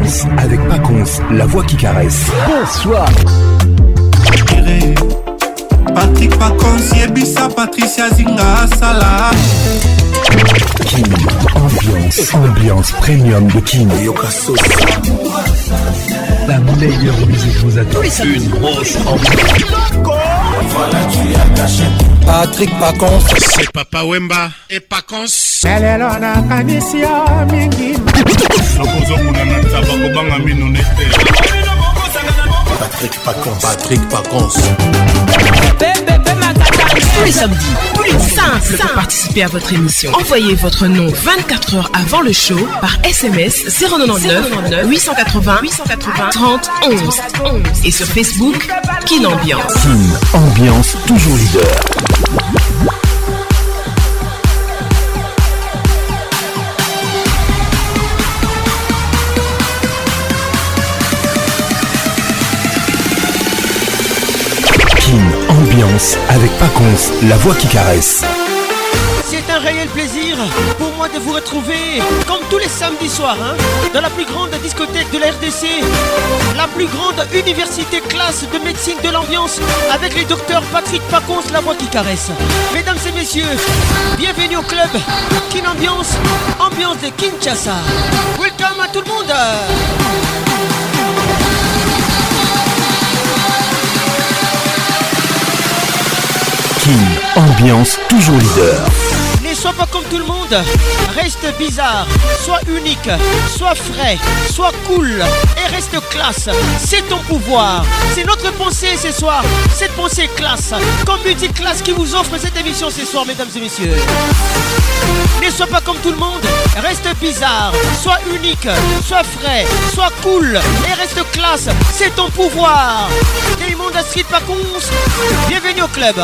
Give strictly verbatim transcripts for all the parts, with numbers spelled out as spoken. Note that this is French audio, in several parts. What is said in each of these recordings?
Ambiance avec Paconce, la voix qui caresse. Bonsoir. Patrick Paconce, Yebisa, Patricia Zinga, Salah. Kin, ambiance, ambiance premium de Kin. La meilleure musique vous attend. Une grosse ambiance. Patrick Paconce, c'est Papa Wemba et Paconce. Patrick Paconce, Patrick Paconce. Tous les samedis, tous les simples pour participer à votre émission. Envoyez votre nom vingt-quatre heures avant le show par S M S zéro neuf huit cent quatre-vingts trente onze et sur Facebook Kin Ambiance. Kin Ambiance, toujours leader. Ambiance avec Paconce, la voix qui caresse. C'est un réel plaisir pour moi de vous retrouver comme tous les samedis soirs hein, dans la plus grande discothèque de la R D C, la plus grande université classe de médecine de l'ambiance avec les docteurs Patrick Paconce, la voix qui caresse. Mesdames et messieurs, bienvenue au club Kin Ambiance, ambiance de Kinshasa. Welcome à tout le monde. Kin Ambiance, toujours leader. Ne sois pas comme tout le monde, reste bizarre, sois unique, sois frais, sois cool et reste classe. C'est ton pouvoir, c'est notre pensée ce soir, cette pensée classe, comme musique classe qui vous offre cette émission ce soir, mesdames et messieurs. Ne sois pas comme tout le monde, reste bizarre, sois unique, sois frais, sois cool et reste classe, c'est ton pouvoir. Télémonde à Street Paconce, bienvenue au club.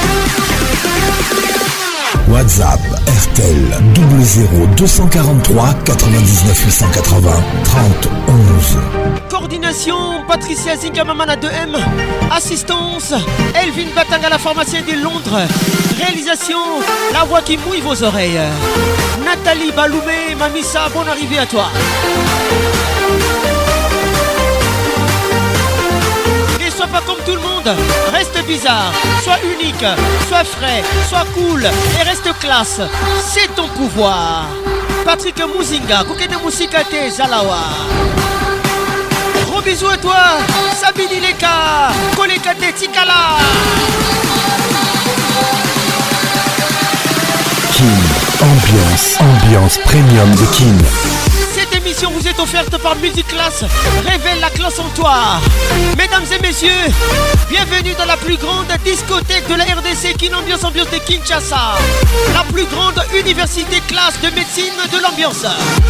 WhatsApp R T L double zéro deux cent quarante-trois quatre-vingt-dix-neuf huit cent quatre-vingts trente onze. Coordination Patricia Zinga Mamana deux M. Assistance Elvin Batanga, la pharmacienne de Londres. Réalisation la voix qui mouille vos oreilles. Nathalie Baloumé, Mamissa, bonne arrivée à toi. Ne sois pas comme tout le monde, reste bizarre, sois unique, sois frais, sois cool et reste classe, c'est ton pouvoir. Patrick Mouzinga, Koukene Mousikate Zalawa. Gros bisous à toi, Sabini Leka, Kolekate Tikala. Kin Ambiance, ambiance premium de Kin. Cette émission vous est offerte par Multiclass, révèle la classe en toi. Mesdames et messieurs, bienvenue dans la plus grande discothèque de la R D C, Kin Ambiance, ambiance de Kinshasa. La plus grande université classe de médecine de l'ambiance.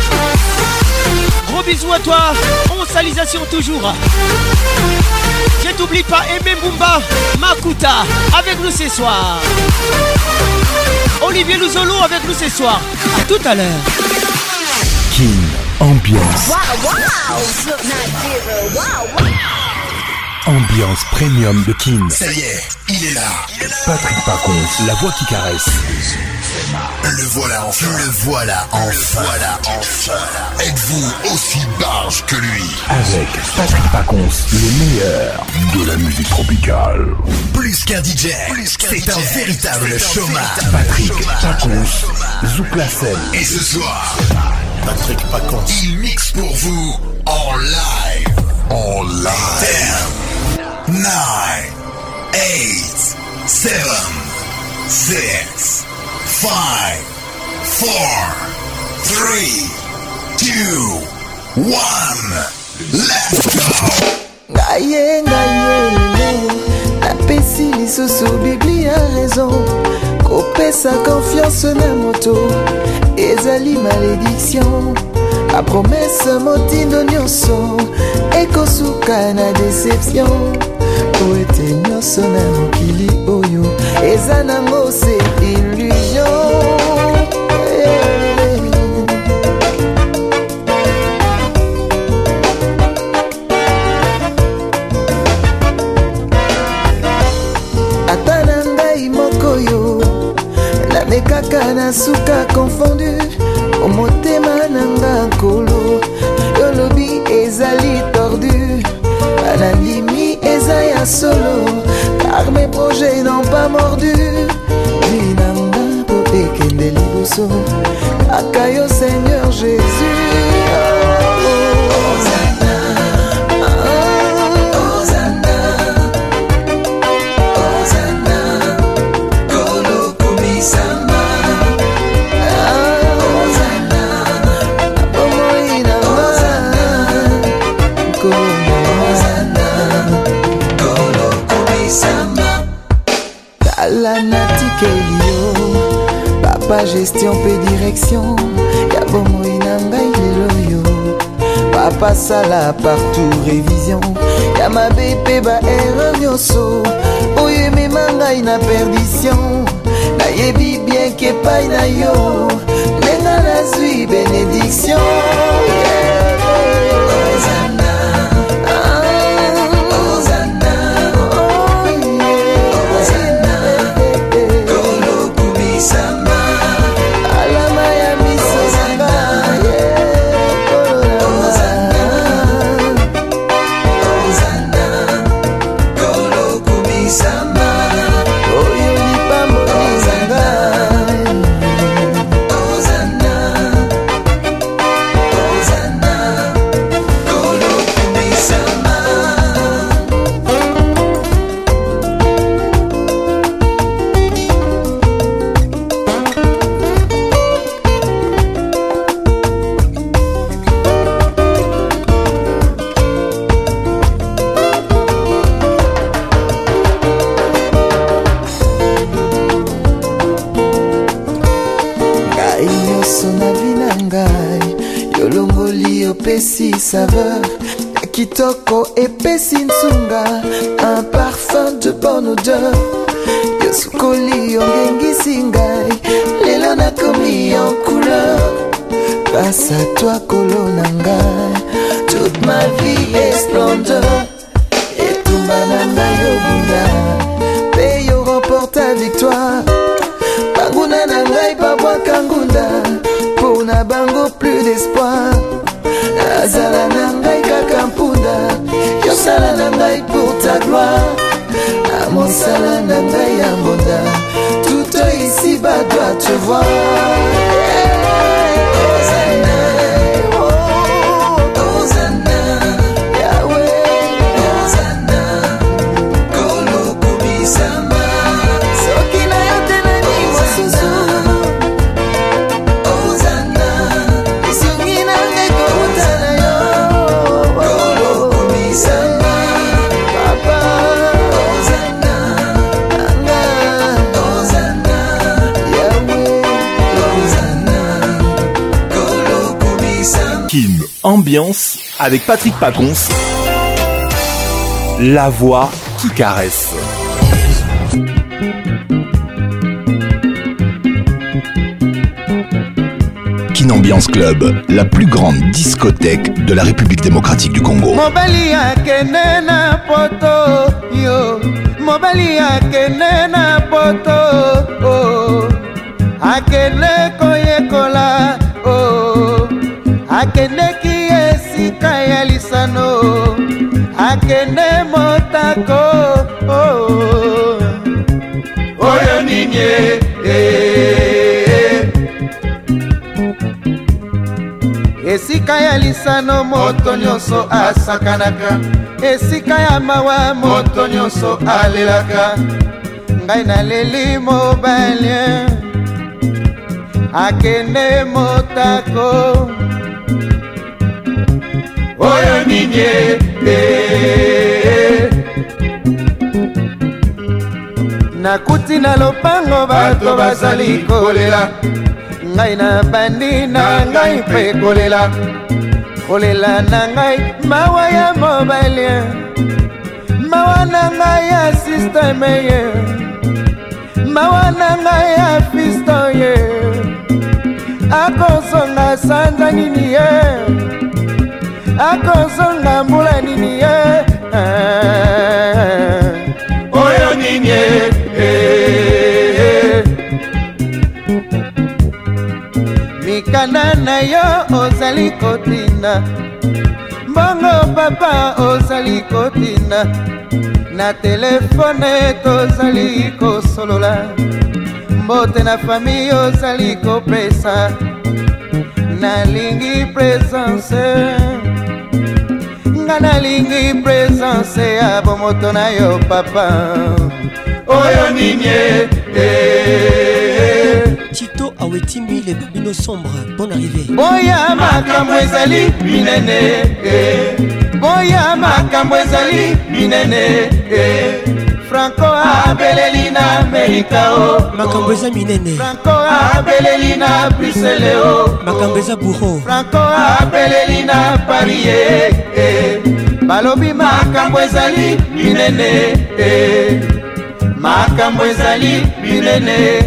Gros bisous à toi, on salisation toujours. Je t'oublie pas, Aimé Mumba, Makuta, avec nous ce soir. Olivier Luzolo avec nous ce soir. À tout à l'heure. Kin Ambiance. Wow, wow. Wow, wow. Ambiance premium de Kin. Ça y est, il est là. Patrick Paconce, la voix qui caresse. Le voilà enfin. Le voilà enfin. Le voilà enfin. Êtes-vous aussi barge que lui? Avec Patrick Paconce, le meilleur de la musique tropicale. Plus qu'un D J, c'est un véritable showman. Patrick Paconce, Zouk la scène. Et ce soir, Patrick Paconce, il mixe pour vous en live. En live. ten, nine, eight, seven, six, five, four, three, two, one. Let's go. Gaye, gaye, napesi lisusu Biblia raison. Kopesa confiance na moto ezali malédiction. La promesse motindo nyonso ekosuka na déception. Po ete nyonso na mokili oyo eza nango se illusion. Ata na ngai moko yo namekaka na suka confondu. Omotema nanga nkolo yolobi à solo, car mes projets n'ont pas mordu. Vinanga po ekende liboso, akayo Seigneur Jésus. Papa gestion pe direction, ya bomo inanga ilelo yo. Papa sala partout révision, ya ma bébé ba erreur nyoso. Oye me manga ina perdition, na yebi bien ke pa ina yo. Nenga na zui bénédiction. Yeah. Saveur, kitoko epesi nsunga, un parfum de bonne odeur. Yosukoli ongengisi ngai, lelo nakomi en couleur. Grâce à toi kolona ngai, toute ma vie est splendeur. Etumba na ngai obunda, pe yo remporte ta victoire. Banguna na ngai babwa kangunda, pour na bango plus d'espoir. Azala nangai kakampunda, yosala nangai pour ta gloire. Amosala nangai ambonda, tout ici-bas doit te voir. Ambiance avec Patrick Pacons, la voix qui caresse. Kin Ambiance Club, la plus grande discothèque de la République démocratique du Congo. Mobali akene na poto yo, mobali akene na poto oh, akene koyekola oh, akene ki esika ya lisano, akene motako oh, oyo ninye eh. Esika ya lisano moto nyonso asakanaka, esika ya mawa moto nyonso alelaka. Ngai naleli mobali akende motako oyo ninye eh. Nakuti na lopango bato bazali kolela, ngai na bandi na ngai pe kolela, kolela na ngai mawa ya mobile, mawa na ngai ya system ye, mawa na ngai ya fisto ye, akosonga sanza nini ye, akosonga mbula nini ye oyo nini eh. Mikanda na yo ozali kotina, mbongo papa ozali kotina, na telefone tozali kosolola mbote na famille ozali kopesa nalingi presence nga nalingi presence ya bomoto na yo papa oyo ninye Tito Awetimbi les babino sombres. Bonne arrivée. Boya makambo ezali binene Boya makambo ezali binene Franco abeleli na Amerika o makambo eza minene Franco abeleli na Bruxelles o makambo eza bureau Franco abeleli na Paris balobi makambo ezali binene makambo ezali binene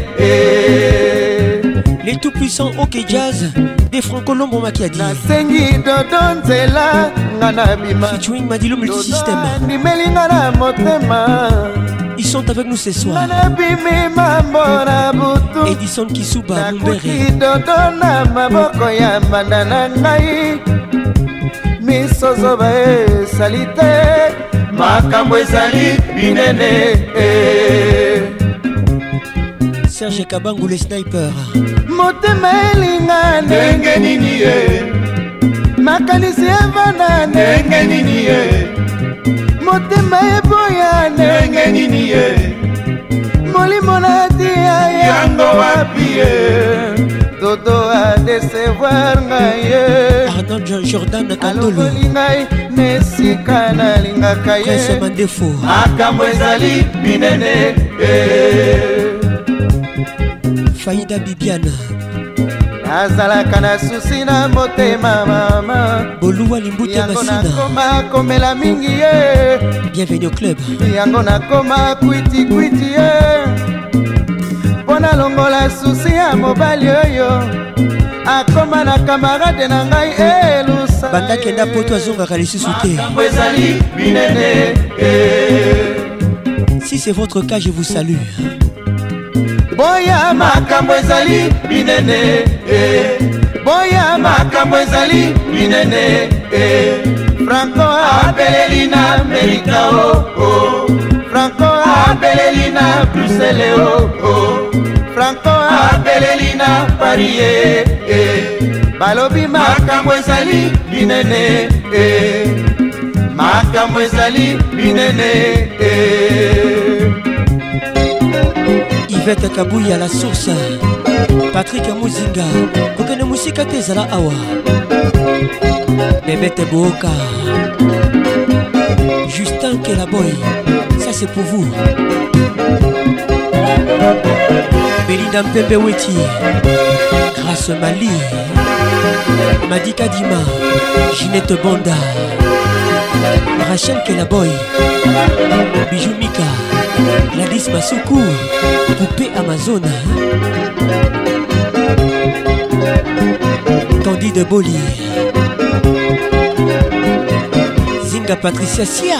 les tout puissants OK Jazz des Franco Lombo Makiadi nasengi dodo nzela nga na bima featuring Madilo Multisystème nimelinga na motema ils sont avec nous ce soir na bimi mambo na butu Edison Kisuba Mumbere dodo na maboko ya mbanda na ngai misozo ba salite makambo ezali binene Serge Kabangu le sniper motema elinga ndenge nini ye makanisi evana ndenge nini ye motema eboya ndenge nini ye molimo natia yango wapi ye dodo a desevoir ngai Arnold Jordan Kandolo ngai nesika nalingaka ye Prince Mandefo makambo ezali binene Faïda Bibiana nazalaka na susi na motema mama Boluwa Limbuti yango Masina nakoma komela mingi ye bienvenue au club yango nakoma kwiti kwiti ye mpo nalongola susi ya mobali oyo akoma na kamarade na ngai elusa banda kenda poto azongaka lisusu te makambo ezali binene si c'est votre cas je vous salue boya makambo ezali binene boya makambo ezali binene Franco abeleli na Amerika o Franco abeleli na Bruxelles o Franco abeleli na Paris balobi makambo ezali binene makambo ezali binene Yvette Kabouya la source Patrick Muzinga kokene musika te ezala awa Bebete Boka Justin Kelaboy ça c'est pour vous Belinda Mpembe Weti Grâce Mali Madi Kadima Ginette Bonda Rachel Kelaboy Bijou Mika Gladys Masuku Poupée Amazon Candide Boli Zinga Patricia Sia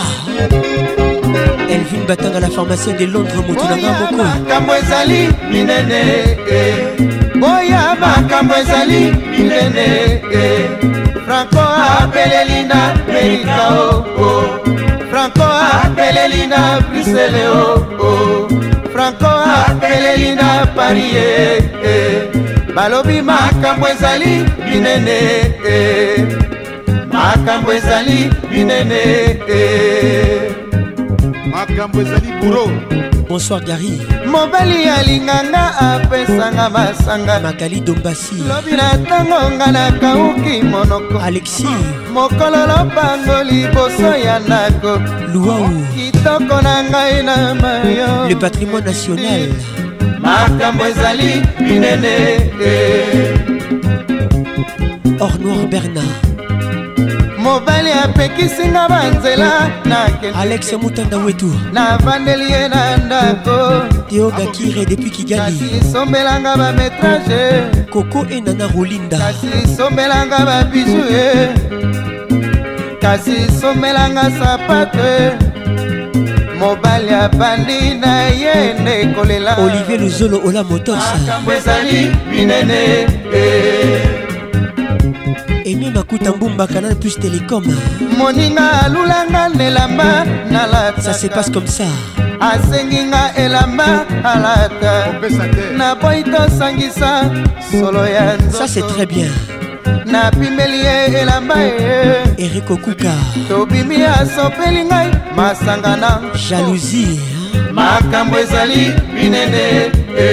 Elvin Batanga la pharmacienne de Londres Moutoulanga Moko makambo ezali binene boya makambo ezali binene Franco abeleli na Amerika o Franco abeleli na Bruxelles o Franco abeleli na Paris balobi makambo ezali binene makambo ezali binene makambo ezali buro bonsoir Gary mobali alinganga apesanga masanga Magali Dombasi lobi na ntango nga nakauki monoko Alexis mokolo lopango liboso ya ndako Luau kitoko na ngai na mayo le patrimoine national makambo ezali binene Or Noir Bernard mobali apekisinga banzela nakende Alex Mutanda Wetu navandeli ye na ndako Théo Gakire depuis Kigali kasi sombelanga bametrage Coco et Nana Rolinda kasi sombelanga babiju ye kasi sombelanga sapato mobali abandi na ye nde kolela Olivier Luzolo Ola Motors makambo ezali binene Emi Aimé Makuta Mbumba Canal Plus Télécom. Moninga lulanga nelamba nalata. Ça se passe comme ça. Asenginga elamba alata. Na boito sangisa solo ya nzoto. Ça c'est très bien. Na pimelie elamba e. Eric Okuka. Tobimi asopeli ngai masangana. Jalousie. Makambo ezali binene.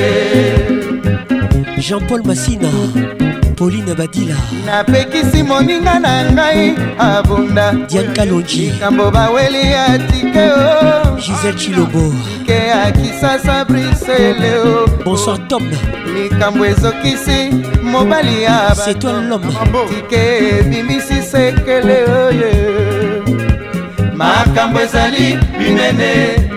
Jean-Paul Massina. Pauline Badila. Napekisi moninga na ngai abunda. Diane Kalonji. Kambo baweli atike o. Gisèle Chilobo. Ke akisasa brisele o. Bonsoir Tom. Likambo ezokisi mobali ya. C'est toi l'homme. Tike bimisi sekele o ye. Makambo ezali binene.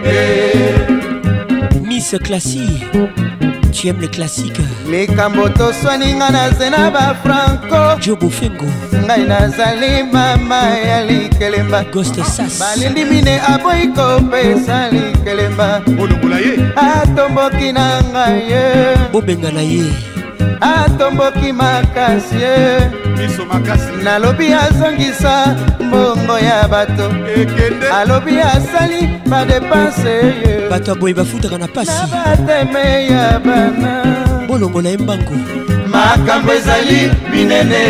Miss Classy. Tu aimes les classiques. Les Kamboto swaninga na zena ba Franco. Jobo Fengo. Ngai nazali mama ya likelemba. Ghost Sass. Balindi mine aboiko pesa likelemba. Olungulaye. Atomboki na ngaye. Bobenga na ye. Atomboki makasi ye. Miso makasi. Nalobi azongisa mbongo ya bato. Ekende. Alobi asali ba dépense ye. Bato aboye bafutaka na pasi. Na bateme ya bana. Bolongo na embango. Makambo ezali minene.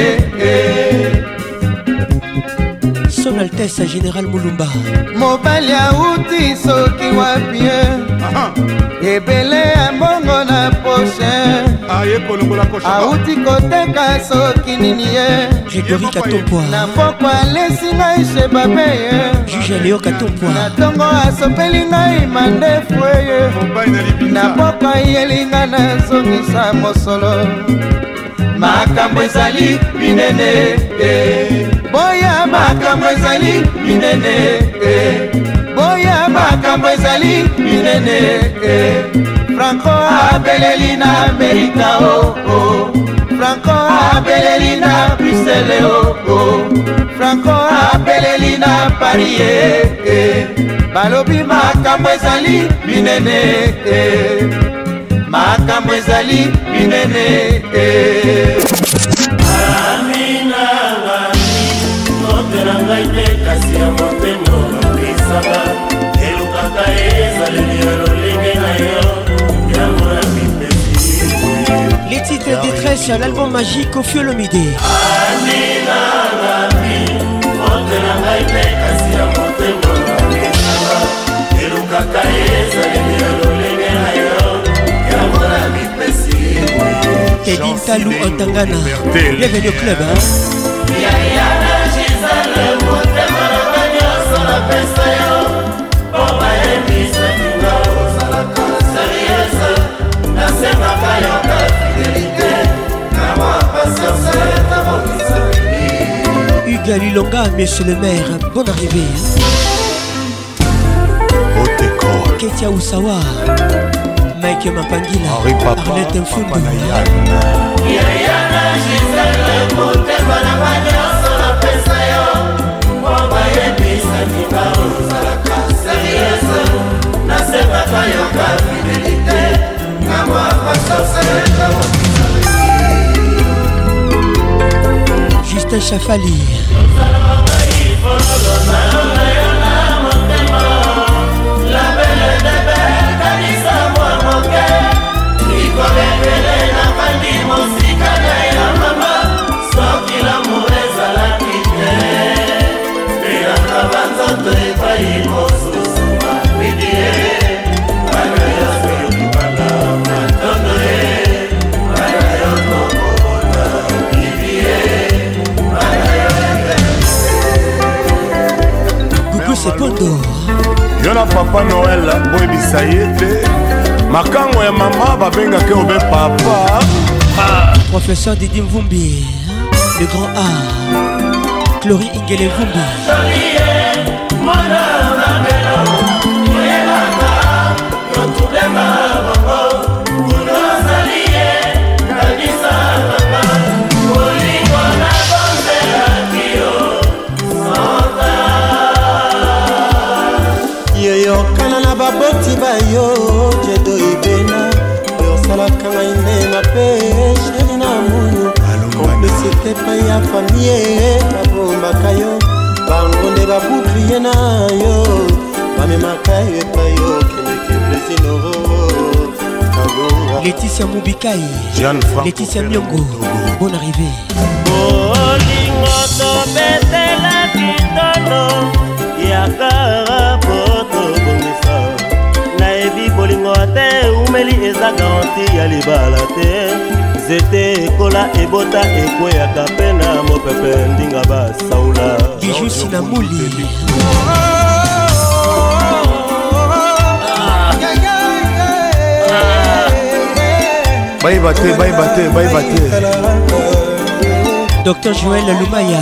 Son Altesse Général Moulumba. Mobali auti soki wapi ebele ya mbongo na poche. Aye kolongola koche. Auti koteka soki nini ye. Grégory Katompwa. Na pokwa lesi ngai sheba peye. Juge Léo Katompwa. Na tongo asopeli ngai mandefu ye. Na pokwa yelinga na zongisa mosolo. Makambo ezali minene. Boya makambo ezali minene. Boya makambo ezali minene. Franco abeleli na Amerika o oh. Franco abeleli na Bruxelles o oh. Franco abeleli na Paris eh. Balobi makambo ezali minene. Makambo ezali minene. Amina ngami Motera ngai te kasi ya motemo Isaba Elukaka ezaleli ya lolenge na yo Yango ya mipesi. Les titres détresse, l'album magique au Fiolomide. Amina ngami Motera ngai te kasi ya motemo Isaba Elukaka ezaleli ya lolenge na yo Yango ya mipesi. Teddy Talou Antangana. Bienvenue au club hein. Hugues Lilonga, monsieur le maire, bonne arrivée. Ketia Oussawa, Mike Mapangila, Arlette Mfundu. Justin Chafali. Yona Papa Noël boyebisa ye te makango ya mama babengaki obe papa. Ah. Professeur Didi Mvumbi, le grand A, Chloé Ingele Mvumbi. Yoyokana na baboti bayo jedo ibena yosalaka ngai nde mape sheri na munu komplicité epai ya famille babombaka yo bango nde babuklie na yo bamemaka yo epai yo kendeke plesinoro Laetitia Moubikai, Laetitia Myongo, bonne arrivée. Bolingo tobetela kitono yakara poto bongisa nayebi bolingo te umeli eza garanti ya libala te zete ekola ebota ekweyaka mpe na mopepe ndinga basaula Bijou Sinamuli Bye bate, bye bate, bye bate. Docteur Joël Lumaya.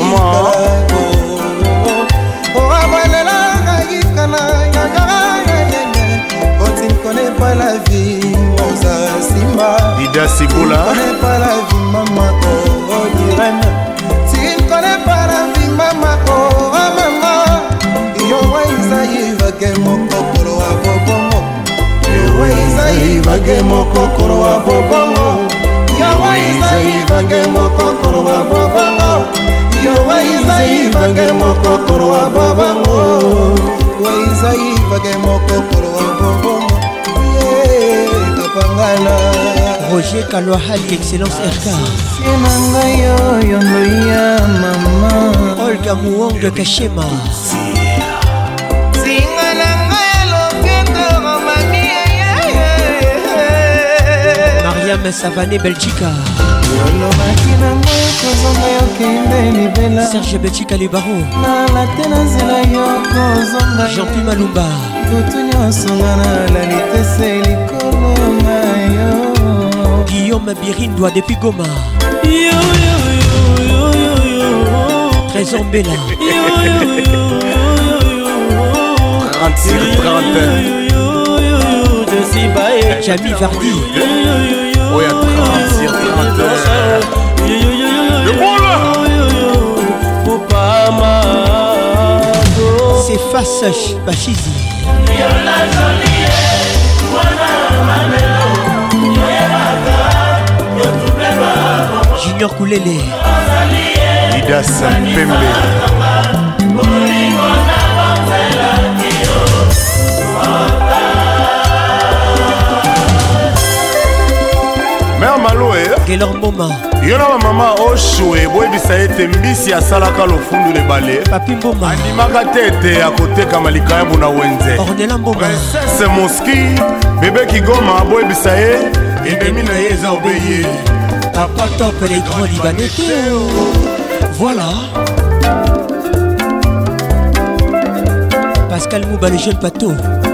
Quand tu ne connais pas la vie, Mosa Simba. Dida Siboula. Tu ne connais pas la vie, maman, oh, Irène. Tu ne connais pas la vie, maman, oh, maman. Yo, Waïsaï, va que mon cocoro a bobongo. Yawaizai vage mokokoro wa bobongo. Yawaizai vage mokokoro wa bobongo. Yawaizai vage mokokoro wa bobongo. Yawaizai vage mokokoro wa bobongo. Yeah, kapangala. Roger Kalouahali, excellence R K. Sienanga yo yondo ya mama. Olga Mouong Kashema. Mariam Savané Belgica. Serge Belgica les barreaux. Jean-Pierre Malumba. Guillaume Birindois depuis Goma. Trésor Bella. trente-six trente. Jamie Vardy. Oui, à trente-six trente. Le bon là. C'est face Bachizi. Junior Koulele. Lida Sampembe. Mère Maloé Gaylor Mboma Yona mama Oshwe boyebisa ete mbisi asalaka lofundu lebale Papi Mboma andimaka tete akoteka malika ya buna wenze Ornella Mboma Princesse Moski bébé Kigoma boyebisa ye endemi na ye eza obeye Papa Top les grands Libanais. Voilà Pascal Mouba le jeune pato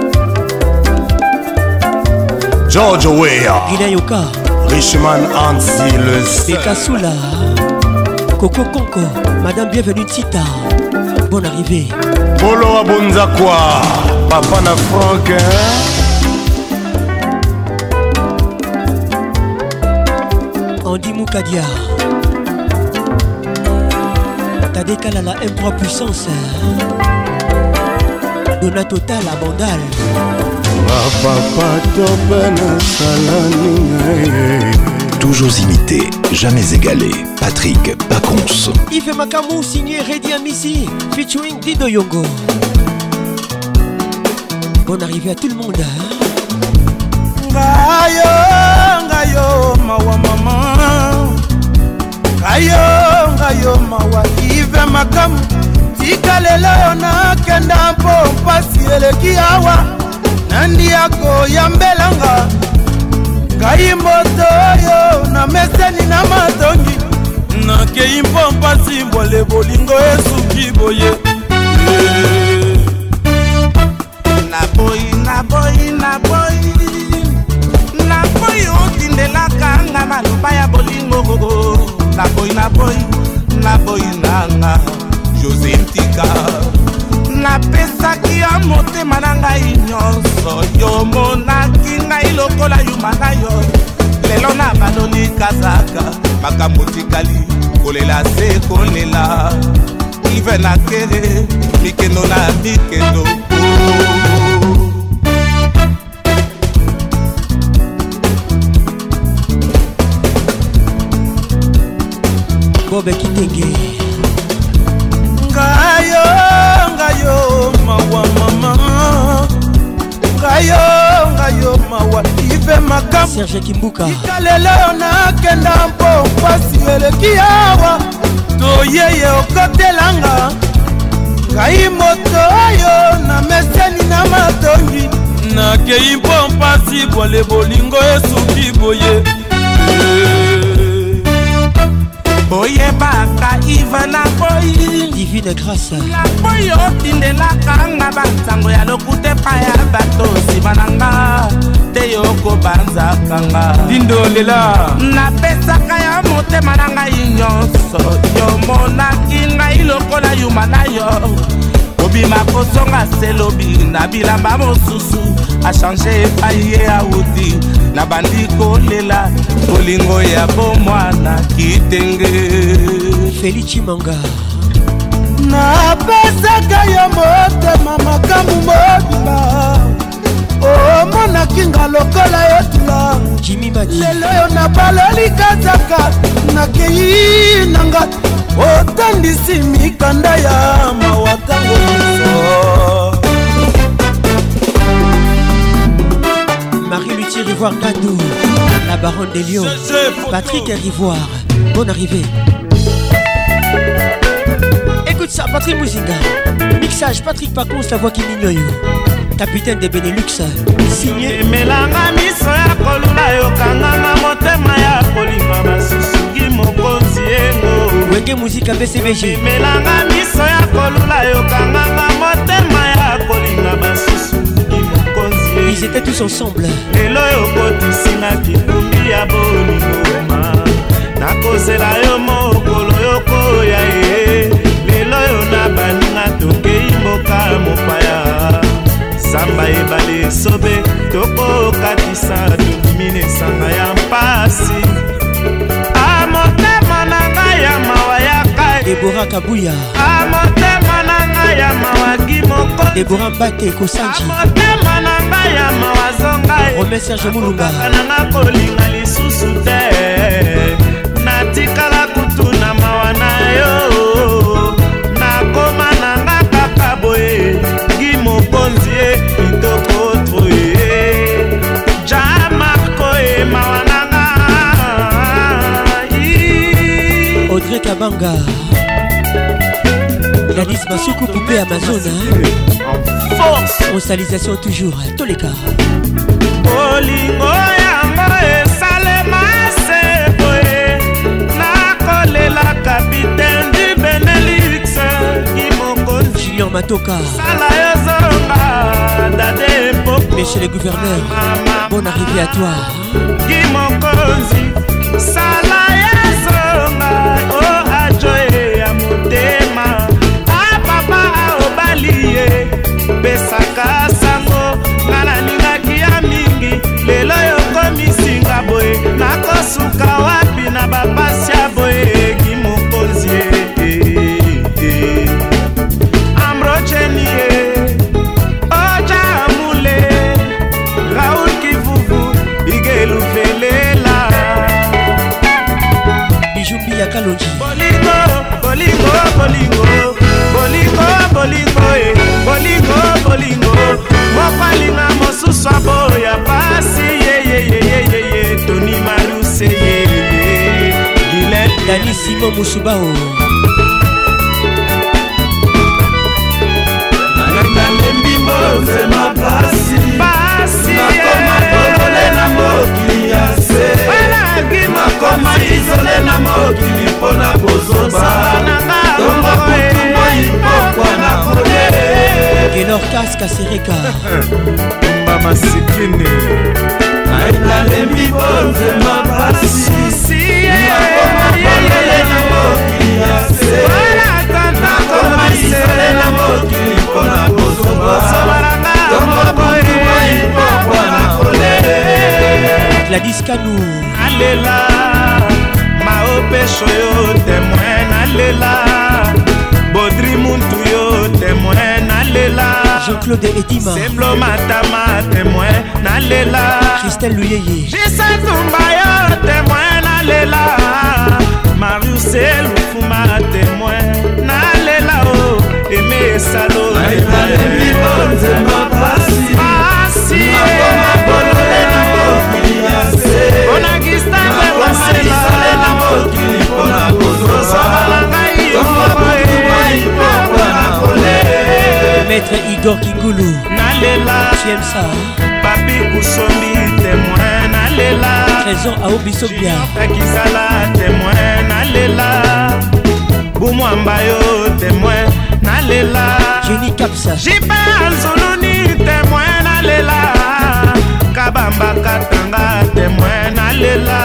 George Weah Guinea Yoka Richman Anzi le seul Beka Soula Coco Conco Madame bienvenue Tita Bonne arrivée Polo Abonza quoi Papa na Franck Andy Moukadia Tadeka la M trois puissance Dona Total à Bandal Toujours imité, jamais égalé. Patrick Pacons. Yves Makamou signé Reddy Amissi featuring Dido Yongo. Bonne arrivée à tout le monde hein? Ngayo, ngayo, mawa mama. Ngayo, ngayo, mawa Yves Makamou. Tika lelo na kenda mpo mpasi eleki awa nandi yako yambelanga ngai moto oyo na meseni na matongi nakei mpo mpasi mbole bolingo esuki boye naboyi naboyi naboyi naboyi otindelaka nga maloba ya bolingo naboyi naboyi naboyi nanga José Ntika napesaki ya motema na ngai nyonso yo monaki ngai lokola yuma na yo lelo na baloni kazaka makambo tikali kolela se kolela ive na kere mikendo na mikendo Robert Kitenge. Ngayo, ngayo, mawa mama. Ngayo, ngayo, mawa ife makam. Serge Kimbuka. Ikaleleo na kenda mpo pasi eleki awa. Toyeye okotelanga. Ngai moto oyo na meseni na matongi. Nakei mpo mpasi bwale bolingo esuki boye. Boye baka iva na boyi. Divine grâce. La boyo tindelaka nga banzango ya lokute pa ya bato nsima na nga. Te yoko banzaka nga. Dindolela. Napesaka ya motema na ngai nyonso. Yomonaki ngai lokola yuma na yo. Obima kozonga selobi na bilamba mosusu. Achange epai ye auti. Na bandi kolela bolingo ya bomwana kitenge. Felici Manga. Napesaka yo motema makambu mobima. Omonaki nga lokola yo tula. Jimmy Madi. Lelo yo nabaloli kazaka. Nakei nanga otandisi mikanda ya mawatango miso. Marie Luthier Rivoire Gadou, la baronne des Lions. Patrick Rivoire, bonne arrivée. Écoute ça, Patrick Mouzinga. Mixage Patrick Pacons, la voix qui n'ignore. Capitaine de Benelux, signé Melanga miso ya kolula yo kanganga motema ya kolima masusuki mokonzi engo. Wenge musique à B C B G. Melanga miso ya kolula yo kanganga motema ya kolima masusuki mokonzi engo. Ils étaient tous ensemble. Lelo yo kotisi na kitumbi ya bolingoma. Nakozela yo mokolo yo koya ye. Lelo yo na baninga tokei mboka mopaya. Samba ebale sobe toko katisa tumine sanga ya mpasi. Amotema nanga ya mawa ya kai. Deborah Kabuya. Amotema nanga ya mawa gimoko. Deborah Mbate Kosanji. Amotema nanga ya mawa zongai. Romain Serge Moulumba. Nanga kolinga lisusu te. Natikala kutuna mawa na yo. Nakoma nanga kaka boye. Gimokonzie kitoko troye. Jamarko e mawananga. Audrey Kabanga. Gladys Masuku poupée Amazon. Force. Constalisation toujours, tous les cas. Olingo yango esalema seboye. Nakolela capitaine du Benelux. Gimokonzi Julien Matoka. Sala yozonga dade poko. Monsieur le gouverneur, bonne arrivée à toi. Gimokonzi Sala yozonga o ajoye ya motema. A papa a obaliye besaka sango. Ngana ningaki ya mingi lelo yokomisinga boye. Nakosuka wapi na bapasi ya boye. Gimokonzi Amrochenie Oja Amule Raoul Kivuvu Igelu Felela Bijoubi ya Kalonji. Bolingo, bolingo, bolingo Bolingo, bolingo, eh Bolingo, bolingo Mopalinga mosusu aboya pasi ye ye ye ye ye ye Tony Maruse ye ye Gillette Dani Simon Moussoubao. Zema pasi pasi nakoma bolole na mokili ya se nakoma izole na mokili mpona kozoba tongo kutumbo ipokwa na kole Gelor Kaska Sereka Mba masikini nalembi bonzema pasi nakoma bolole na mokili ya se nakoma izole na mokili mpona kozoba Gladys Kanou. Alela Maopesho yo témoin alela Bodri muntu yo témoin alela Jean-Claude Edima. Semblo Matama témoin alela Christelle Luyeye. Jisa Tumba yo témoin alela Marius Elufu mama témoin nalela o eme esalo Maître Igor Kingulu nalela tu aimes ça papi kusombi témoin nalela trésor à Obisobia akizala témoin nalela bumwamba yo témoin nalela Jenny Kapsa jipe azuluni témoin nalela kabamba katanga témoin nalela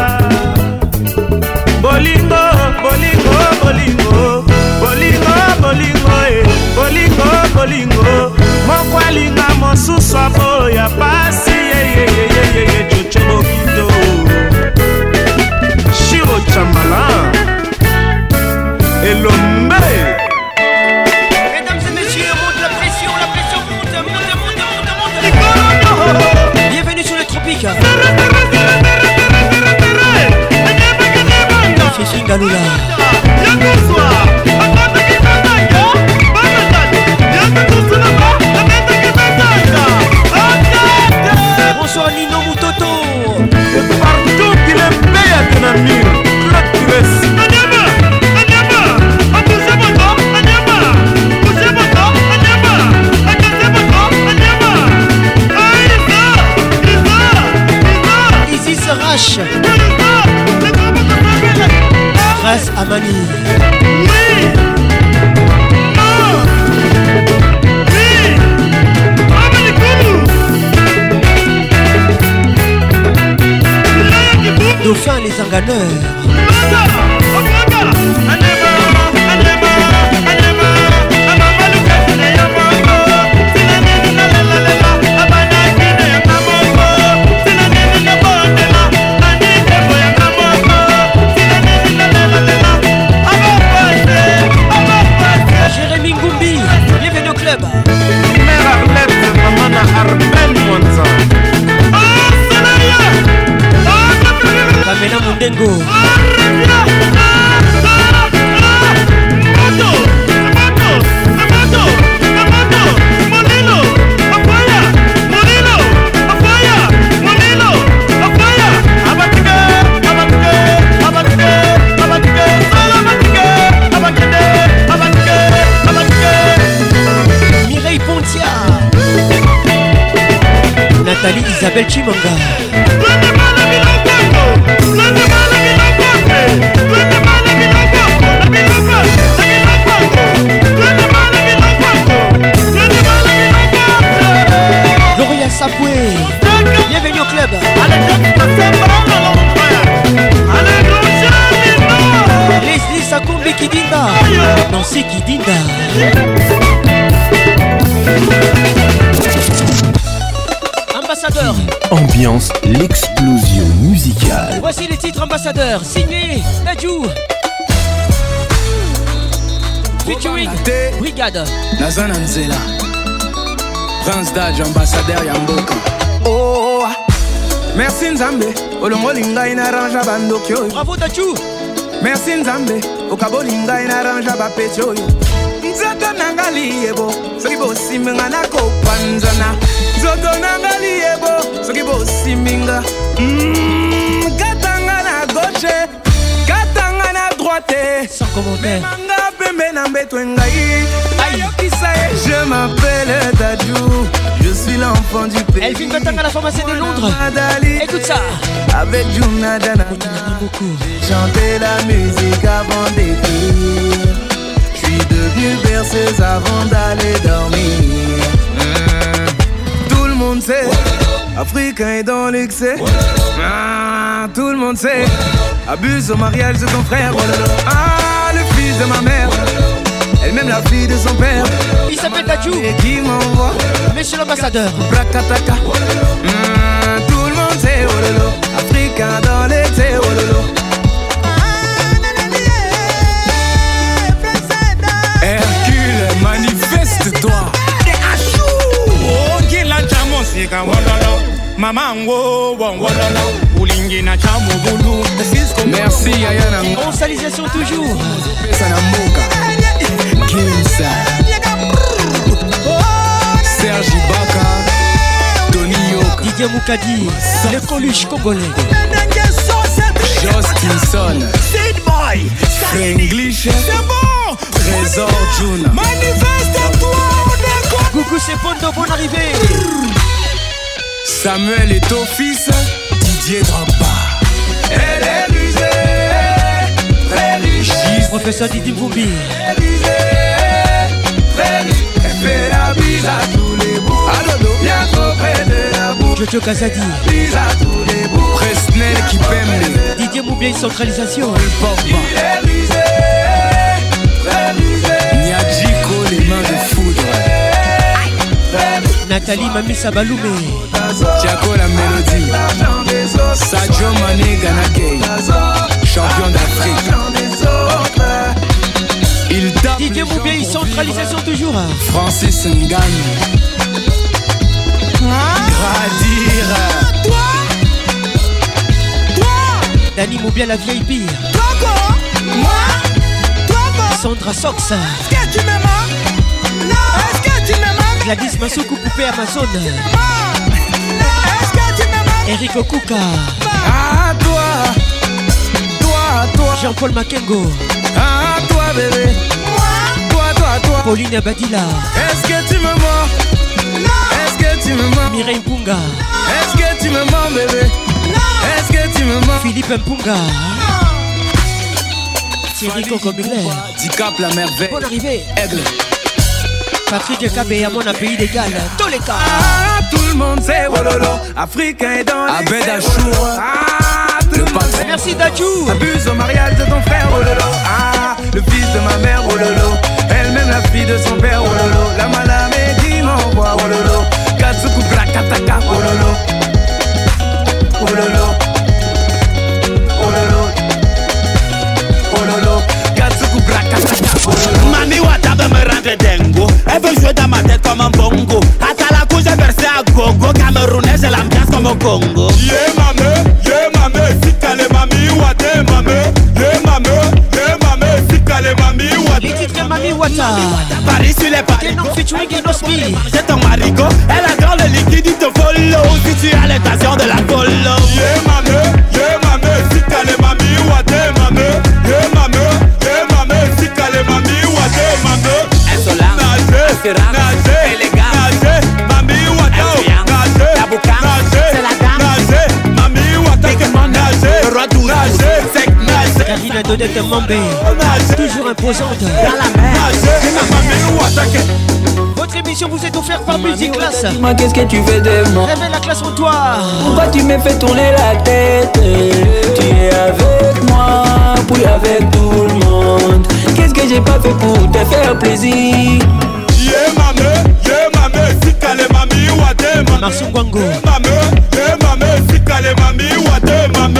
bolingo bolingo bolingo bolingo bolingo eh bolingo bolingo mokwalinga mosusu aboya pasi yeyeyeyeye choche bokito shiro chamala elombe. Mesdames et messieurs, monte la pression, la pression monte, monte, monte, monte, monte. Bienvenue sur les tropiques. Fifi Galula. Bonsoir Nino Mutoto. Partout qu'il est meilleur que l'ami. Claude Pires. Isis Rache. Grâce à Mani. Dauphin les enganeurs. Jérémy Ngoumbi, bienvenue au club. Mère Arlette, maman Arben Monza. Pamela Mundengo. Mireille Pontia. Nathalie Isabelle Chimanga. Gloria Sapoué. Bienvenue au club. Leslie Sakumbi Kidinda. Nancy Kidinda. Ambassadeur. Ambiance, l'explosion musicale. Voici les titres ambassadeurs. Signé Nadjou. Featuring Brigade. Nazana Nzela. Prince Daj, ambassadeur Yamboka. Oh, merci Nzambe. Olongolinga inaranja bandokyo. Bravo Nadjou. Merci Nzambe. Okabolinga inaranja bapetyo. Nzoto nangali yebo. Soki bosi minga nako panzana. Nzoto nangali yebo. Soki bosi minga. Mm, katanga na gauche. Katanga na droite. Sans commentaire. Je m'appelle Dadju, je suis l'enfant du pays. Elle vit maintenant à la pharmacie de Londres. Écoute ça. Avec Juna Dana, j'ai chanté la musique avant d'écrire. Je suis devenu berceuse avant d'aller dormir. Mmh. Tout le monde sait, Africain est dans l'excès. Ah, tout le monde sait, abuse au mariage de ton frère. Ah, le fils de ma mère. Elle-même la fille de son père. Il s'appelle Dadju. Et qui m'envoie. Monsieur l'ambassadeur. Brakataka. Mmh, tout le monde sait, oh lolo. Africain dans l'été, oh lolo. Hercule, manifeste-toi. Oh, qui l'a jamais c'est comme oh lolo. Mamango, wangolala, ulingi na chamugulu. Merci Ayana. En salisation toujours. Kimsa, Serge Ibaka, Tony Yoka, Didier Moukadi, le Coluche congolais, Justinson, Sid Boy, English, Trésor June, manifeste-toi. Coucou c'est Pondo, bonne arrivée. Samuel et ton fils, Didier Drogba. Elle est rusée, très riche. Professeur Didi Mvumbi. Elle fait la bise à tous les bouts. Bien trop près de la bouche. Jojo Kazadi. Bise à tous les bouts. Presnel qui pème. Didier Moubien, centralisation. Il est rusé, très rusé. Nyadjiko, les mains de foudre. Nathalie Mami Sabaloumé. Tiago la mélodie. Sadio Mané Ganakei, champion d'Afrique. Il tape Didier Moubien, centralisation toujours. Francis Ngagne. Gradir. Toi, toi, Dani Moubien, la vieille pire. toi quoi? Moi, toi quoi? Sandra Sox. Est-ce que tu m'aimes? Non. Est-ce que tu m'aimes? Gladys Massokou, poupée Amazon. Est-ce que tu m'aimes? Eric Okuka. Ah toi, toi, toi. Jean-Paul Makengo. Ah toi bébé. Toi, toi, toi. Pauline Badila. Est-ce que tu me mens? Non. Est-ce que tu me mens? Mireille Mpunga. Est-ce que tu me mens bébé? Non. Est-ce que tu me mens? Philippe Mpunga. Thierry Cocomiller. Dicap la merveille. Bonne arrivée. Aigle. Patrick Kabé à mon pays d'égal. Tous les cas. Ah, tout le monde sait Wololo. Africain est dans les Abed Achour. Ah, le patron. Merci Dadjou. Abuse au mariage de ton frère Wololo. Ah, le fils de ma mère Wololo. Elle-même la fille de son père Wololo. La malame qui m'envoie Wololo. Katsuku Brakataka Wololo. Wololo. Wololo. Wololo. Katsuku Brakataka Wololo. Mami Watabe me rendre dingo. Elle veut jouer dans ma tête comme un bongo. À la couche j'ai versé à gogo. Camerounais j'ai l'ambiance comme au Congo. Yeah mame, yeah mame, sikale mami wate mame. Yeah mame, yeah mame, sikale mami wate. Les titres de Mami Wata. Paris sur les paris. Kenon featuring Enosmi. C'est ton marigot. Elle adore le liquide, il te follow. Si tu as l'intention de la follow. Yeah mame, yeah mame, sikale mami wate mame. Yeah mame, yeah mame, sikale mami wate mame. Insolent, assurant, élégant, nager, mami wata, nager, la boucan, c'est la dame, nager, mami wata, nager, le roi douze, sec, nager, Karina Dodette Mambé. Toujours imposante. dans la mer, nager, mami wata. Votre émission vous est offerte par Musique Classe. Dis-moi qu'est-ce que tu fais de moi? Révèle la classe en toi. Pourquoi tu me fais tourner la tête? Tu es avec moi, puis avec tout le monde. Qu'est-ce que j'ai pas fait pour te faire plaisir? Yeah mame, yeah mame, sikale mami wate mame. Marson Gwango. Mame, yeah mame, sikale mami wate mame.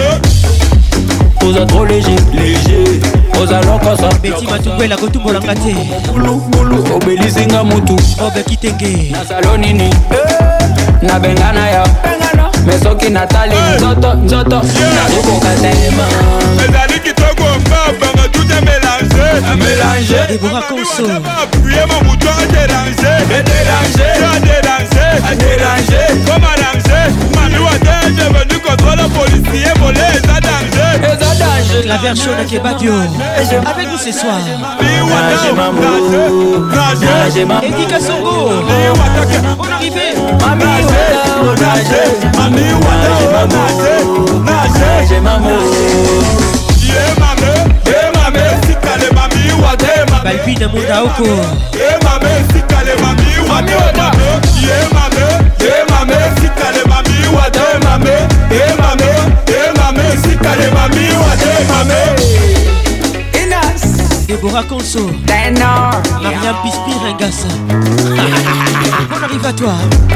Osa trop léger, léger. Osa lonko sa. Betty Matoubwe la Gotumbo Langate. Bulu, bulu, obelisinga mutu. Bob Kitenge. Na salonini, na bengana ya. Mesoki Nathalie, nzoto, nzoto. Na rukoka tema. Ezali kitoko mbaba, tout est mélangé. Mélangé. Deborah Conso. Appuyer mon bouton à déranger. À déranger. À déranger. À déranger. Comme arranger. Mami Wate est devenu contrôle policier. Volé est à danger. Et ça danger. La version de Kebadio. Avec nous ce soir. Nage mamou. Nage mamou. Eddie Kassongo. Bonne arrivée. Mami Wata, nage. Mami Wate, nage. Nage mamou. Yeah mame, yeah mame, sikale mami wate mame. Balbine Mundaoko. Yeah mame, sikale mami wate mame. Yeah mame, yeah mame, sikale mami wate mame. Yeah mame, yeah mame, sikale mami wate mame. Inas. Deborah Conso. Tenor. Mariam Pispir Ngassa. On arrive à toi.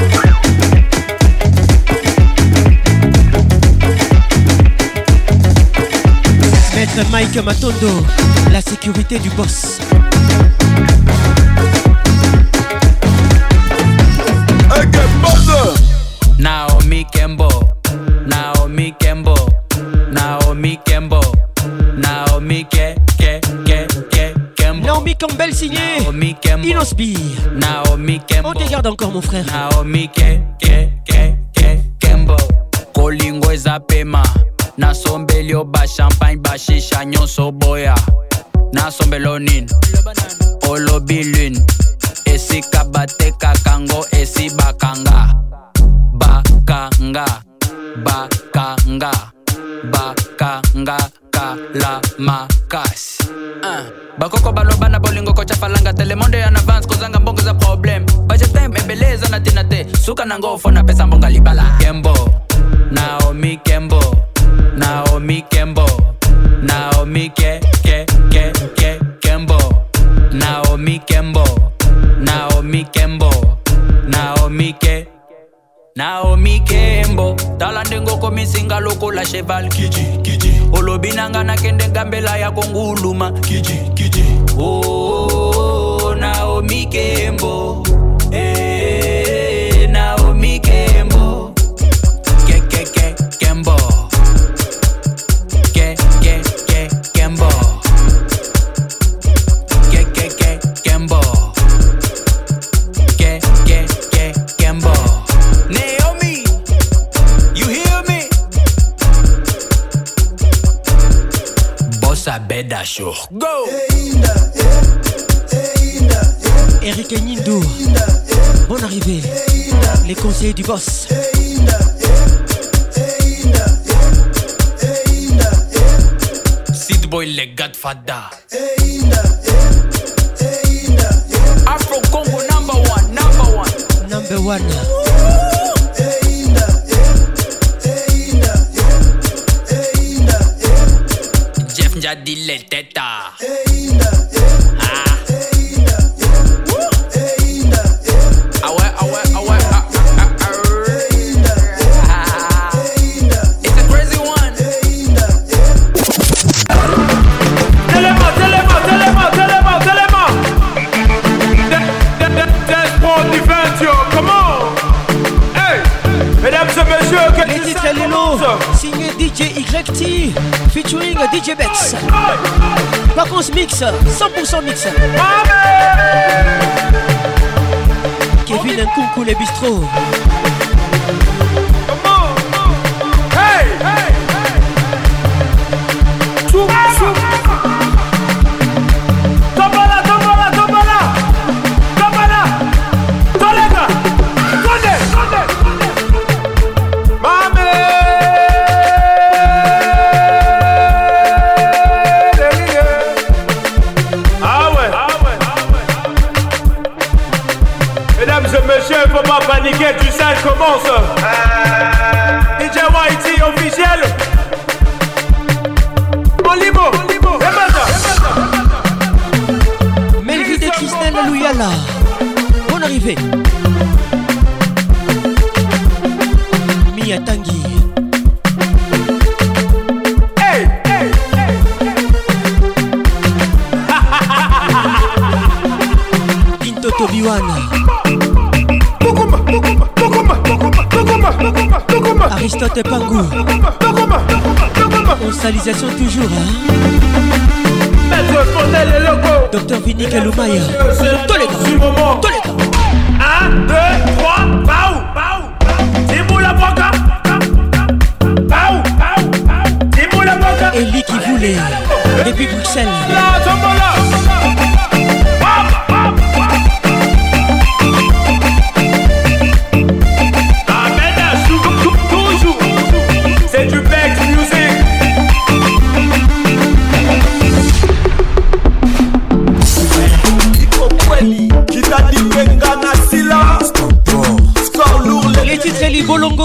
Maître Mike Matondo, la sécurité du boss. Naomi Kembo. Inosbi. Naomi Kembo. On te garde encore mon frère. Naomi Ke Ke Ke Ke Kembo. Kolingo ezapema. Nasombeli oba champagne bashisha nyonso boya. Nasombelo nini. Olobi lune. Esi kabate kakango esi bakanga. Bakanga. Bakanga. Bakanga kala makas uh. Bakoko baloba na bolingo kocha falanga telemonde en avance kozanga mbongo za problem budget time ebeleza na tinate suka na ngofo na pesa mbonga libala Kembo Naomi Kembo Naomi Kembo Naomi ke ke ke ke Kembo Naomi Kembo Naomi Kembo Naomi ke Naomi Kembo Talandengo komisinga loko la cheval Kiji, kiji Olobinanga na kende gambela ya konguluma Kiji, kiji Oh, Naomi Kembo Eh, Naomi Kembo Ke, ke, ke, Kembo Ke, ke, ke, Kembo Ke, ke, ke, Kembo Ke, ke, ke, Kembo Naomi, you hear me? Bossa Beda Show, go! Eric Nindo, bonne arrivée. Les conseils du boss. Sid Boy, le Godfather. Afro Congo number one, number one. Number one. Jeff Njadi le teta. Ah. Ah ouais, ah ouais, ah ouais, ah, ah, ah, ah. It's a crazy one. Téléma, téléma, téléma, téléma, téléma. Despo Diventio, come on. Hey, mesdames et messieurs, que les titres Lilo, signé D J Y T, featuring D J Bex. Vacances mix, cent pour cent mix. Kevin Nkunku les bistrots. Hey, hey, hey. Chou, chou. Tombala, tombala, tombala. Tombala. Tolega. Konde, konde. Mame. Ah ouais, ah ouais, ah ouais. Mesdames et messieurs, il faut pas paniquer, tu sais, elle commence. D J Y T officiel. Olibo, Olibo, Melvin et Christelle Louyala. Bonne arrivée. Mia Tanguy. Hey, hey, hey. Tinto Tobiwan. Aristote Pangou. Constalisation toujours, hein. Docteur Vinique Loumaya. Tolega. Tolega. Un, deux, trois, Baou, Baou. Timou la boca. Baou, Baou, Baou. Timou la boca. Eli qui voulait. Depuis Bruxelles. Là, tombola. C'est du Bex Music. Qui t'a dit Bengana Silla. Score lourd. Les titres Eli Bolongo.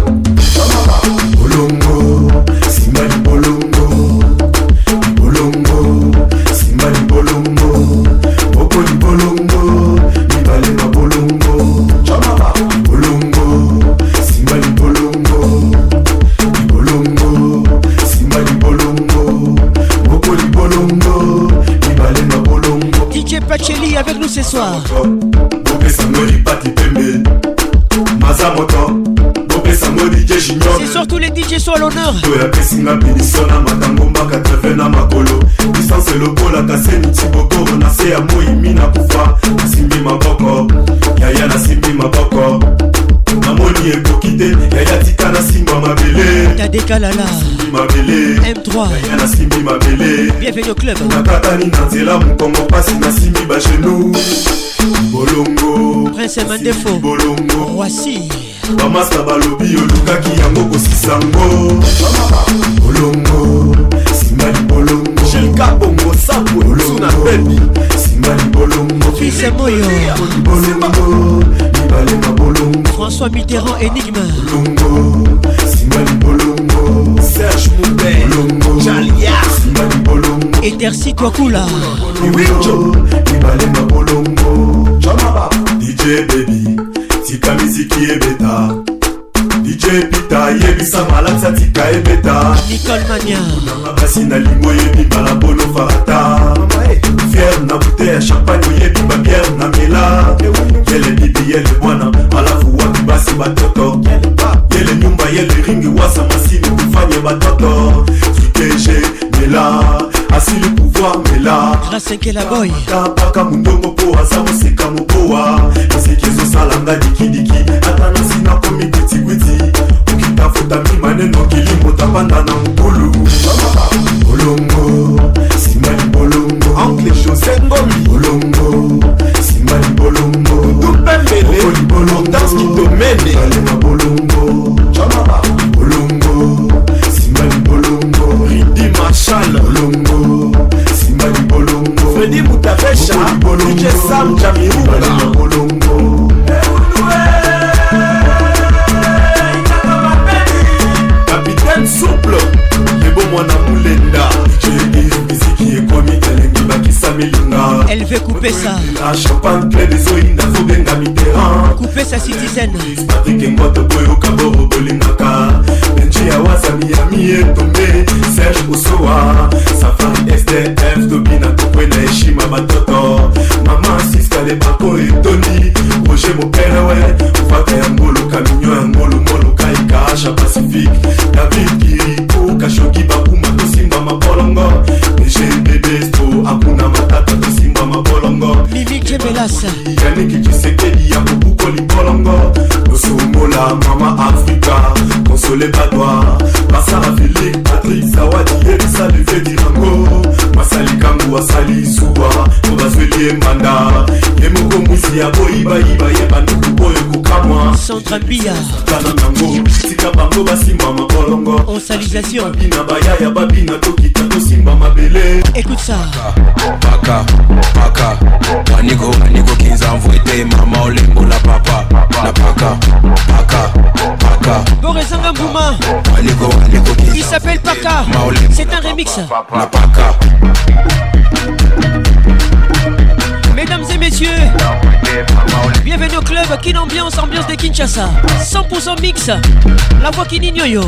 Bolongo, Simani Bolongo. Bolongo, Simani Bolongo. Bokoli Bolongo, Mibale ma Bolongo. Bolongo, Simani Bolongo. Bolongo, Simani Bolongo. Bokoli Bolongo, Mibale ma Bolongo. D J Pacheli avec nous ce soir. Bope Sangoli Pati Pembe. Mazamoto, Bope Sangoli. Bongo D J Junior. C'est surtout les D J sont à l'honneur. Toya pesinga binisona matangomba quatre-vingts na makolo. Distance lokola kaseni tiboko na se ya moimi na kufa. Simbi maboko, yaya na simbi maboko. Namoni ekokite, yaya tika na simba mabele. T'as décalala. Simbi mabele. M trois. Yaya na simbi mabele. Bienvenue au club. Nakatani na nzela mukongo pasi na simbi ba genou. Bolongo. Prince Mandefo. Bolongo. Voici. Bamasta balobi olukaki yango kosisango. Bolongo. Simali bolongo. Shilka bongo sapwe. Suna baby. Simali bolongo. Fils Moyo. Bolongo. Nibalema bolongo. François Mitterrand énigme. Bolongo. Simali bolongo. Serge Moubert. Bolongo. Jalia. Simali bolongo. Etersi Twakula. Iwicho. Nibalema bolongo. Jamaba. D J baby. Tika miziki ebeta. D J Pita yebisa malaksa tika ebeta. Nicole Mania. Nanga basi na lingo yebi mbala bono farata. Fier na bouteille ya champagne yebi ba bière na mela. Yele bibi yele bwana alafu watu basi batoto. Yele nyumba yele ringi wasa masini kufanye batoto. Fikeje mela asili pouvoir mela. Grâce à la boy. Paka mundongo po asa musika mupoa. Misikizo salanga dikidiki. Ata nasina komi kwiti kwiti. Ukitafuta mimaneno kilimo tapanda na mkulu. Bolongo, simali bolongo. Angle José Ngomi. Bolongo, simali bolongo. Dupembele, bolongo. Danse qui domine. Balema bolongo. Jamaba. Bolongo, simali bolongo. Ridi Marshall. Bolongo, simali bolongo. Freddy Mutavesha. D J Sam Jamiruga. Balema bolongo. Capitaine souple. Lebo mwana mulenda. Elle veut couper ça. La champagne plein des oïna faut benga mitterrand. Couper sa citizen. Patrick Ngoto boyo kaboro bolingaka. Benji Awasa Miami est tombé. Serge Osoa. Safari S D F Tobina Kokwena Eshima Batoto. Maman Siska les Bako et Tony. Roger mon père ouais. Faka Yangolo Kamigno Yangolo Molo Kaika Acha Pacifique. David Kiriko Kashoki Bakuma Tosimba Mabolongo. G B B Sto Akuna Matata Tosimba Mabolongo. Mimi Kebelas. Yannick Tshisekedi Yakubuko Libolongo. Nosomola Mama Africa. Consolé Badois. Masara Félix Patrick Zawadi Elisa Levé Dirango. Masali Kangu Asali Suwa. Obazweli Mbanda. Yemoko Musi Aboiba Iba Yeba Nuku Boyo Kukamwa. Sandra Mbia. Kana Nango. Tika Bango Basimba Mabolongo. Osalisation. Babina Bayaya Babina Tokita Tosimba Mabele. Écoute ça. Paka, paka, waniko, waniko kinza mvwete mama olembo la papa. La paka, paka, paka. Borezanga Mbouma. Waniko, waniko kinza. Il s'appelle Paka. C'est un remix. La paka. Mesdames et messieurs, bienvenue au club Kin Ambiance, ambiance de Kinshasa. cent pour cent mix. La voix qui n'ignoyo.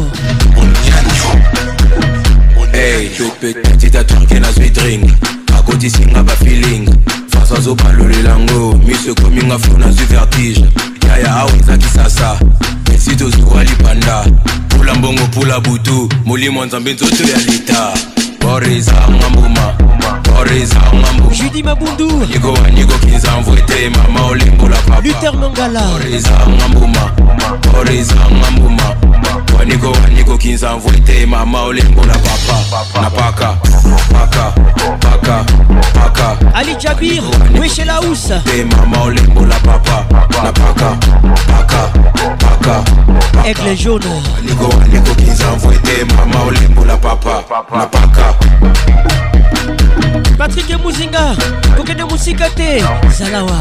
Hey, petit tatouage na sweet ring. A côté singa ba feeling. Face à zo palo le lango. Mise coming a flow na su vertige. Yaya aweza kisasa. Mesito zuwali panda. Pula mbongo pula butu. Muli mwanzambe nzoto ya lita. Boreza ngambuma. Boreza ngambuma. Judy Mabundu. Nigo nigo kinza mvwete mama olembo la papa. Luther Mangala. Boreza ngambuma. Boreza ngambuma. Waniko waniko kinza mvwete mama olembo la papa. Na paka, paka, paka, paka. Ali Jabir, Wesh la housse. Te mama olembo la papa. Na paka, paka, paka. Aigle jaune. Waniko waniko kinza mvwete mama olembo la papa. Na paka. Patrick Muzinga, Kokene Musikate, Zalawa.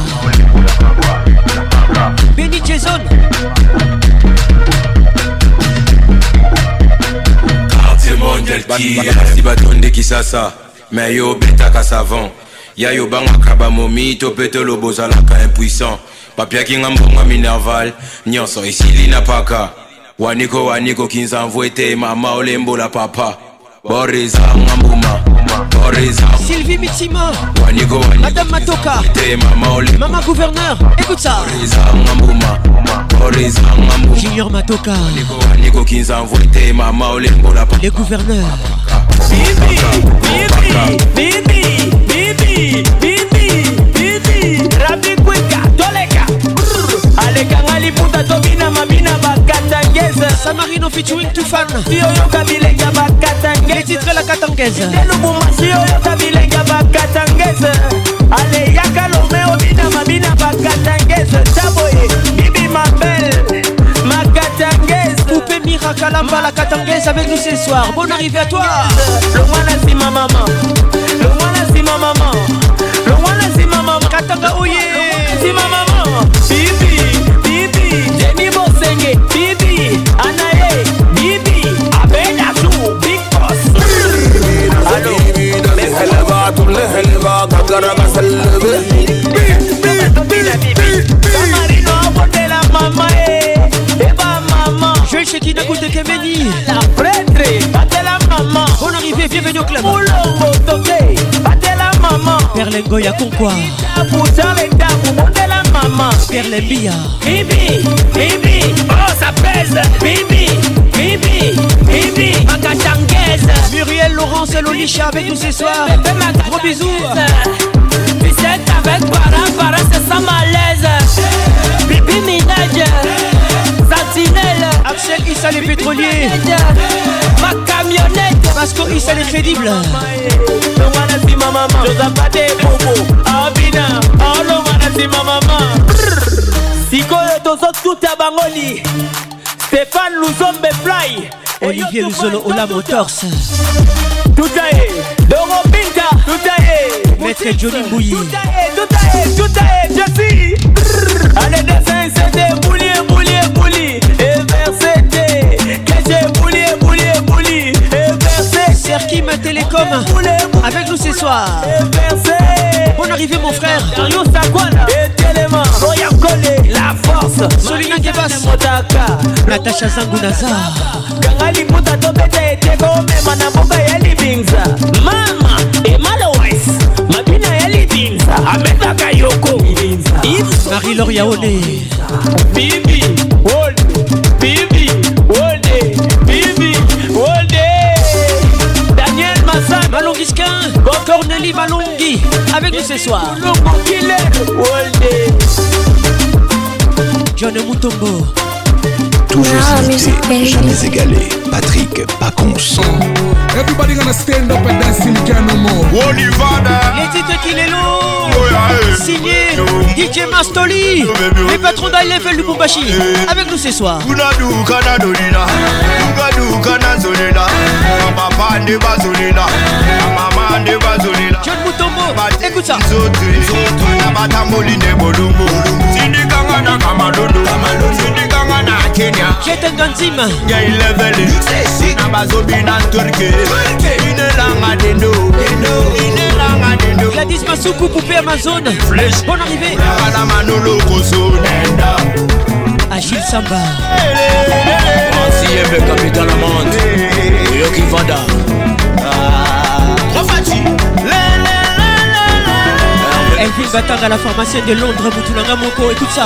Benny Jason. Si batonde kisasa mais yo betaka savant ya yo bangaka bamomi to pete lobozalaka impuissant papia kinga mbonga minerval nyonso esili na paka waniko waniko kinza mvwete mama olembo la papa Boris Angambuma, Boris Sylvie Mitima, Wanigo, Madame Matoka, Maman Gouverneur, écoute ça. Boris Angambuma, Boris Angambuma, Junior Matoka, Wanigo Kinza Voité, Mama Olembola, les gouverneurs. Bibi, Bibi, Bibi, Bibi, Bibi, Rabi Kweka, Toleka, Alekangali Puta Tobina Mabina Bakatangeza, Samarino featuring Tufan, Yoyo Kabilenga Bakatangeza, les titres la Katangeza, Telubuma, Yoyo Kabilenga Bakatangeza, Ale Yakalomeo Bina Mabina Bakatangeza, Taboye, Bibi Mabel, Makatangeza, Poupée Mira Kalamba la Katangeza avec nous ce soir. Bonne arrivée à toi. Le Wana si ma maman, le Wana si ma maman, le Wana si ma maman, Katanga Oye, si ma maman, Bibi, Bibi, Jenny Bosenge, Bibi, Anaye, Bibi, Abena Zou, Big Boss. Allo, Meseleva, Tumleheleva, Kakaraba Seleve, Samarino, Botela Mama, Eba Mama, Joël Chekina Koute Kemeni, la prêtre, Batela Mama, bonne arrivée, bienvenue au club. Moulongo Toke, Batela Mama, Perlengoya Konkwa, Poussale Tabu, Batela Mama, Perlembia, Bibi, Bibi, oh ça pèse, Bibi, Bibi, Bibi, Makachangeza, Muriel Laurence Lolisha avec nous ce soir. Gros bisous. Pisette avec Para, Para c'est ça malaise, Bibi Minaj, Sentinelle, Axel Issa les pétroliers, ma camionnette, Pasco Issa les crédibles. Le Wana si ma maman, Josapate Bobo, Abina, oh le Wana si ma maman. Sikoyo tozo tout à Bangoli, Stéphane Louzombe Fly, Olivier Luzolo Ola Motors, tout à est, Doro Pinta, tout à est, Maître Johnny Mbouyi, tout à est, tout à est, tout à est, je suis. Allez dessin c'était bouli, bouli, bouli, et versete, que j'ai bouli, bouli, bouli, et versete. Serkim Télécom avec nous ce soir. Bonne arrivée mon frère. Dario Sakwana et Téléma, Roya Kole, la force, Solina Kebas, Motaka, Natacha Zangunaza, Kangali Puta Topete, Tego Mema na Boka Yali Bingza, Mama, Emalo West, Mabina Yali Bingza, Ameta Kayoko, Marie-Laure Yaone, Bibi, Wolde, Bibi, Wolde, Bibi, Wolde, Daniel Massa, Malongisquin, Cornélie Malongi avec nous ce soir. Longo Killer, Wolde, John Moutombo, toujours imité, jamais égalé. Patrick Pacons. Everybody gonna stand up and dance till you can no more. Les titres qu'il est lourd. Signé D J Mastoli, les patrons d'I-Level du Bumbashi avec nous ce soir. John Moutombo, écoute ça. Jeten Ganzim, Gladys Masuku, Poupée Amazon. Bonne arrivée. Achille Samba, Ancien capitaine Amande, Yoki Vada. Elvin Batang à la pharmacienne de Londres, Moutulanga Moko, écoute ça.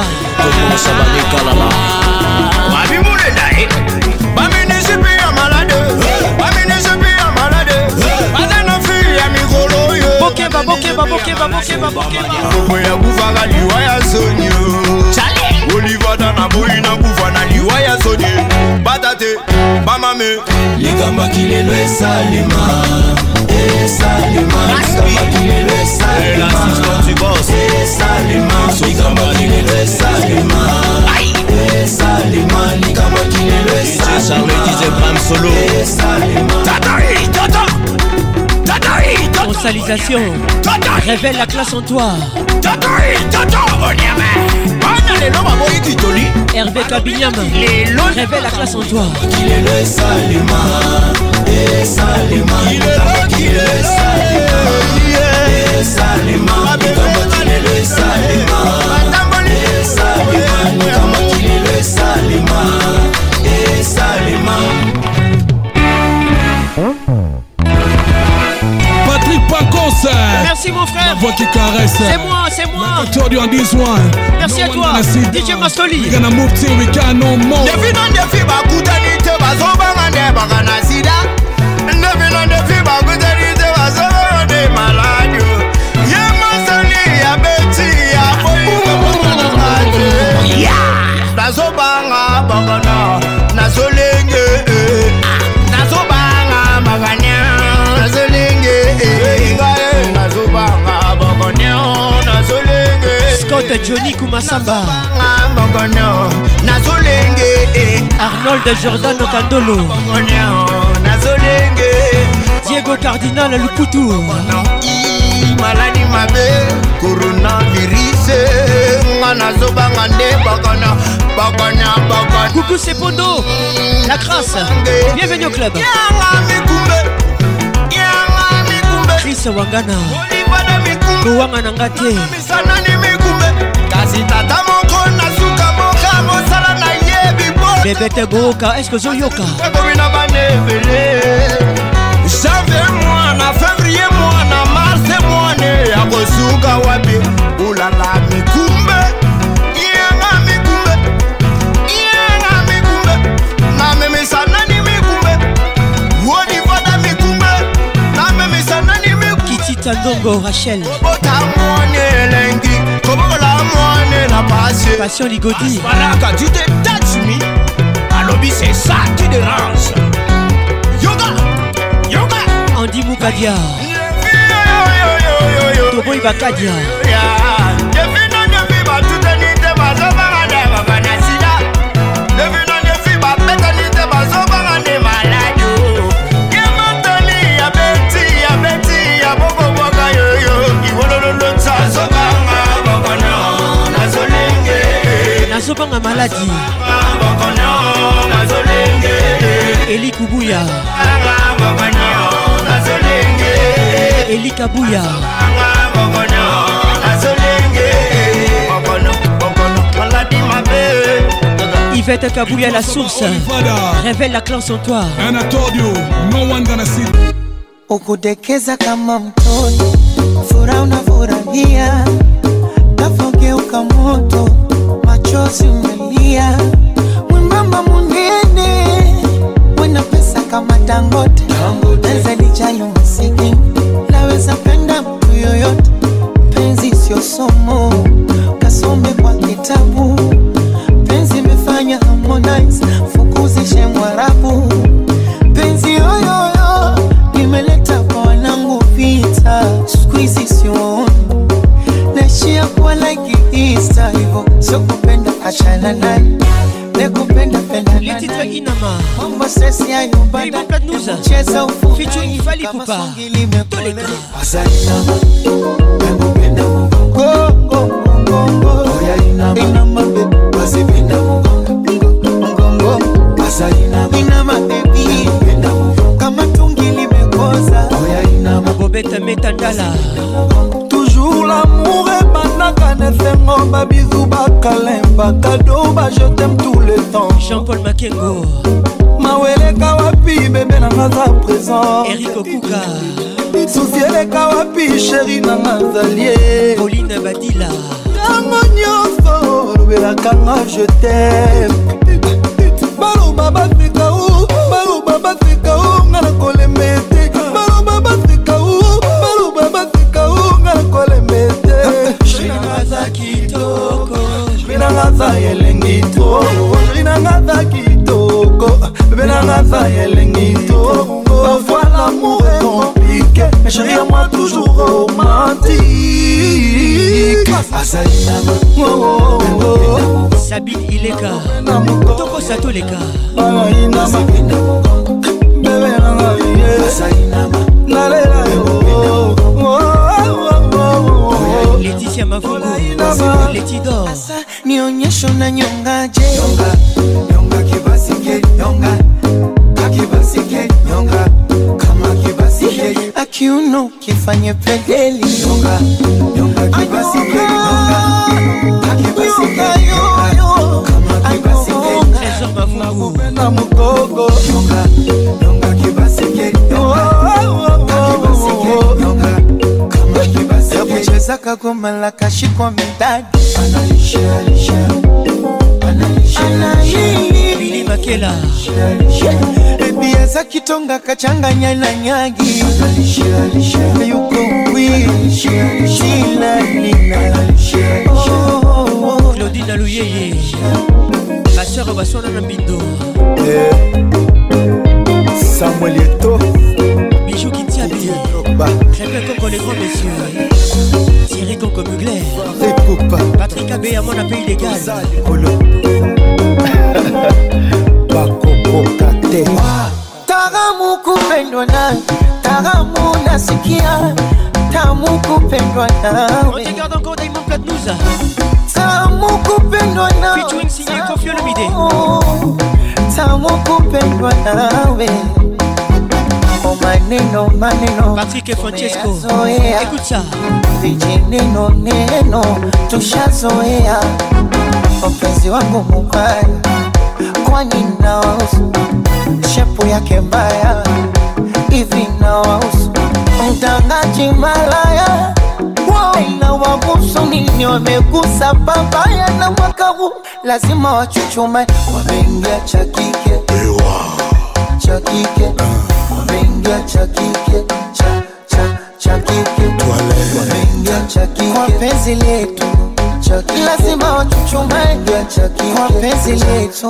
Bokeba, bokeba, bokeba, bokeba, bokeba. Oliva dana boina kufana liwaya sonye batate mamame Ligamba kilelo esalema esalema Ligamba kilelo esalema l'assistant du boss esalema Ligamba kilelo esalema esalema Ligamba kilelo esalema Charles disait Bram Solo esalema Tataï tata Tataï tata Consalisation, révèle la classe en toi. Tataï tata onyame Hervé Kabinyam, révèle la classe en toi. Qu'il est le Salima, et Salima, qu'il est le Salima, et Salima, qu'il est le Salima, et Salima, qu'il est le Salima, et Salima. voix qui caresse. C'est moi, c'est moi. Told you on this one. Merci à toi, D J Mastoli. We gonna move till we can no more. Defi non defi bakutani te bazobanga ne bagana sida. Defi non defi bakutani te bazobanga ne maladio. Ye masali ya beti ya boyi bagana mate. Yeah. Bazobanga bagana nazolenge. Nazobanga bagana nazolenge. Nazobanga bagana nazolenge. Scott Johnny Kumasamba. Nazolenge. Arnold Jordan Kandolo. Nazolenge. Diego Cardinal Lukutu. Maladi mabe coronavirus. Nazobanga nde bakana bakana bakana. Coucou c'est Pondo. La crasse. Bienvenue au club. Chris Wangana. Wangana ngate. Tata moko na suka moka mosala na yebi bo. Bébé Goka, est-ce que Zoyoka? Janvier mois na février mois na mars mois ne ya kosuka wapi. Ulala mikumbe. Yenga mikumbe. Yenga mikumbe. Na meme sana ni mikumbe. Wodi vada mikumbe. Na meme sana ni mikumbe. Kitita Ndongo Rachel. Bota mwone lengi. Kobola mwone na passion. Passion Ligodi. Baraka, tu te touches me. Alobi, c'est ça qui dérange. Yoga, yoga. Andy Moukadia. Toboy Bakadia. Nazobanga maladie. Eli Kubuya. Eli Kabuya. Yvette Kabuya la source. Révèle la classe en toi. And I told you, no one gonna see. Ukudekeza kama mtoto, furaha unafurahia, kafogeuka moto, machozi umelia, mwembamba munene, wena pesa kama Dangote, penzi lijalo masikini, naweza penda mtu yoyote, penzi sio somo, kasome kwa kitabu, penzi imefanya Harmonize, fukuzishe Mwarabu, penzi yoyoyo, nimeleta kwa wanangu vita, squeezy sioni, naishia kuwa like Easter, hivo sio kupenda achana naye, nekupenda penda naye. Les titres Inama. Mambo stress ya nyumba na cheza ufu. Featuring Fally Ipupa. Toleka. Asa Inama. Nekupenda mgongo. Mgongo mgongo. Oya Inama. Inama baby. Basi penda mgongo. Mgongo. Asa Inama. Inama baby. Nekupenda mgongo. Kama tungi limekoza. Oya Inama. Bobette Metandala. Toujours l'amour est banaka nesengo ba bisou ba kalemba cadeau ba je t'aime tout le temps. Jean-Paul Makengo. Mawele kawapi bébé na ngaza présent. Eric Okuka. Souciele kawapi chéri na ngazalie. Pauline Badila. Tango nyonso lobela kanga je t'aime. Balo baba fika u, balo baba fika u ngana kolemete. Balo baba fika u, balo baba fika u ngana kolemete. Shina ngaza kitoko. Shina ngaza yelengi toko. Shina ngaza kitoko. Shina ngaza yelengi toko. Parfois l'amour est compliqué, mais chérie à moi toujours romantique. Sabine Ileka. Toko Sato Leka. Laetitia Mavungu. Letidor. Nionyesho na nyongaje. Nyonga, nyonga kibasike, nyonga. Kibasike, nyonga. Kama kibasike. Akiuno kifanye pedeli. Nyonga, nyonga kibasike, nyonga. Kibasike, nyonga. Kama kibasike. Trésor Mavungu. Na mugogo. Nyonga, nyonga kibasike, nyonga. Kibasike, nyonga. Kama kibasike. goma la kashikwa midadi analisha alisha Billy Makela Ebia za kitonga kachanganya na nyagi yuko wii shila nina Claudine Alouyeye ma soeur Baswana Nambindo Samuel Eto Bijou Kintiabi Crépin Coco les grands messieurs Thierry Coco Mugler Patrick Abbé à mon appel illégal Bakokokate Taramu kupendwa na Taramu nasikia Tamu kupendwa nawe On te garde encore Diamond Platnouza Tamu kupendwa nawe Featuring signé Kofi Olomide Tamu kupendwa nawe Oh maneno maneno Patrick et Francesco Écoute ça Vijineno neno Tushazoea Mpenzi wangu mubaya Kwani nawahusu shepu yake mbaya hivi nawahusu mtangaji malaya wao nawahusu nini wamegusa babaya na mwaka huu lazima wachuchume wameingia cha kike cha kike wameingia cha kike cha cha cha kike wameingia cha kike kwa penzi letu lazima wachuchume kwa penzi letu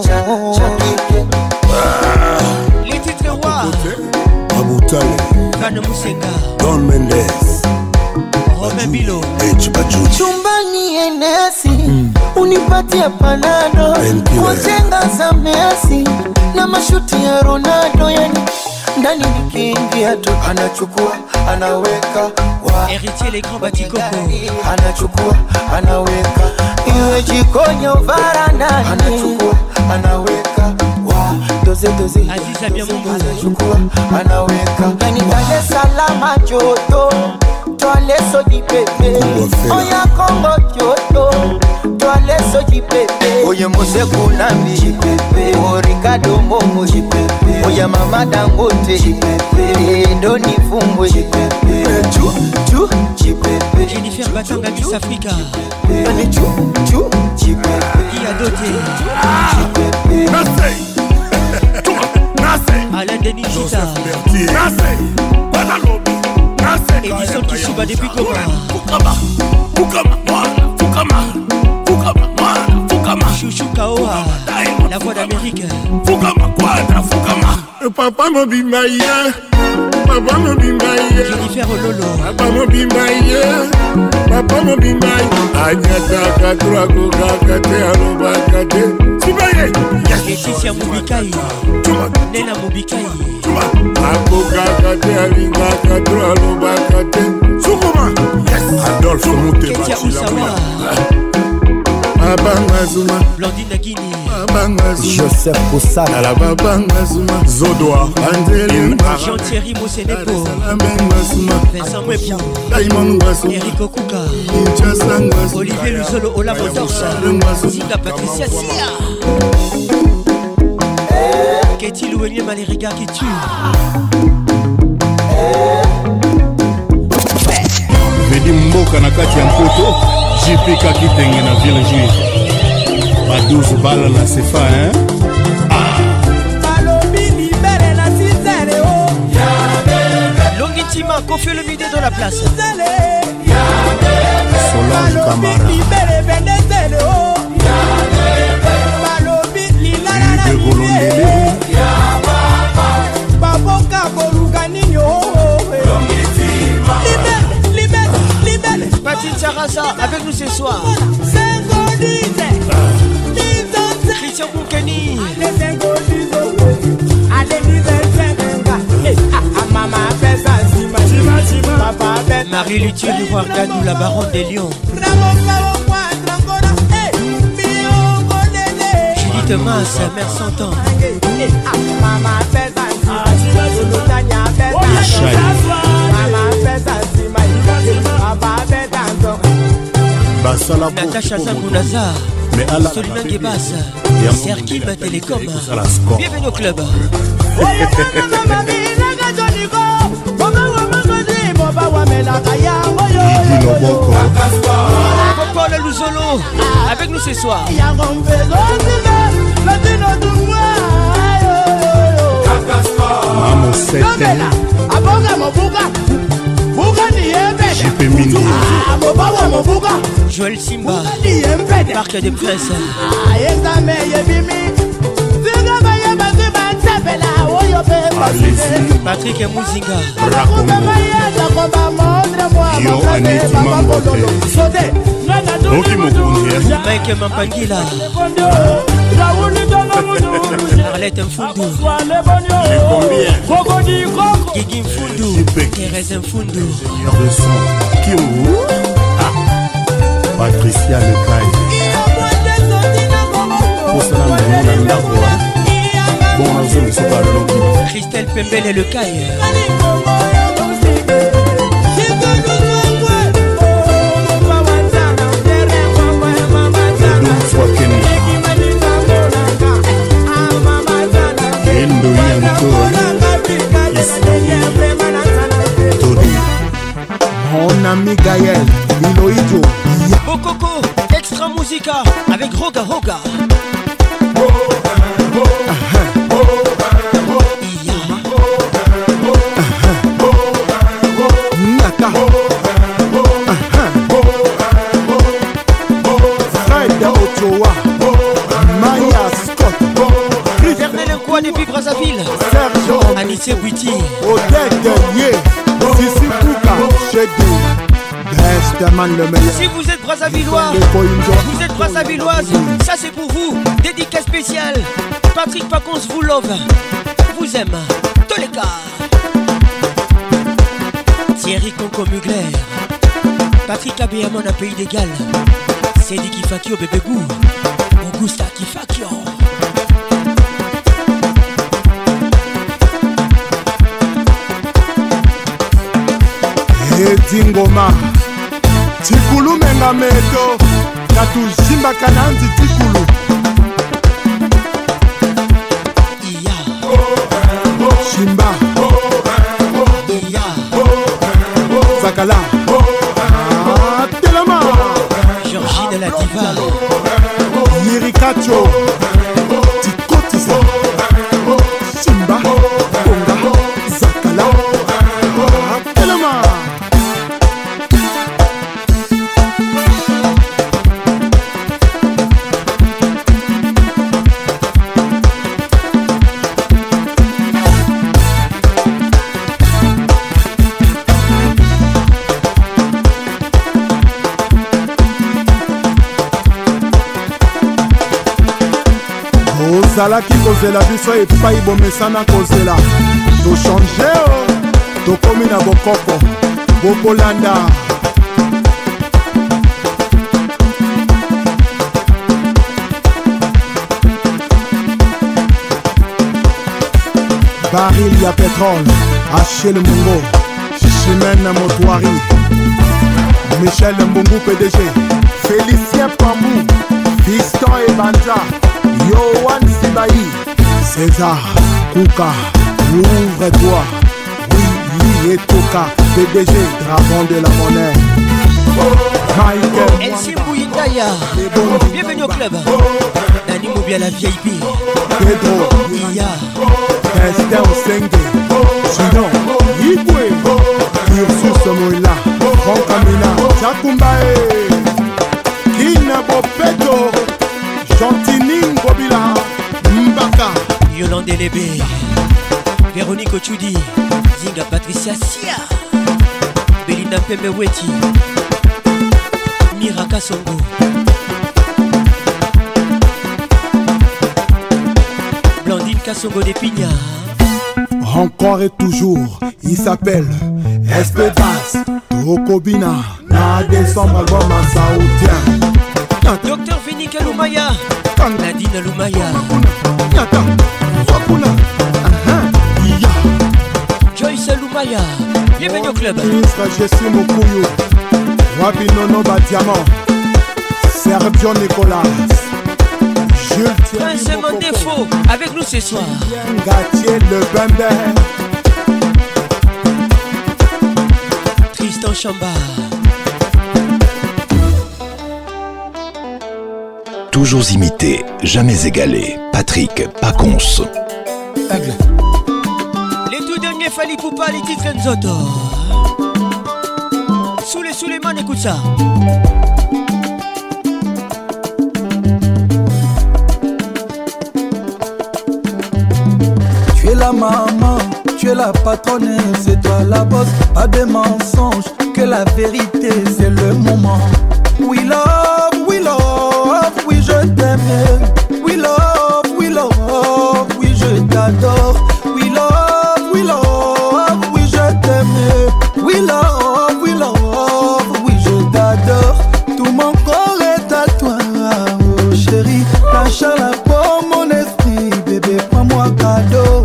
les titres rois Abutale Kane Musenga Don Mendes Romain Bilo chumbani enesi mm. Unipatia panado kujenga za Messi na mashuti ya Ronaldo yani ndani nikiingia tu anachukua anaweka wa Héritier les grands batikoko anachukua anaweka iwe jikoni au varandani anachukua anaweka wa doze doze Aziza bien Mungu anachukua anaweka ndani Dar es Salaam joto toile soji pepe oya Kongo joto toile soji pepe oye Mose Kunambi pepe o Ricardo Momo pepe oya Mama Dangote pepe ndo nifumbwe pepe chu chu pepe Jennifer Batanga Miss Africa ani chu chu pepe qui a doté Nasei Nasei Alain Denis Gita Nasei Badalobi Nasei Edison Kishiba depuis Goma Fukama Fukama Mwana Fukama Fukama Mwana Fukama Chouchou Kaoa la voix d'Amérique Fukama Quadra Fukama Papa mobimba ye Papa mobimba ye Jennifer Ololo Papa mobimba ye Papa mobimba ye Anyata katura kukakate alubakate Sibaye Laetitia Mubikai Nena Mubikai Akukakate alingakatura alubakate Sukuma Adolphe Mutema Ketia Usawa Abanga Zuma Blandine Nagini Abanga Zuma Joseph Koussana la Babanga Zuma Zodoa Angeli Jean-Thierry Mosenepo Abanga Zuma Vincent Mwepian Diamond Ngwasu Eric Okuka Kinshasa Ngwasu Olivier Luzolo Ola Motors Zinga Patricia Sia Qu'est-il Louenye Malériga qui tue Vedi Mboka na kati ya Mpoto J P Kakitenge na Ville Juive Ba douze balles na Sefa hein Longitima Kofi Olomide dans la place Solange Camara Libe Golondele Patine Sarasa avec nous ce soir Christian Moukeni Marie Luthier de voir Gadou, la baronne des lions Judith Masse, mère cent ans Natacha Zangunaza Solina Gebas Serkim Télécom Bienvenue au club Coco le Luzolo avec nous ce soir. Maman Sete J P Mindi Joël Simba Parc des Princes Patrick Mouzinga Yo Aneti Mambote Oki Mokunzi Mike Mampangila Arlette Mfundu Guigui Mfundu Thérèse Mfundu Seigneur de son Kiungu Patricia Lecaille Posala Mbona Ndakwa Bon Azo Msoka Loki Christelle Pembele Lecaille Edou Swakena Endo Yanko Todi Mon ami Gaël Iloïdjo Bokoko Extra Musica avec Roga Roga Naka Fred Ochoa Maya Scott Vernel Nkwa depuis Brazzaville Serge Anissé Bouiti Odette Yé Sissi Kouka Chedou Besteman le meilleur. Si vous êtes Brazzavillois, vous êtes Brazzavilloise, ça c'est pour vous. Dédicace spéciale. Patrick Pacons vous love, vous aime. Tous les cas. Thierry Conco Mugler, Patrick Abéamon à Pays d'Égal, Cédric Kifakio Bébé Gou, Augusta Kifakio. Edingoma Tikulu menga meto Tatu Jimba Kananzi Tikulu Iya Shimba Iya Zakala ah, Telema Georgine la diva Yirikacho Tikotisa Shimba Konga Zakala ah, Telema ozalaki kozela biso epai bomesana kozela tochange o tokomi na bokoko bokolanda baril ya pétrole Achille Mungo Chimène Motoari Michel Mbungu P D G Félicien Pambou Fiston Ebanja Yohan Sibaï César Kouka Ouvre-toi Oui, et Toka P D G Dragon de la monnaie Michael Elsie Mouindaya Bienvenue au club Nani Mobia la V I P Pedro Iya Esther Osenge Sinon Yibwe Ursus Moïla Franck Amina Jakumbae Kina Bopeto Gentini Ngobila Mbaka Yolande Lébé Véronique Ochudi Zinga Patricia Sia Belinda Pembe Weti Miraka Songo Blandine Kassongo des Pignards. Encore et toujours, il s'appelle Espedas Tokobina na décembre album en saoudien. Docteur Vénica Lumaya Nadine Lumaya Nyata Wakuna Joyce Lumaya. Bienvenue au club. Ministre Jessie Mokuyu Wabi Nono Badiamant Sergio Nicolas Prince Mandefo avec nous ce soir. Gatier le Bembe Tristan Chamba. Toujours imité, jamais égalé. Patrick Pacons. Les tout derniers Fali Poupa, les titres Nzoto. Sous les sous les mains, écoute ça. Tu es la maman, tu es la patronne, c'est toi la boss, pas de mensonges, que la vérité c'est le moment. We love, we love, oui je t'aime. We love, we love, oui je t'adore. We love, we love, oui je t'aime. We love, we love, oui je t'adore. Tout mon corps est à toi, oh chérie. Lâche la pour mon esprit, bébé, prends-moi cadeau.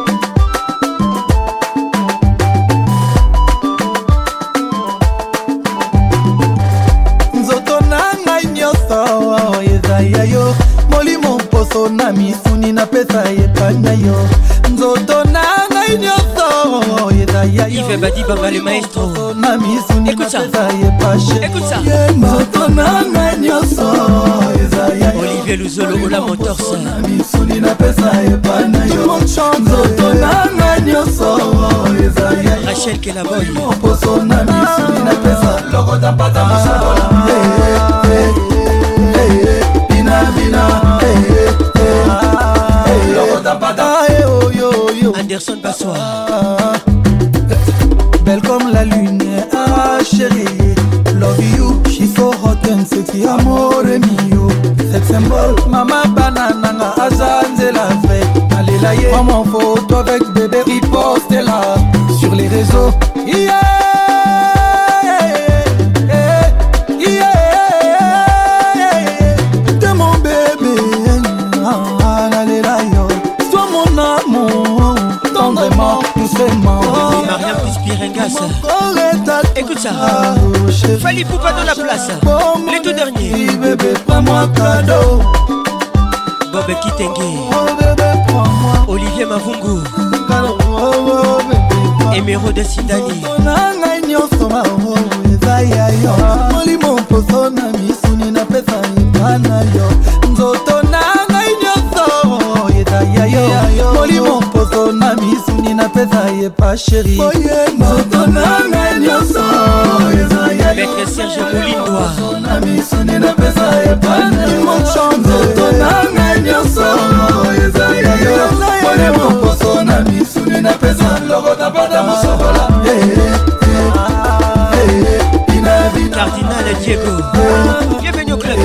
Yo molimo poso na misuni na pesa yepanya yo nzoto na ngai nyoso yeda ya yo Yves Badi Baba le maestro na misuni na pesa yepashe écoute ça nzoto na ngai nyoso yeda ya Olivier Luzolo Ola Motors na misuni na pesa yepanya yo nzoto na ngai nyoso yeda ya Rachel Kelaboy poso na misuni na pesa logo tapata musabola Bina, hey, hey, hey, hey, oh, yo, yo. Anderson Bassois. Belle comme la lune, ah chérie. Love you, she's so hot and sexy, amore mio. Sex symbol, mama banana, azanze la vraie. Allez la yé, prends mon photo avec bébé, riposte là sur les réseaux. Yeah, yeah, yeah. Mariam Pispirengas. Écoute ça. Fali Poupa dans la place. Les tout derniers. Bébé, prends-moi cadeau. Bob Kitenge. Olivier Mavungu. Emeraude Sidani. Molimo poso na misuni na pesa ipana yo. Nzoto na ngai nyoso yeda yo. Molimo poso na misuni na pesa yepa chérie. Nzoto na ngai nyoso yeda yo. Maître Serge Moulindoa. Na misuni na pesa ipana yo. Nzoto na ngai nyoso yeda yo. Molimo poso na misuni na pesa logo tapata musobola. Cardinal Diego. Bienvenue au club.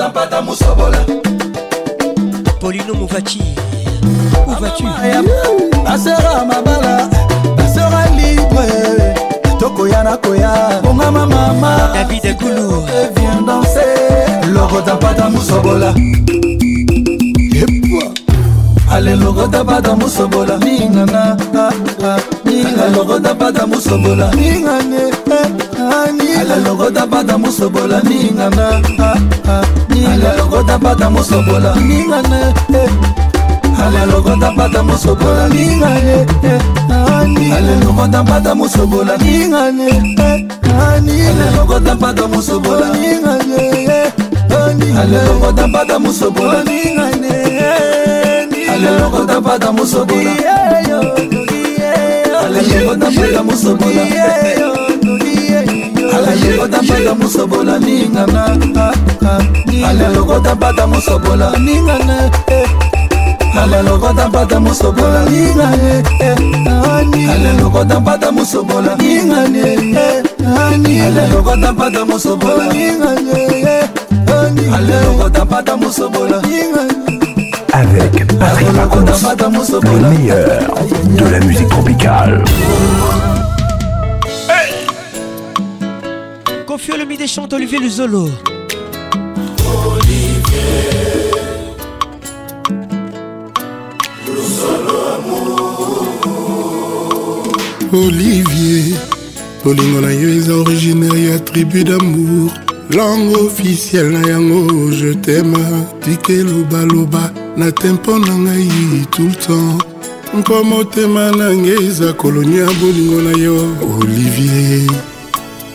Paulino Mouvachi. Où vas-tu? La sera ma bala, la sera libre. Toko yana koya, bonga ma mama. David Goulou. Viens danser. Logo tapata musobola. Ale logo tapata musobola. Ningana, ningana logo tapata musobola. Ningane, ale logo tapata musobola. Ningana, ale logo tapata musobola. Ningane, ale logo tapata musobola. Ningane, ale logo tapata musobola. Ningane, ale logo tapata musobola. Ningane, ale logo tapata musobola. Ningane. Ale logo tapata musobola. Ale logo tapata musobola. Ale logo tapata musobola. Ningana. Ale logo tapata musobola. Ningana. Ale logo tapata musobola. Ningana. Ale logo tapata musobola. Ningana. Ale logo tapata musobola. Ningana. Ale logo tapata musobola. Avec Patrick Pacons, le meilleur de la musique tropicale. Hey! Confie le midi chante Olivier Luzolo. Olivier Luzolo amour. Olivier, Polingo na yo est originaire ya tribu d'amour. Langue officielle na yango, je t'aime. Tike loba loba na tempo na ngai tout le temps. Nkomo tema na ngeza kolonia bolingo na yo. Olivier,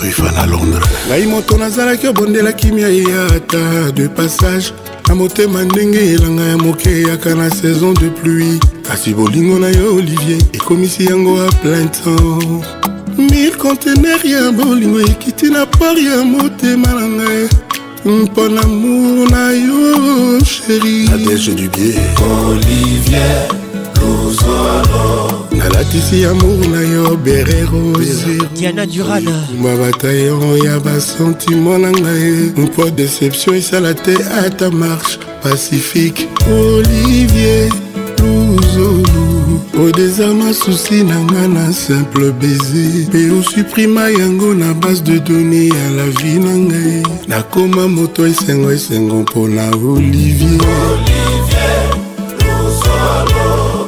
Ruffin à Londres. Ngai moto nazalaki obondela kimia yata de passage. Na motema ndenge elanga ya moke yaka na saison de pluie. Kasi bolingo na yo Olivier ekomisi yango à plein temps. Mille conteneurs ya bolingo ekiti na port ya motema na ngai. Mpon amour na yo chérie. Nadège du biais Olivier Luzolo. Nalatisi amour na yo bere rose. Diana Durana. Ma bataillon ya ba sentiment na ngai. Mpo déception esala te à ta marche pacifique. Olivier Luzolo. Au désarme souci nanga na simple baiser. Pe ou supprima yango na base de données à la vie nangai. Na koma moto esengo esengo mpona Olivier. Olivier Luzolo.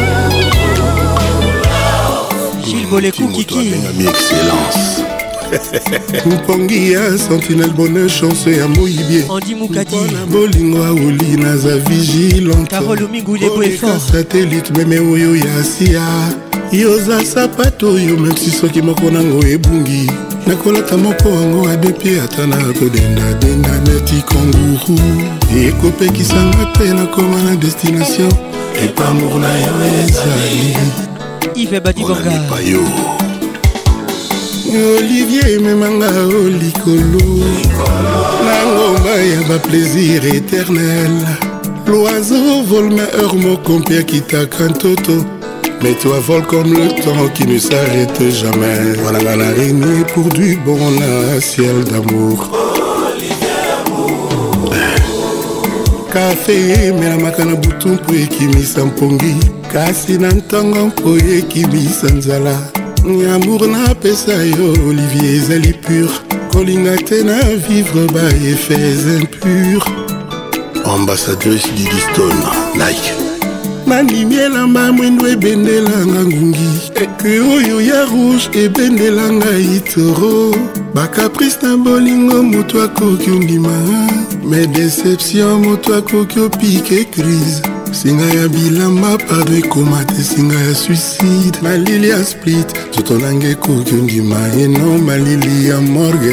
Gilles Bolekou Kiki. Mi excellence. Mpongi ya sentinelle bonheur chanceux ya Moïbier. Andy Moukadi. Bolingo a oli naza vigilante. Carole Omingu Lebo est fort. Satellite meme oyo ya sia. Yoza sapato yo même si soki moko nango ebungi. Nakolata moko wango adepi ata na kodenda denda neti kanguru. Ekopekisanga te nakoma na destination. Epamour na yo ezali. Yves Badibanga. Olivier memanga olikolo. Na ngomba ya ba plaisir éternel. L'oiseau vole ma heure mon compère qui t'a qu'un toto. Mais toi vole comme le temps qui ne s'arrête jamais. Voilà la l'araignée pour du bon à ciel d'amour. Café mais la makana bouton pour ekimisa mpongi. Kasi na ntango mpo ekimisa nzala. Amour na pesa yo Olivier ezali pur. Kolinga te na vivre ba effets impurs. Ambassadrice Didi Stone Nike. Manimielamba mwendo ebendelanga ngungi. Eke oyo ya rouge ebendelanga itoro. Bakaprice na bolingo moto akoki ondima. Mais déception moto akoki opike crise. Singa ya bilamba pardon ekoma te singa ya suicide. Malili ya split totonange koki ondima. Eno malili ya morgue.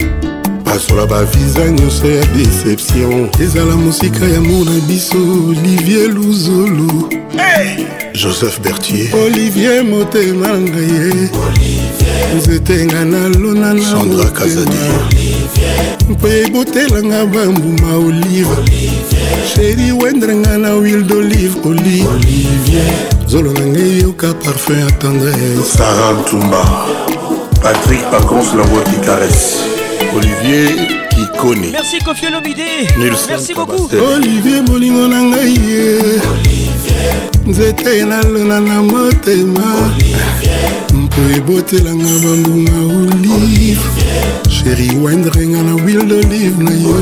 Pasola ba visa nyonso ya déception. Ezala musika ya mona biso Olivier Luzolo. Hey! Joseph Berthier. Olivier motema ngaye. Olivier. Nzetenga na lona na Sandra Kazadi. Olivier. Mpe botelanga bambuma olive. Olivier. Chéri wendrenga na huile d'olive olive. Olivier. Zolo nange yoka parfum à tendresse. Sarah Tumba. Patrick Pacons, la voix qui caresse. Olivier Kikoni. Merci Kofi Olomide. Merci beaucoup. Olivier Bolingo nangai. Olivier. Nzete na lona na motema. Olivier. Mpo ebotelanga bambuma olive. Chéri wendrenga na huile d'olive na yo.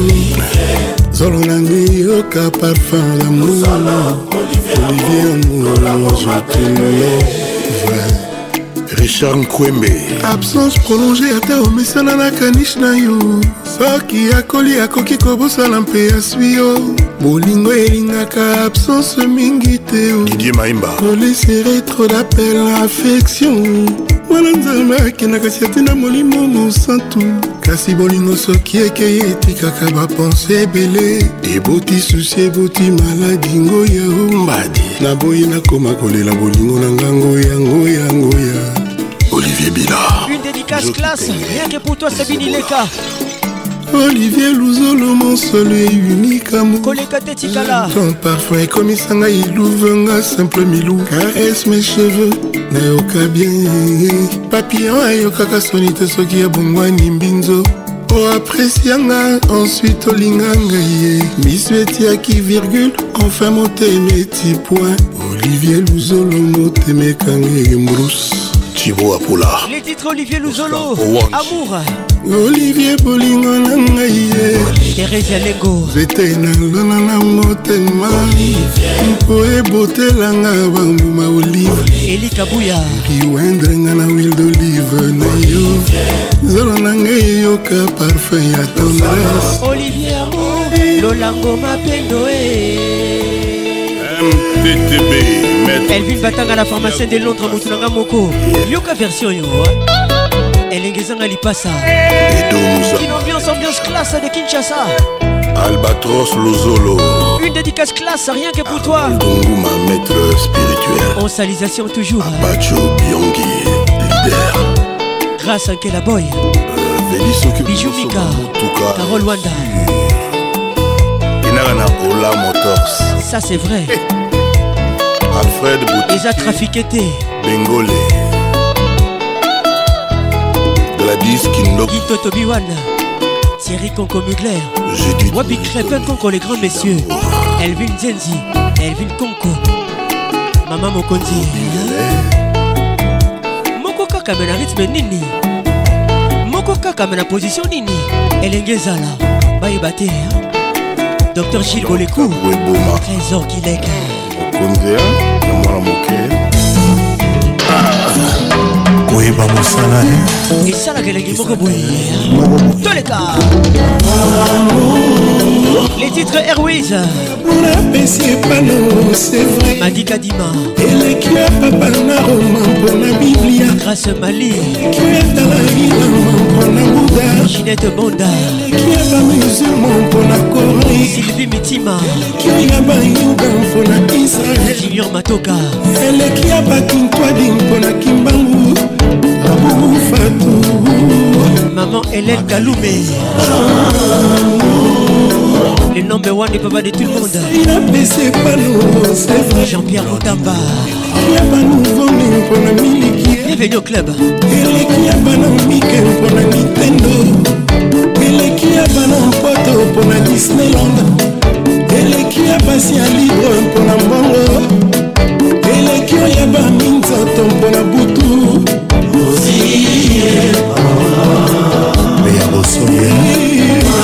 Zolo nangai yoka parfum d'amour. Olivier amour, je te love. Richard Nkwembe. Absence prolongée ata omesana na kanish na yo. Soki akoli akoki kobosala mpe aswi yo. Bolingo elingaka absence mingi te. Didier Maimba. Kolesere trop d'appel à affection. Mwana nzambe akendaka si atina molimo mosantu. Kasi bolingo soki ekei etikaka bapense ebele. Eboti susi eboti maladi ngoya ombadi. Naboyi nakoma kolela bolingo na ngango ya ngoya ngoya. Olivier Bila. Une dédicace classe, rien que pour toi Sabine Ileka. Olivier Luzolo, mon seul et unique amour. Koleka Tetikala. Ton parfum est comme Isanga Ilouvenga, simple milou. Caresse mes cheveux, nayoka bien. Papillon ayoka kasonite soki ya bongwani mbinzo. O apprécianga, ensuite olinganga ye. Misueti aki virgule, enfin motemeti point. Olivier Luzolo, motemekange mbrousse. Thibaut Apoula. Les titres Olivier Luzolo. Amour. Olivier Bolingo nangaye. Thérèse Lengo. Zete na lona na motema. Mpo ebotelanga bambuma olive. Eli Kabuya. Kiwendrenga na huile d'olive na yo. Zolo nangaye yoka parfum ya tendresse. Olivier Amour. Lolango mapendo M T T B. Elvin Batanga la pharmacienne de Londres Moutounanga Moko. Yoka version yo. Elengezanga Lipasa. Edomouza. Une ambiance, ambiance classe de Kinshasa. Albatros Lozolo. Une dédicace classe, rien que pour toi. Donguma, maître spirituel. En salisation toujours. Apacho Bianchi, leader. Grâce à Kela Boy. Euh, Bijou Mika. Carole Wanda. Inarana Ola Motors. Ça c'est vrai. Alfred Bouti. Eza Trafiqueté. Bengole. Gladys Kindo. Guito Tobiwan. Thierry Conco Mugler. Wabi Crépin Conco les grands messieurs. Elvin Zenzi. Elvin Conco. Maman Mokonzi. Moko kaka mena rythme nini. Moko kaka mena position nini. Elengezala. Baye bate. Docteur Gilles Bolekou. Trésor Kilek. Mokonzi. Namwana moke. Koyeba mosala et ça la galégie moko boye tous les cas les titres Airways Madi Kadima Elekia papa na Roma mpona Biblia Grâce Mali Kietala ilama mpona Bouddha Ginette Bonda Elekia ba musulman mpona Corée Sylvie Mitima Elekia ba Yuda mpona Israël Junior Matoka Elekia ba Kintwadi mpona Kimbangu Abou Fatou Maman Hélène Kaloumé le number one des papas de tout le monde. Il a baissé pas nous, c'est vrai. Jean-Pierre Moutamba. Il y a pas nouveau mais pour la miliki. Bienvenue au club. Il y a pas non Mickey pour la Nintendo. Il y a pas non Poto pour la Disneyland. Il y a pas si un libre pour la Mongo. Il y a pas Minzoto pour la Boutou. Aussi. Mais à Bossoyer.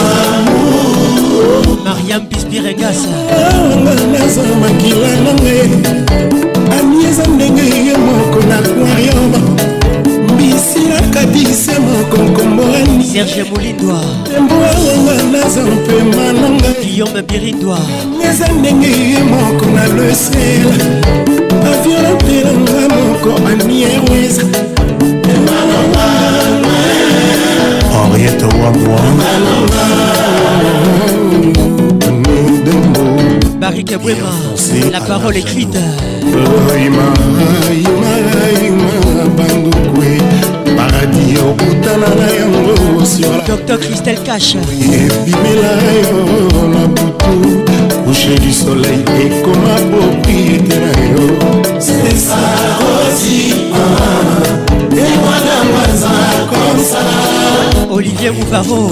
Mariam Pispirengas naza makila nange anieza ndenge ye moko na aquarium mbisi nakatise moko nkomborani Serge Moulindwa embwanga naza mpema nanga Guillaume Birindwa anieza ndenge ye moko na le ciel aviolantelanga moko ani Airways Henriette Wamwa Barik Bouema, la parole écrite. Docteur Christelle Cash. Coucher du soleil et comme un propriété. C'est ça aussi. Et moi d'un comme ça. Olivier Mouvaro.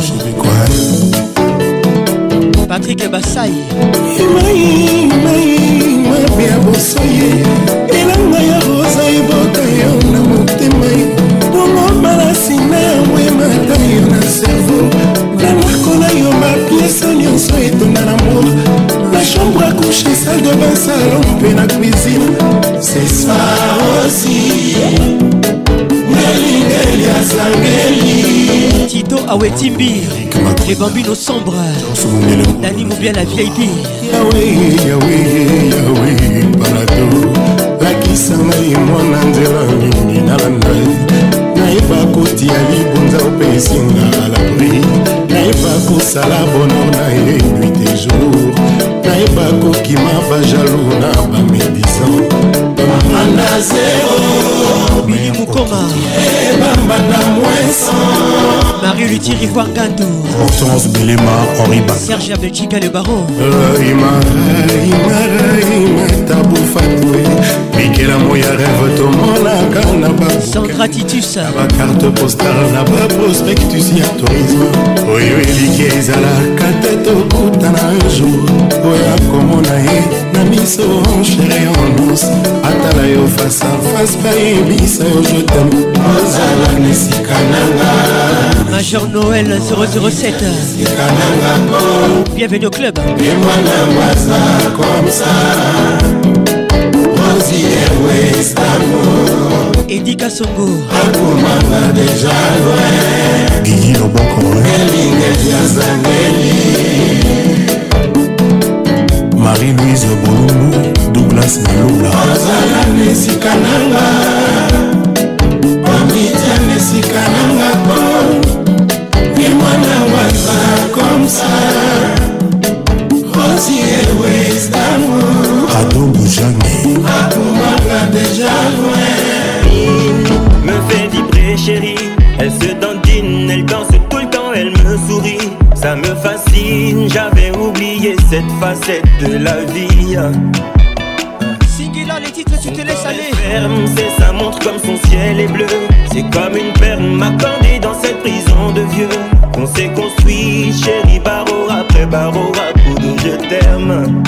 Patrick Bassaï Imai, imai, mabia bosoye Elanga ya rosa eboka yo na motema Bongo balasina ya mwema ta yo na cerveau Na nakola yo mapiesa nyonso etonda na moi La chambre à coucher, salle de bain, salon mpe na cuisine C'est ça aussi Nelingeli ya sangeli Tito Awetimbi les bambinos sombres Dani Moubia la V I P Yahweh, Yahweh, Yahweh, Parado Lakisanga imwana nzela nini nalanda Naiba kotia libonza opesinga à l'abri Naiba kosala bonheur na ye nuit et jour Naiba kokima bajalou na bamédisant Bambanda zéro Billy Moukoma Bamba na moins cent Marie Luthier Wangando Hortense Bilema Henri Bak Serge Abelchika le baron Imara, Imara, Imara Tabou Fatoué Mikela moya rêve tomonaka na ba Sandra Titus ba carte postale na ba prospectus ya tourisme Oyo eliki ezalaka te tokutana un jour Oya komona ye na miso chéri en os Atala yo face à face bayebisa yo je t'aime Ozala nesika nanga Major Noël zéro zéro sept Bienvenue au club Et moi la waza comme ça Rosie Airways d'amour Eddie Kassongo Akumanga déjà loin Guigui Loboko Elinge Yazangeli Marie-Louise Bolumbu Douglas Malula Ozala nesika nanga Omitia nesika nanga ça me fascine, j'avais oublié cette facette de la vie. Singila, les titres, tu te laisses aller. Ferme, c'est sa montre comme son ciel est bleu. C'est comme une perle accordée dans cette prison de vieux. On s'est construit, chérie, barreau après barreau, à coup de je t'aime.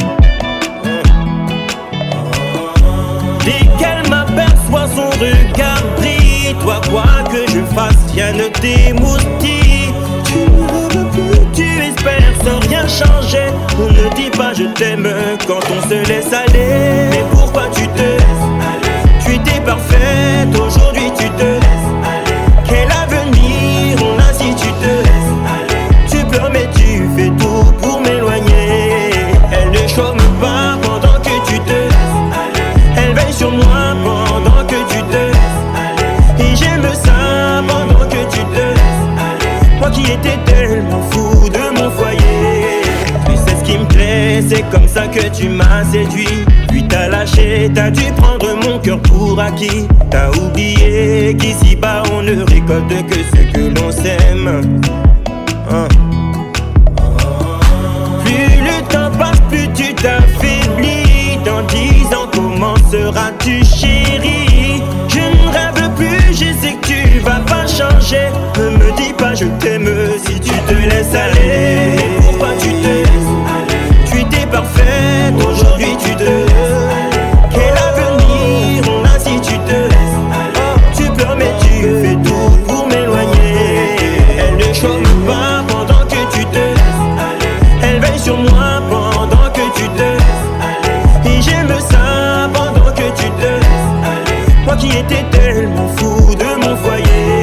Dès qu'elle m'aperçoit, son regard brille. Toi, quoi que je fasse, rien ne t'émoustille. Tu ne veux plus, tu espères sans rien changer. On ne dit pas je t'aime quand on se laisse aller. Mais pourquoi tu te laisses aller? Tu étais parfaite, aujourd'hui tu te laisses aller. Quel avenir on a si tu te laisses aller? Tu pleures mais tu fais tout pour m'éloigner. Elle ne chôme pas pendant que tu te laisses aller. Elle veille sur moi pendant que tu te laisses aller. Et j'aime ça pendant que tu te laisses aller. Moi qui étais tellement fou de mon foyer. Tu sais ce qui me plaît, c'est comme ça que tu m'as séduit. Puis t'as lâché, t'as dû prendre mon cœur pour acquis. T'as oublié qu'ici-bas on ne récolte que ce que l'on sème. Hein. Plus le temps passe, plus tu t'affaiblis. Dans dix ans, comment seras-tu chérie? Je ne rêve plus, je sais que tu vas pas changer. Ne me dis pas je t'aime si tu te laisses aller. Mais pourquoi tu te laisses aller? Tu étais parfaite, aujourd'hui tu te laisses aller. Quel avenir on a si tu te laisses aller? Tu pleures mais tu fais tout pour m'éloigner. Elle ne chôme pas pendant que tu te laisses aller. Elle veille sur moi pendant que tu te laisses aller. Et j'aime ça pendant que tu te laisses aller. Moi qui étais tellement fou de mon foyer.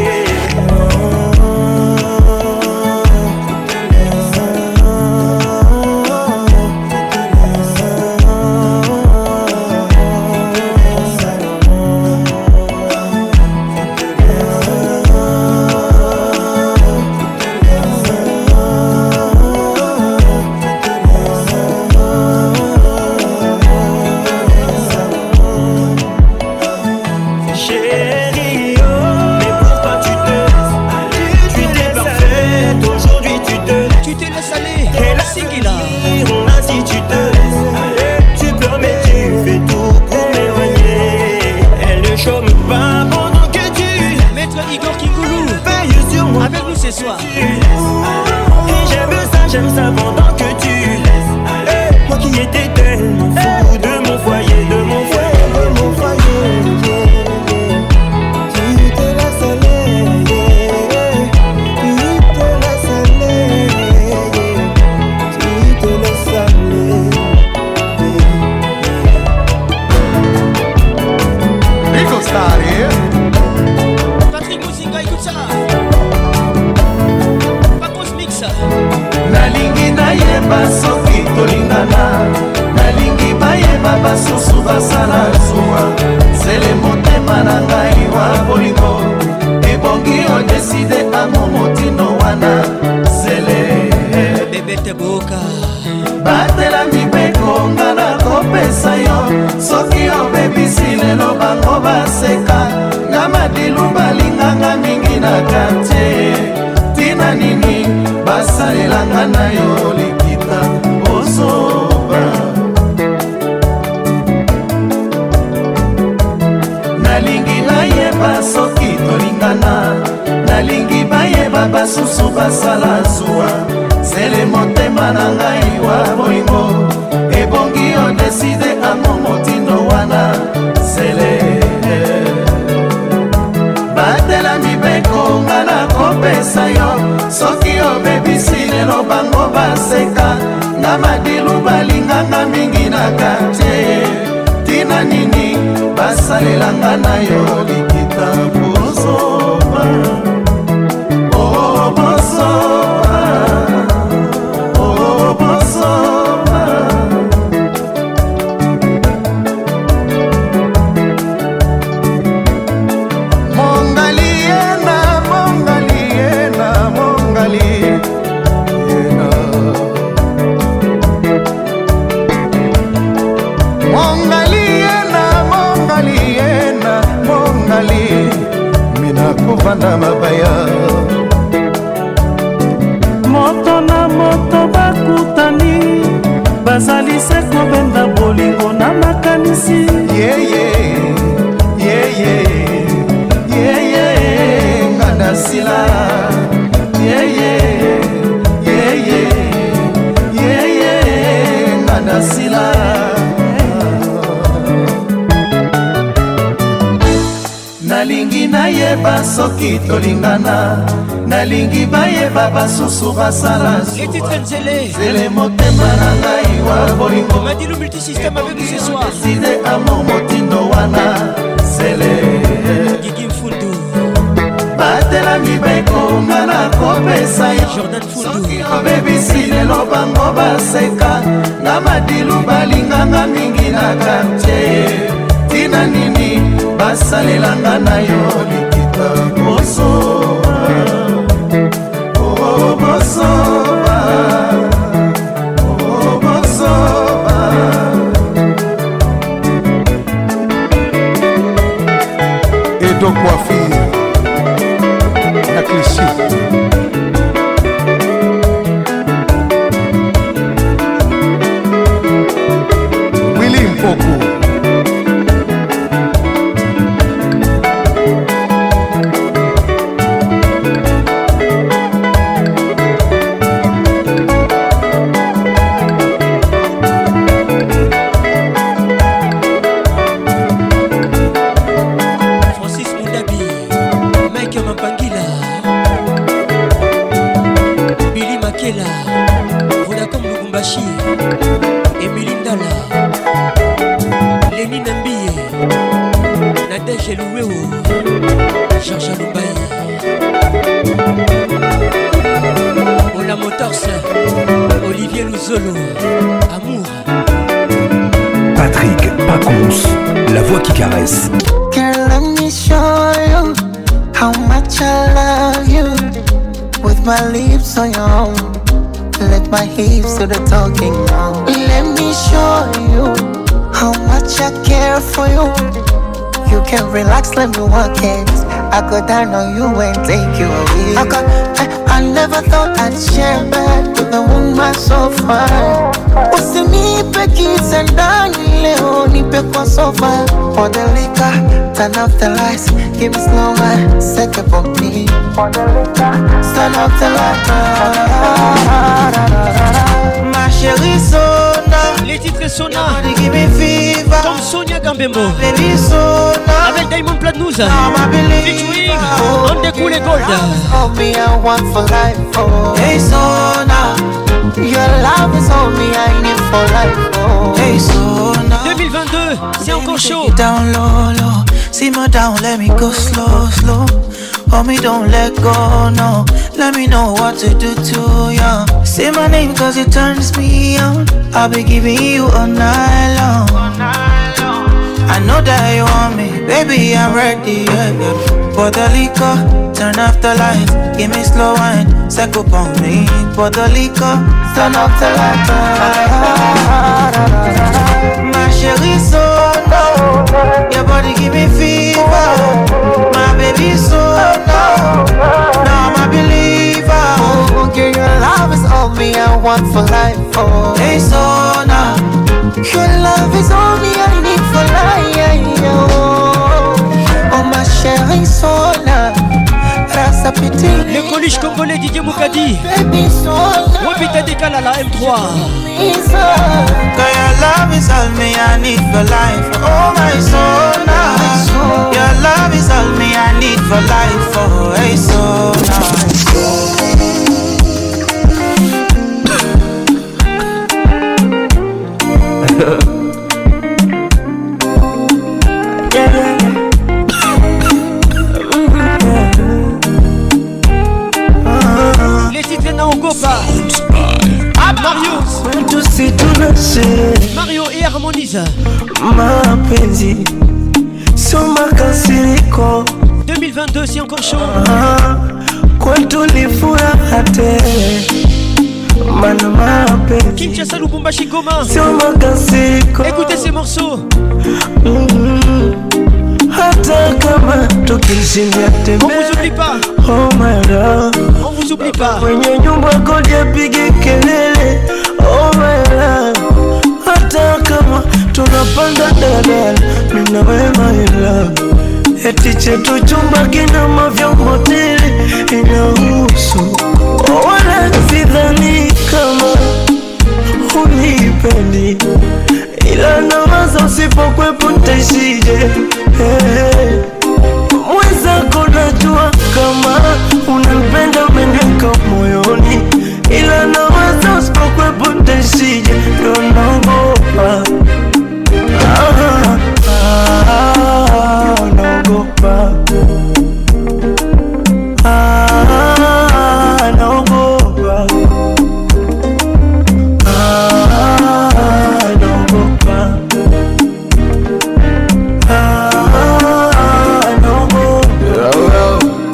Ce soir. Et j'aime ça, j'aime ça pendant que tu laisses aller. Moi qui étais tellement fou de mon foyer, de mon foyer, de mon foyer. Tu te laisses aller, tu te laisses aller, tu te laisses aller. Rico Starry. Patrick Muzinga, écoute ça. nalingi nayeba soki tolingana, nalingi bayeba basusu basala zuwa. Sele motema na ngai wa bolingo ebongi odeside amo motino wana. Sele bebete boka batela mibeko nga na kopesa yo. Soki obebisi lelo bango baseka, nga madilu balinganga mingi na kartier. Tina nini basalelanga na yo likita osoba. Nalingi nayeba soki tolingana, nalingi bayeba basusu basala zuwa. Sele motema na ngai wa bolingo ebongi odeside amo motino wana. Sele batela mibeko nga na kopesa yo. Soki obebisi lelo bango baseka, nga madilu balinganga mingi na kartier. Tina nini basalelanga na yo likita bozoba. Oh bozoba, oh bozoba. Mongaliena, mongaliena, mongali. Mongaliena, mongaliena, mongali. moto bakutani bazali se kobenda bolingo na makanisi yeye yeye yeye nganda sila yeye yeye yeye nganda sila nalingi nayeba soki tolingana nalingi bayeba basusu basala zele motema na ngai wa bolingo Madilu multisystème avec nous ce soir side amo motindo wana zele Gigi Mfundu batela mibeko ngana kopesa yo Jordan Mfundu soki obebisi lelo bango baseka na madilu balinganga mingi na quartier tina nini basalelanga na yo likita bosoba oh bosoba oh bosoba Edo Coiffure na Clichy Willy Mpoku Vodacom Lubumbashi Emily Ndala Lénine Mbie Nadège Louéo Georges Lumbaye Ola Motors Olivier Luzolo Amour Patrick Pacons, la voix qui caresse. Girl, let me show you how much I love you. With my lips on your own, let my hips do the talking now. Let me show you how much I care for you. You can relax, let me walk it. I go down on you and take you away. I, got, I, I never thought I'd share bed with a woman so fine. Usinipe kiss and dani leo nipe kwa sofa. For the liquor, turn off the lights, give me slow wine, set up on me. For the liquor, turn off the lights. Ma chérie Sona, les titres Sona, give me fever. Comme Sonia Gambembo, baby Sona, avec Diamond Platnumz, featuring On the Cool Gold. All me I want for life. Oh, hey Sona, your love is all me I need for life. Oh, hey Sona. deux mille vingt-deux, c'est encore chaud. Down low, low, simmer down, let me go slow, slow. Hold me, don't let go, no. Let me know what to do to you. Say my name cause it turns me on. I'll be giving you all night long. I know that you want me, baby, I'm ready, yeah, yeah. For the liquor, turn off the lights, give me slow wine, set up on me. For the liquor, turn off the lights. My chérie Sona, your body give me fever. My baby Sona, now I'm a believer. Oh, girl, your love is all me I want for life. Oh, hey Sona, your love is all me I need for life. Oh, ma chérie Sona, rasa piti. Le Coluche congolais Didier Moukadi, Wapita Dekala la M trois. Girl, your love is all me I need for life. Oh my Sona, your love is all me I need for life. Oh hey Sona. Les titres Naogopa, Mario, Mario et Harmonise. Mapenzi sio makasiriko. deux mille vingt-deux, c'est encore chaud. Kwetu ni furaha tele, mana mapenzi Kinshasa, Lubumbashi, Goma. sio makasiriko. Écoutez ces morceaux. Mm-hmm. hata kama tukishindia tembea. On vous oublie pas. Oh my love, on vous oublie pas. Kwenye nyumba kodi apige kelele. Oh my love, hata kama tunapanda dadala, mimi na wewe my love. Eti chetu chumba kina mavyombo tele inahusu. Oh wala sidhani kama unipendi, ila nawaza usipokwepo ntaishije. Hey, mwenzako najua kama unanipenda umeniweka moyoni, ila nawaza usipokwepo ntaishije. Ndo naogopa, ah, ah, naogopa, ah, naogopa, ah, naogopa, ah, naogopa.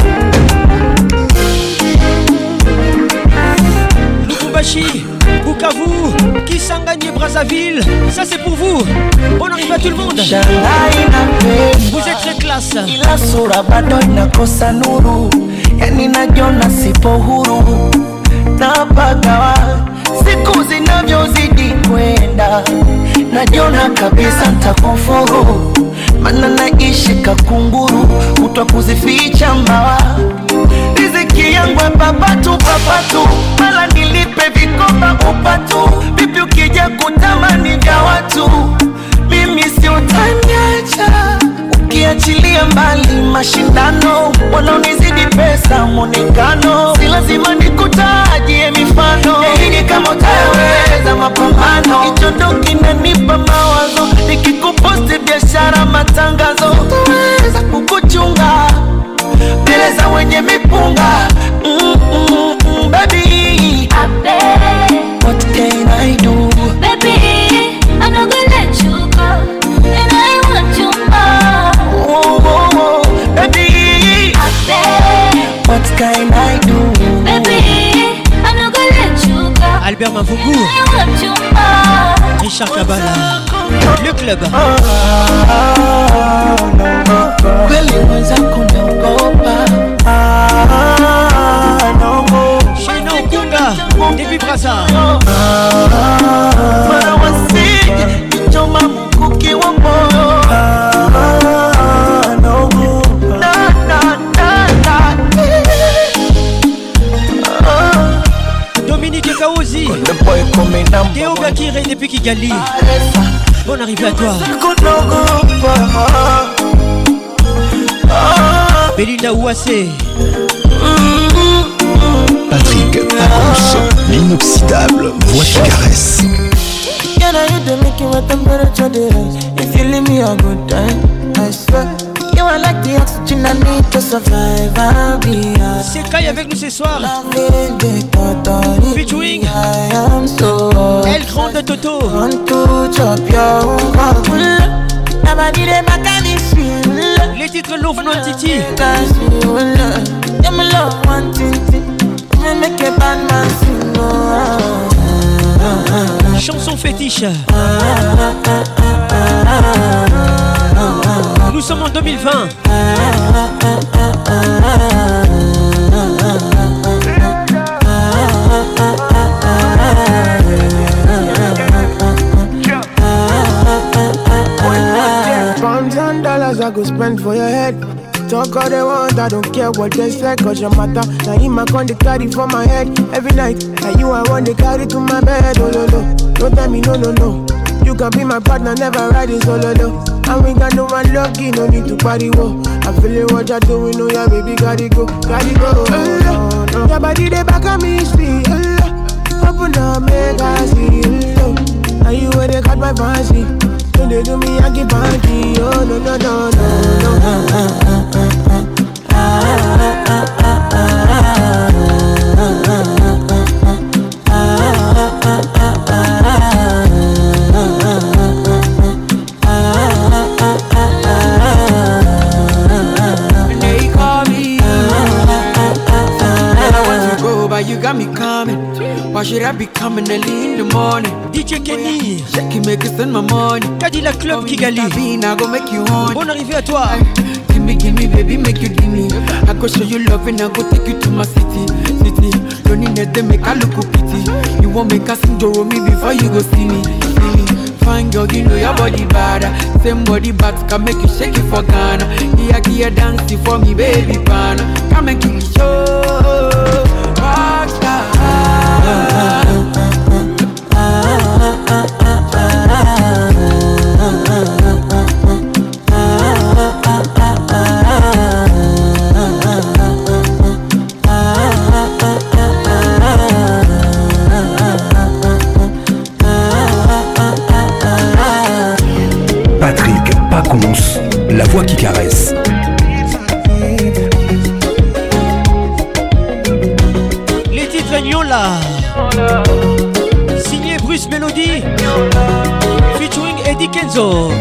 Lubumbashi, Bukavu, Kisangani et Brazzaville, ça c'est pour vous. Bonne arrivée à tout le monde. Vous êtes très classe. Ila sura bado inakosa nuru, yani najiona sipo huru, napagawa siku zinavyozidi kwenda, najiona kabisa nitakufuru, maana naishi kakunguru, kutwa kuzificha mbawa. Riziki yangu papatu papatu, mala nilipe vikoba upatu. Vipi ukija kutamani vya watu, mimi si utaniacha. Ukiachilia mbali mashindano, wanaonizidi pesa mwonekano, si lazima nikutajie mifano. Hii kama utaweza mapambano, hicho ndo kinanipa mawazo. Nikikuposti biashara matangazo, utaweza kukuchunga mbele za wenye mipunga. mm, mm, mm, baby, what can I do? Baby, I'm not gonna let you go, and I want you more. Oh, oh, oh, baby, what can I do? Baby, I'm not gonna let you go, Albert Mavungu, I want you more. Richard Kabala, le club. Kweli mwenzako naogopa. Shino Kunga, depuis Brazza. Mara wasije kichoma mkuki wa moyo. Na na na na. Dominique Kaozi, Théo Bakiré depuis Kigali. Bonne arrivée à toi. Belinda Ouassé, Patrick Pacons, l'inoxydable voix qui caresse. Can I hit the making my temperature rise? If you leave me a good time, I swear. You are like the oxygen I need to survive. I'll be honest. c'est Kai avec nous ce soir. Featuring El Grande Toto. Les titres Love Non Titi. Chanson fétiche. Nous sommes en deux mille vingt. Pounds and dollars I go spend for your head. Talk all they want, I don't care what they say, cause your matter. Now him I con the carry for my head every night. And you I want the carry to my bed, oh no no. Don't tell me no no no. You can be my partner, never ride it solo no. And we got no one lucky, no need to party whoa. I'm feeling what you're doing, oh yeah baby, gotta go, gotta go. Uh, no. Your body they back on me, see. Uh, open up, make I see. Uh, and you where they cut my fancy. When they do me, I get panty. Oh no no no no no. They call me, and I want to go, but you got me coming. Why should I be be coming early in the morning. D J Kenny, shake it, make it spend my money. Cadillac Club Kigali, I go make you on. Bonne arrivée à toi. Give me, give me, baby, make you give me. I go show you love and I go take you to my city, city. Don't need nothing, make I look pity. You won't make a sing to me before you go see me, see me. Fine girl, you know your body bad. Same body back can make you shake it for Ghana. Here, here, dancing for me, baby, pan. Come and kill show. Rockstar. Patrick Pacons, la voix qui caresse. Les titres Nyola, signé Bruce Melody, featuring Eddie Kenzo.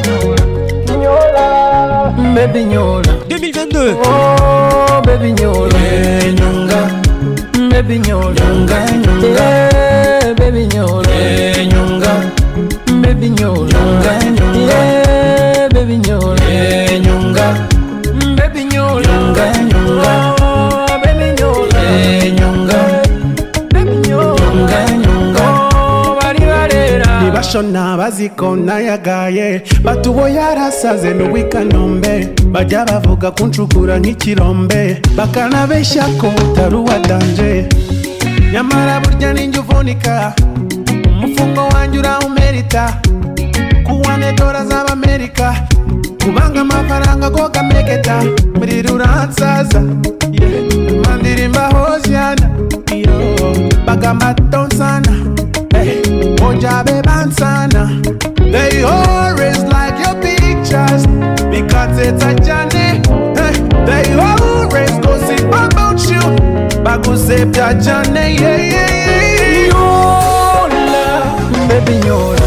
Baby Nyola, deux mille vingt-deux. Oh baby Nyola, hey, Nyonga. Baby Nyola, Nyonga, Nyonga. Hey, baby Nyola, hey, Nyonga. Baby Nyola, Nyonga, Nyonga. Hey, baby Nyola, hey, Nyonga. Baby Nyola, Nyonga, Nyonga. Baby Nyola, hey, Nyonga. Baby Nyola, Nyonga. Oh, bari barera. Nibashona bazikona yagaye batubo yarasaze n'ubikanombe bajya bavuga kunshukura nk'ikirombe bakanabeshya ko utari uwadanje nyamara burya ninjye uvunika umufungo wanjye urawumerita kuwane dola z'abamerika kubanga amafaranga go gameketa muri ruransaza yeah. Mandirimba hosiana yo bagamba tonsana hey. Ojabe bansana they always like your pictures because it's a journey hey. They always gossip about you bagusep ya journey yeah, yeah, yeah. Nyola, baby Nyola.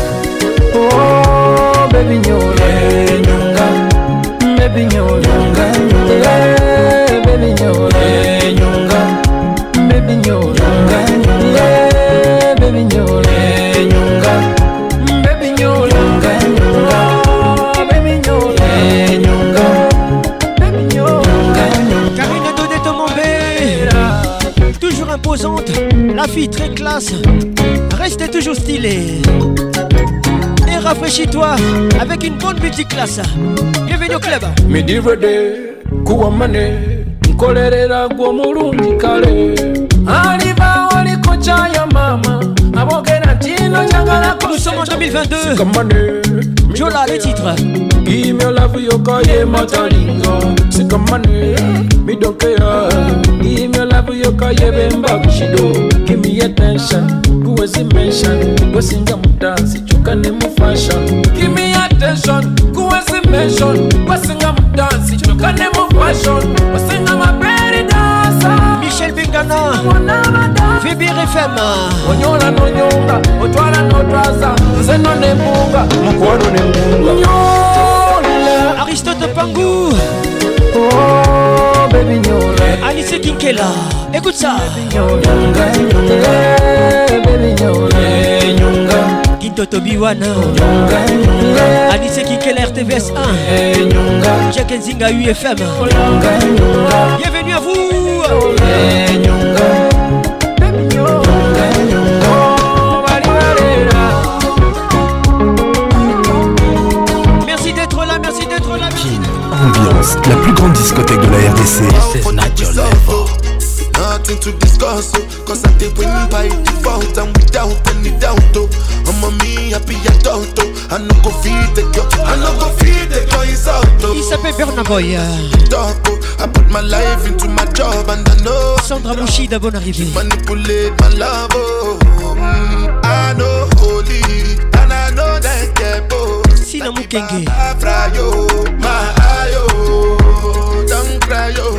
Oh, baby Nyola, hey, Nyonga. Baby Nyola, Nyonga, Nyonga. Hey, baby Nyola, hey, Nyonga. Baby Nyola, Nyonga, Nyonga. Hey, baby Nyola, hey, Nyonga. Baby Nyola, Nyonga, Nyonga. Baby Nyola, hey, Nyonga. Baby Nyola, Nyonga. Karine Donnet Tomombe, toujours imposante, la fille très classe, restez toujours stylée. Et rafraîchis-toi avec une bonne multiclasse. Bienvenue au club. Midivede, kuwamane, nkolerera gwo mulungi kale. Aliba waliko chaya mama, abogera tino changala. Nous sommes en deux mille vingt-deux. Jola, les titres. Give me love yoka ye matalinga. Sikamane, me don't care. Give me love yoka ye bemba bishido. Give me attention, kuwezi mention. Wesinga mudansi, chukane mu fashion. Give me attention, kuwezi mention. Wesinga mudansi, chukane mu fashion. Wesinga maberi dansa. Michel Bengana, V B R F M. Onyola no nyonga, otwala no twaza. Nze no nemunga, mukwano nemunga. Nyola, Aristote Pangou. Oh, baby Nyola. Alice Kinkela, écoute ça. Nyonga, Nyonga. Baby Nyola, hey, Nyonga. Kinto Tobiwana, Nyonga, Nyonga. Alice Kinkela R T V S un, hey, Nyonga. Jack Nzinga U F M. Nyonga, Nyonga. Bienvenue à vous. Hey, Nyonga. Baby Nyonga, Nyonga. Oh, bari barera. Merci d'être là, merci d'être là. Ambiance, la plus grande discothèque de la R D C. Nothing to discuss, oh, cause I did win by default and without any doubt, oh. I'm a me happy adult, oh. I no go feed the girl, I no go feed the girl, it's out, oh. Il s'appelle Bernaboy. Talk, oh. I put my life into my job and I know Sandra Mouchida, bonne arrivée. Manipulate my love, oh. Mm, I know holy, and I know that get both. Sina Mukenge. I fry yo, my ayo, don't cry yo.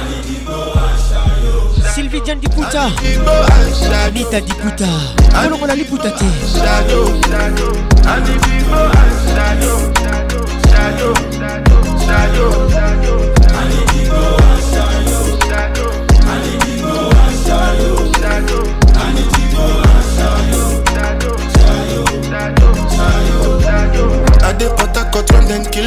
Sylvie Diane Diputa, Anita Diputa, Kolongola Liputate.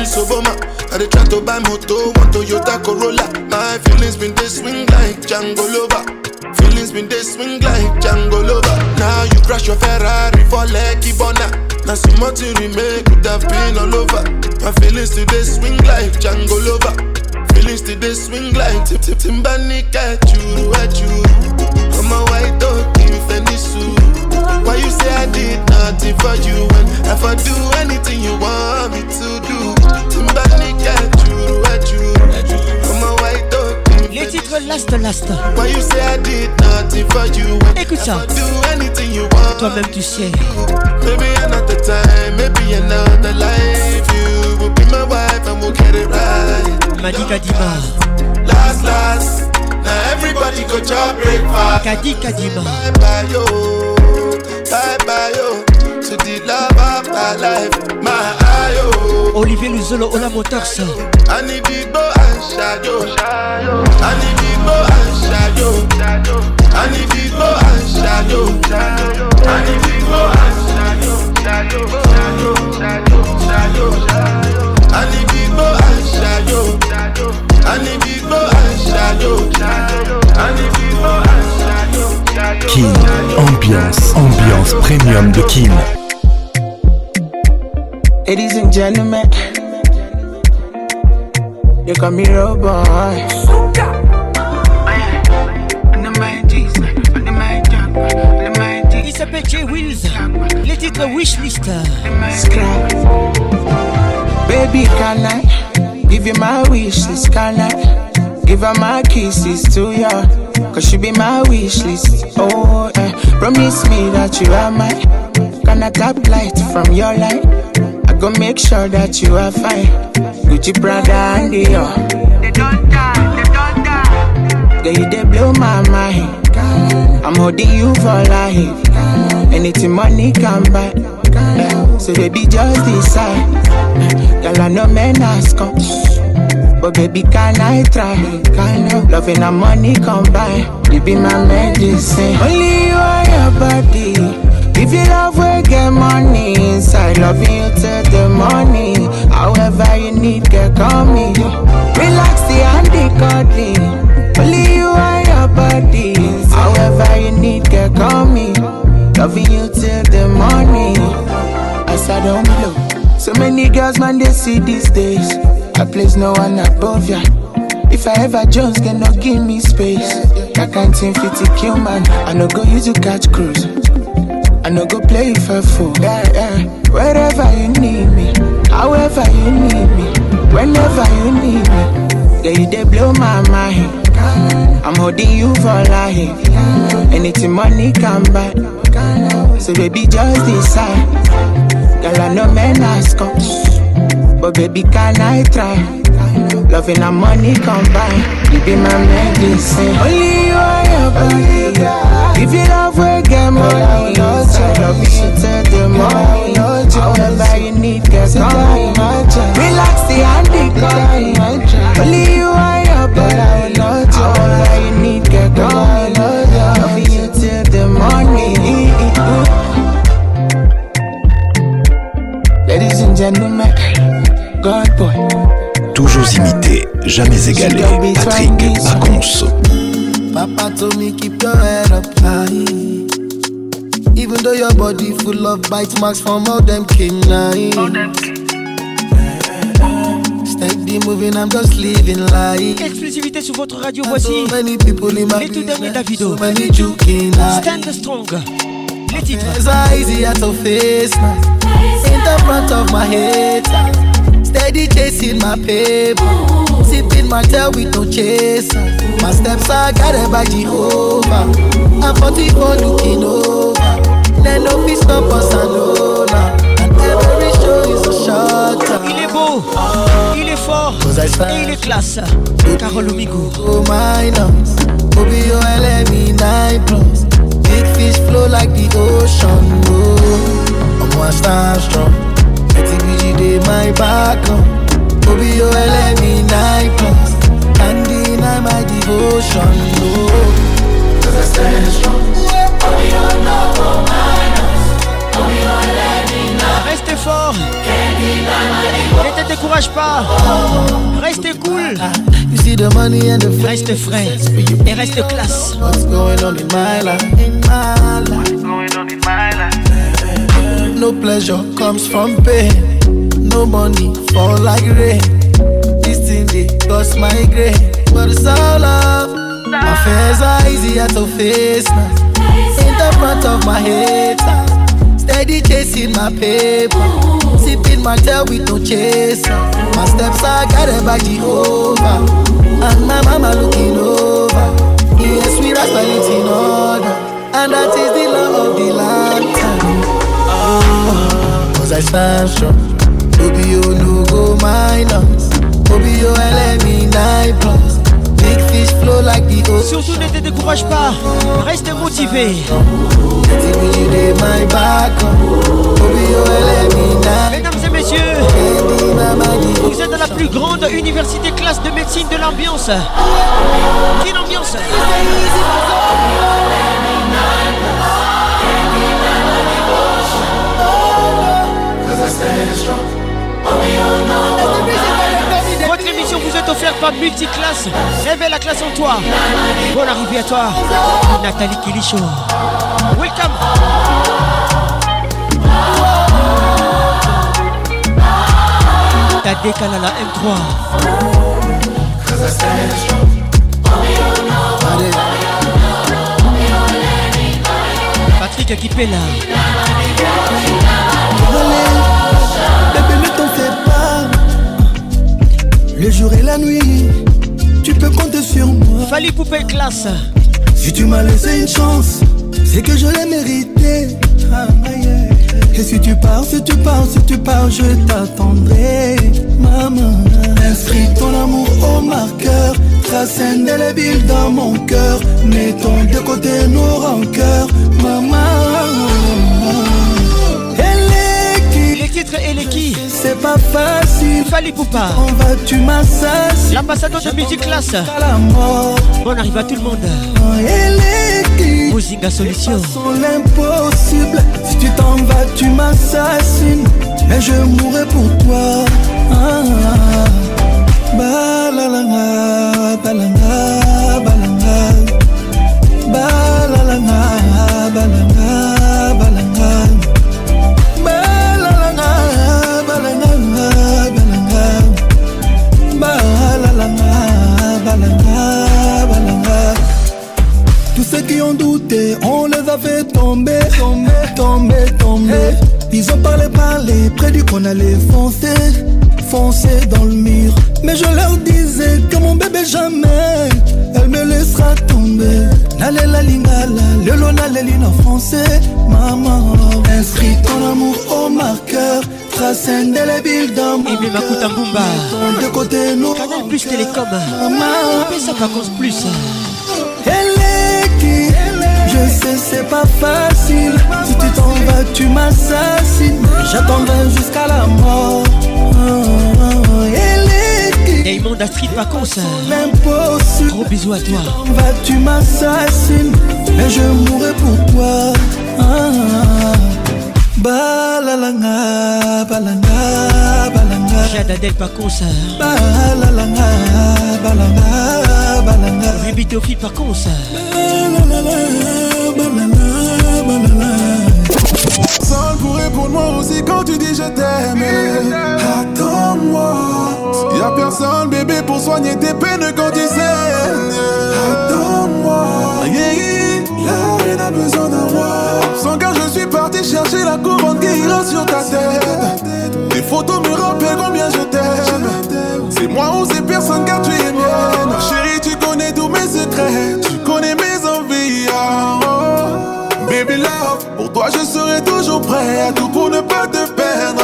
Obama. I dey try to buy moto, one Toyota Corolla. My feelings been they swing like Django Lover. Feelings been they swing like Django Lover. Now you crash your Ferrari for Lucky Bona. Now so much you remake could have been all over. My feelings today swing like Django Lover. Feelings today swing like Tip Tip Timbani at you, at you. I'm a white dog in Fendi suit. Why you say I did nothing for you when if I do anything you want me to do? Timbani at you, at you. I'm a white dog. Les titres last last. Why you say I did nothing for you when écoute ça. if I do anything you want? Toi-même tu sais. Maybe another time, maybe another life. You will be my wife and we'll get it right. Madika Dima. Last, last. Now everybody go to breakfast. Kadi Kadima. Bye bye yo, bye bye yo. To the love of my life, my ayo. Olivier Luzolo, Ola Motors. I need the go and shadow. I need the go and shadow. I need the go and shadow. I need the go and shadow. Shadow, shadow, shadow, shadow. I need the go and shadow. I need the go and shadow. I need the go and shadow. Kin, ambiance, ambiance premium de Kin. Ladies and gentlemen, they call me Roboy. Il s'appelle Jay Wills. Les titres Wishlist. Scrap. Baby, can I give you my wishlist? Can I give her my kisses to you? Cause she be my wishlist. Oh, eh. Promise me that you are my. Can I tap light from your light? I go make sure that you are fine. Gucci, Prada, and Dior. They don't die, they don't die. Girl, you they blow my mind. I'm holding you for life. Anything money can buy. So baby, just decide. Girl, I know men ask come. But baby, can I try? Kind of loving and money combine. You be my medicine. Only you and your body. If you love, we get money inside. Loving you till the morning. However you need, get call me. Relax the handy cuddling. Only you and your body. However you need, get call me. Loving you till the morning. As I don't blow. So many girls, man, they see these days. I place no one above ya. If I ever Jones, can not give me space. That kind thing fifty kill man. I no go use to catch cruise. I no go play for fool. Yeah, yeah. Wherever you need me, however you need me, whenever you need me. Yeah, you they blow my mind. I'm holding you for life. Anything money can buy. So baby, just decide. Girl, I know men ask come. But baby, can I try? Loving and money combine. You be my medicine. Only you and your body. If you love, we get money. So love you till the morning. However you need, get money. Relax the handy call. Only you and your body. However you need, get money. Love you till the morning. Ladies and gentlemen, God boy. Toujours imité, jamais égalé. Patrick Pacons. Papa told me keep your head up high. Even though your body full of bite marks from all them canines. Steady moving, I'm just living life. Exclusivité sur votre radio, voici les tout derniers Davido. Stand Strong. Les titres. It's easy to face in the front of my head. Steady chasing my paper. Sipping my tail with no chaser. My steps are guided by Jehovah. I'm forty-four looking over. Then no peace stop us alone. And every show is a shot. Il est beau, il est fort et il est classe. Carole Omigo. Oh minus, Obio L M E nine plus. Big fish flow like the ocean. Oh, I'm one star strong. T B G dey my back up. Obio L M E nine plus. Can't deny my devotion. Oh, cause I stand strong. Obio no minus. Obio L M E nine. Restez fort. Les têtes découragées. décourage pas. Reste cool. You see the money and the reste frais et reste classe. What's going on in my life? In my life. What's going on in my life? No pleasure comes from pain. No money fall like rain. This thing they cost my grain, but it's all love. My fears are easier to face now. In the front of my head, steady chasing my paper, sipping my tail with no chaser. My steps are guided by Jehovah, and my mama looking over. Yes, we rise by it in order, and that is the law of the lifetime. Oh, cause I stand strong. Obi you no go minus. Obi you L M E nine plus. Big fish flow like the ocean. Surtout ne te décourage pas, reste motivé. Mesdames et messieurs, vous êtes dans la plus grande université classe de médecine de l'ambiance. Quelle ambiance? Votre émission vous est offerte par Multiclass. Réveille la classe en toi. Bonne arrivée à toi, Nathalie Kilicho. Welcome. T'as décalé à la M trois. Patrick Akipela. Bébé, ne t'en fais pas. Le jour et la nuit, tu peux compter sur moi. Fali Poupée classe. Si tu m'as laissé une chance, c'est que je l'ai mérité. Ah, yeah. Et si tu pars, si tu pars, si tu pars, je t'attendrai, maman. Inscris ton amour au marqueur, trace indélébile dans mon cœur. Mettons de côté nos rancœurs, maman. Et les qui? C'est pas facile. Fali Poupa. On va tu m'assassines. L'ambassadeur de Multiclass. Bon arrive à tout le monde. Et les qui? Mozinga Solution. L'impossible. Si tu t'en vas tu m'assassines. Et je mourrai pour toi. Ah, balalanga, balanga, balanga. Balalanga, balanga, balanga. Tous ceux qui ont douté, on les a fait tomber, tomber, tomber, tomber. Ils ont parlé, parlé, prédit qu'on allait foncer, foncer dans le mur. Mais je leur disais que mon bébé jamais, elle me laissera tomber. Nale la lingala, le lona l'élina en français, maman. Inscris ton amour au marqueur, trace indélébile dans mon cœur. Ibé Makuta Mbumba. De côté nous. Canal Plus Télécom. Maman. Fais ça par cause plus. Elle est qui? Je sais c'est pas facile. Si tu t'en vas tu m'assassines. J'attendrai jusqu'à la mort. Elle est qui? Diamond Astrid Vacances. L'impossible. Gros bisous à toi. Si tu t'en vas tu m'assassines. Mais je mourrai pour toi. Ah, balalanga, balanga, balanga. Jada Del Vacances. Balalanga, balanga, balanga. Ruby Théophile Vacances. Seul pour répondre moi aussi quand tu dis je t'aime. Attends-moi. Y'a personne bébé pour soigner tes peines quand tu saignes. Attends-moi. Là rien n'a besoin d'un roi. Sans car je suis parti chercher la couronne qui ira sur ta tête. Tes photos me rappellent combien je t'aime. C'est moi ou c'est personne car tu es mienne. Chérie tu connais tous mes secrets. Tu connais mes envies. Oh. Baby love, pour toi je serai toujours prêt à tout pour ne pas te perdre.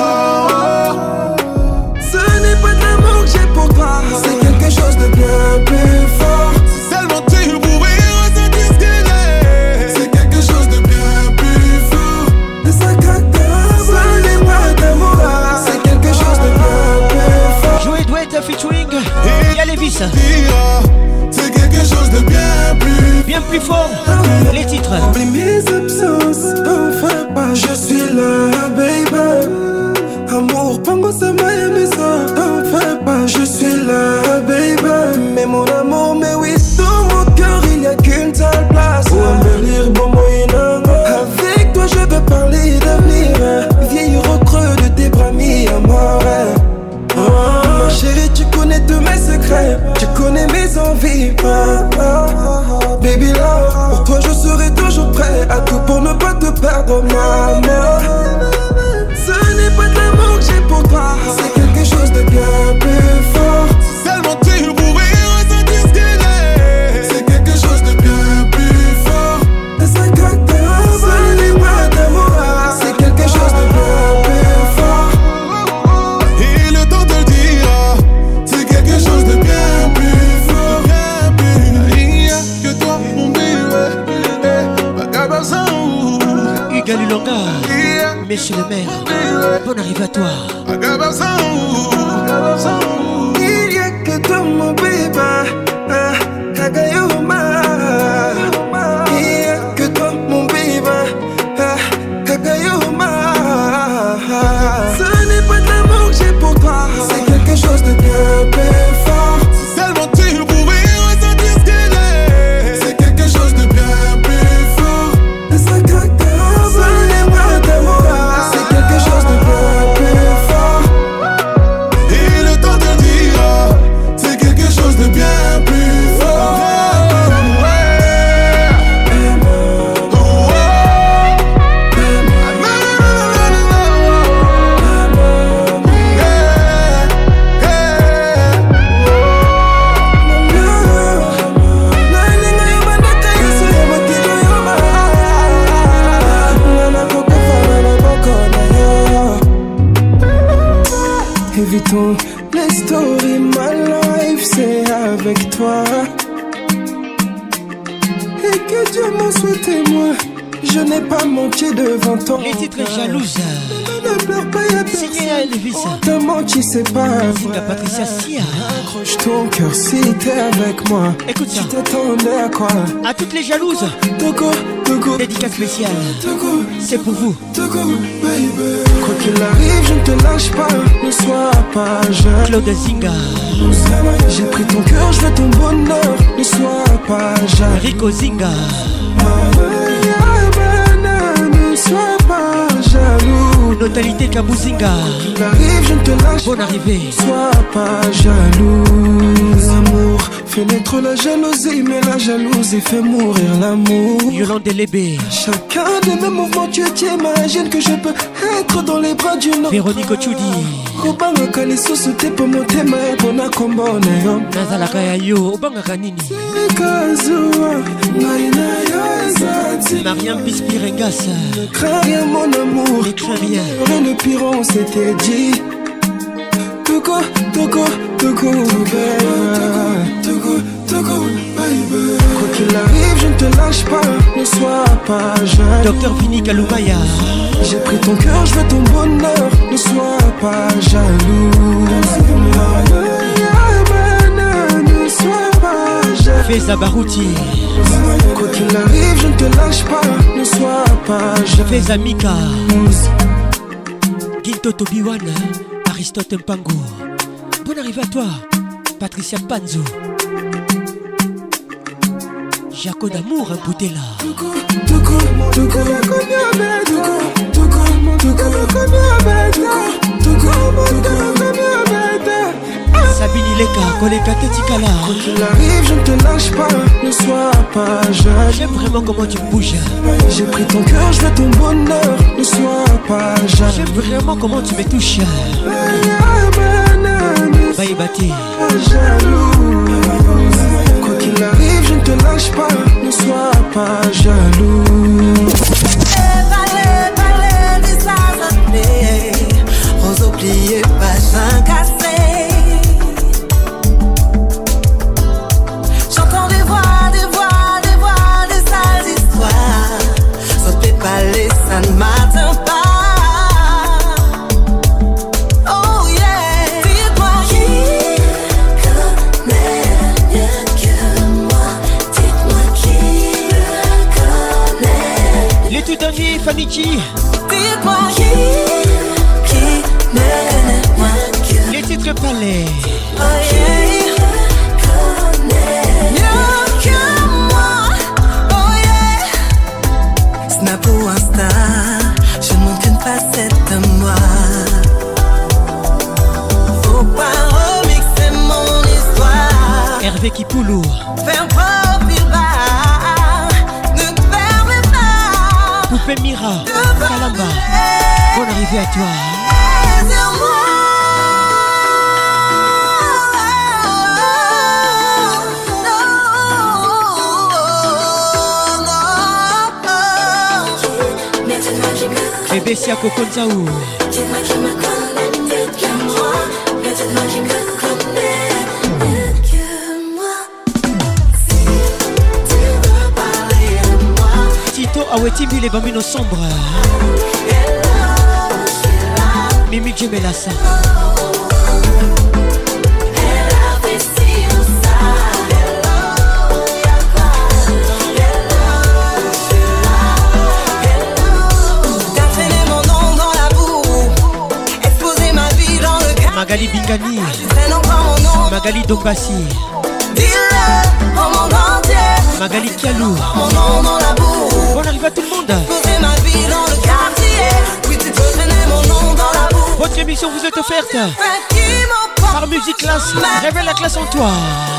Ce n'est pas de l'amour que j'ai pour toi, c'est quelque chose de bien plus fort. Si seulement tu pouvais ressentir ce que j'ai. C'est quelque chose de bien plus fort. De sa cacao, ce n'est pas d'amour, c'est quelque chose de bien plus fort. Joey Douette featuring Y'a Lévis. C'est quelque chose de bien plus, bien plus fort. Les titres. Oublie mes absences, enfin pas. Je suis là, baby. Amour, pas moi ça m'a aimé ça. ah, ah, ah, baby love. Pour toi je serai toujours prêt à tout pour ne pas te perdre, maman. Ce n'est pas de l'amour que j'ai pour toi, c'est quelque chose de bien plus fort. Si seulement tu pouvais ressentir ce qu'il est, c'est quelque chose de bien plus fort. Et ça coque de ce n'est pas d'amour, c'est quelque chose de bien plus fort. Et le temps te le dira, c'est quelque chose de bien plus fort. Il n'y a que toi mon bébé, Bagabasan. Hugues Lulonga, monsieur le maire, bonne arrivée à toi. Il n'y a que toi mon bébé, Kagayoma. Il n'y a que toi mon bébé, Kagayoma. Ce n'est pas de l'amour que j'ai pour toi, c'est quelque chose de bien plus fort. Si seulement tu pouvais ressentir ce qu'il est, c'est quelque chose de bien plus fort. Et ça craque. C'est quelque chose de bien plus fort. Et le temps te dira, c'est quelque chose de bien plus fort. Évitons les stories, my life c'est avec toi. Et que Dieu m'en soit témoin, je n'ai pas menti devant toi. Les titres jalouses. Ne pleure pas, y'a signé à Elvis. On t'a menti, c'est pas vrai. Patricia Sia. Accroche ton cœur si t'es avec moi. Écoute ça. Tu t'attendais à quoi? À toutes les jalouses. Togo, Togo. Dédicace spéciale. Togo. C'est pour vous. Togo, baby. Quoi qu'il arrive, je ne te lâche pas. Ne sois pas jeune. Claude Zinga. J'ai pris ton cœur, je veux ton bonheur. Ne sois pas jeune. Rico Zinga. Ne sois pas jaloux. Notalité Kabouzinga. Il arrive, je ne te lâche. Bonne arrivée. Ne sois pas jaloux. L'amour fait naître la jalousie, mais la jalousie fait mourir l'amour. Yolande Lébé. Chacun de mes mouvements, tu t'imagines que je peux être dans les bras d'une autre. Véronique Ochudi. Obanga kalisusu te po motema ebona kombo na yo. Nazalaka ya yo, obanga kanini. Kazuwa, ngai na yo ezati. Mariam Bispirengas. Ne crains rien mon amour. Ne crains rien. Rien ne pire, on s'était dit. Togo, Togo, Togo, Togo, Togo, baby. Quoi qu'il arrive, je ne te lâche pas. Ne sois pas jeune. Docteur Vini Kaloumaya. J'ai pris ton cœur, je veux ton bonheur. Ne sois pas jaloux. Ne sois pas jaloux. Feza Barouti. Quoi qu'il arrive, je ne te lâche pas. Ne sois pas jaloux. Feza Mika. Ginto Tobiwan. Aristote Mpango. Bonne arrivée à toi. Patricia Panzo. Jaco d'amour, un bouteille là. Sabine Ileka, Koleka Tetikala. Quoi qu'il arrive, je ne te lâche pas. Ne sois pas jeune. J'aime vraiment comment tu me bouges. J'ai pris ton cœur, je veux ton bonheur. Ne sois pas jeune. J'aime vraiment comment tu me touches. Bye Bati. Jaloux. Quoi qu'il arrive, je ne te lâche pas. Ne sois pas jaloux. Rose oubliée, pas cassé. J'entends des voix, des voix, des voix, des sales histoires. Sauter pas les, ça ne m'atteint pas. Oh yeah. Dis-moi qui connaît mieux que moi. Dites-moi qui le connaît. Les tout derniers, Faniki. Dites-moi qui, qui me connaît moins que. Les titres palais. Oh yeah, connaît mieux que moi. Oh yeah. Snap ou Insta, je ne montre qu'une facette de moi. Faut pas remixer mon histoire. Hervé Hervé Kipoulou. Faire profil bas, ne te permets pas. Poupée Mira, Kalamba, bonne arrivée à toi. Bébé Siako Konzaou. Tito Awetimbi les bambino sombres. Mimi Djemelassa. Magali Bingani, Magali Dombassi, Magali Kialou. Bonne arrivée à tout le monde. Votre émission vous est offerte par Musique Classe. Révèle la classe en toi.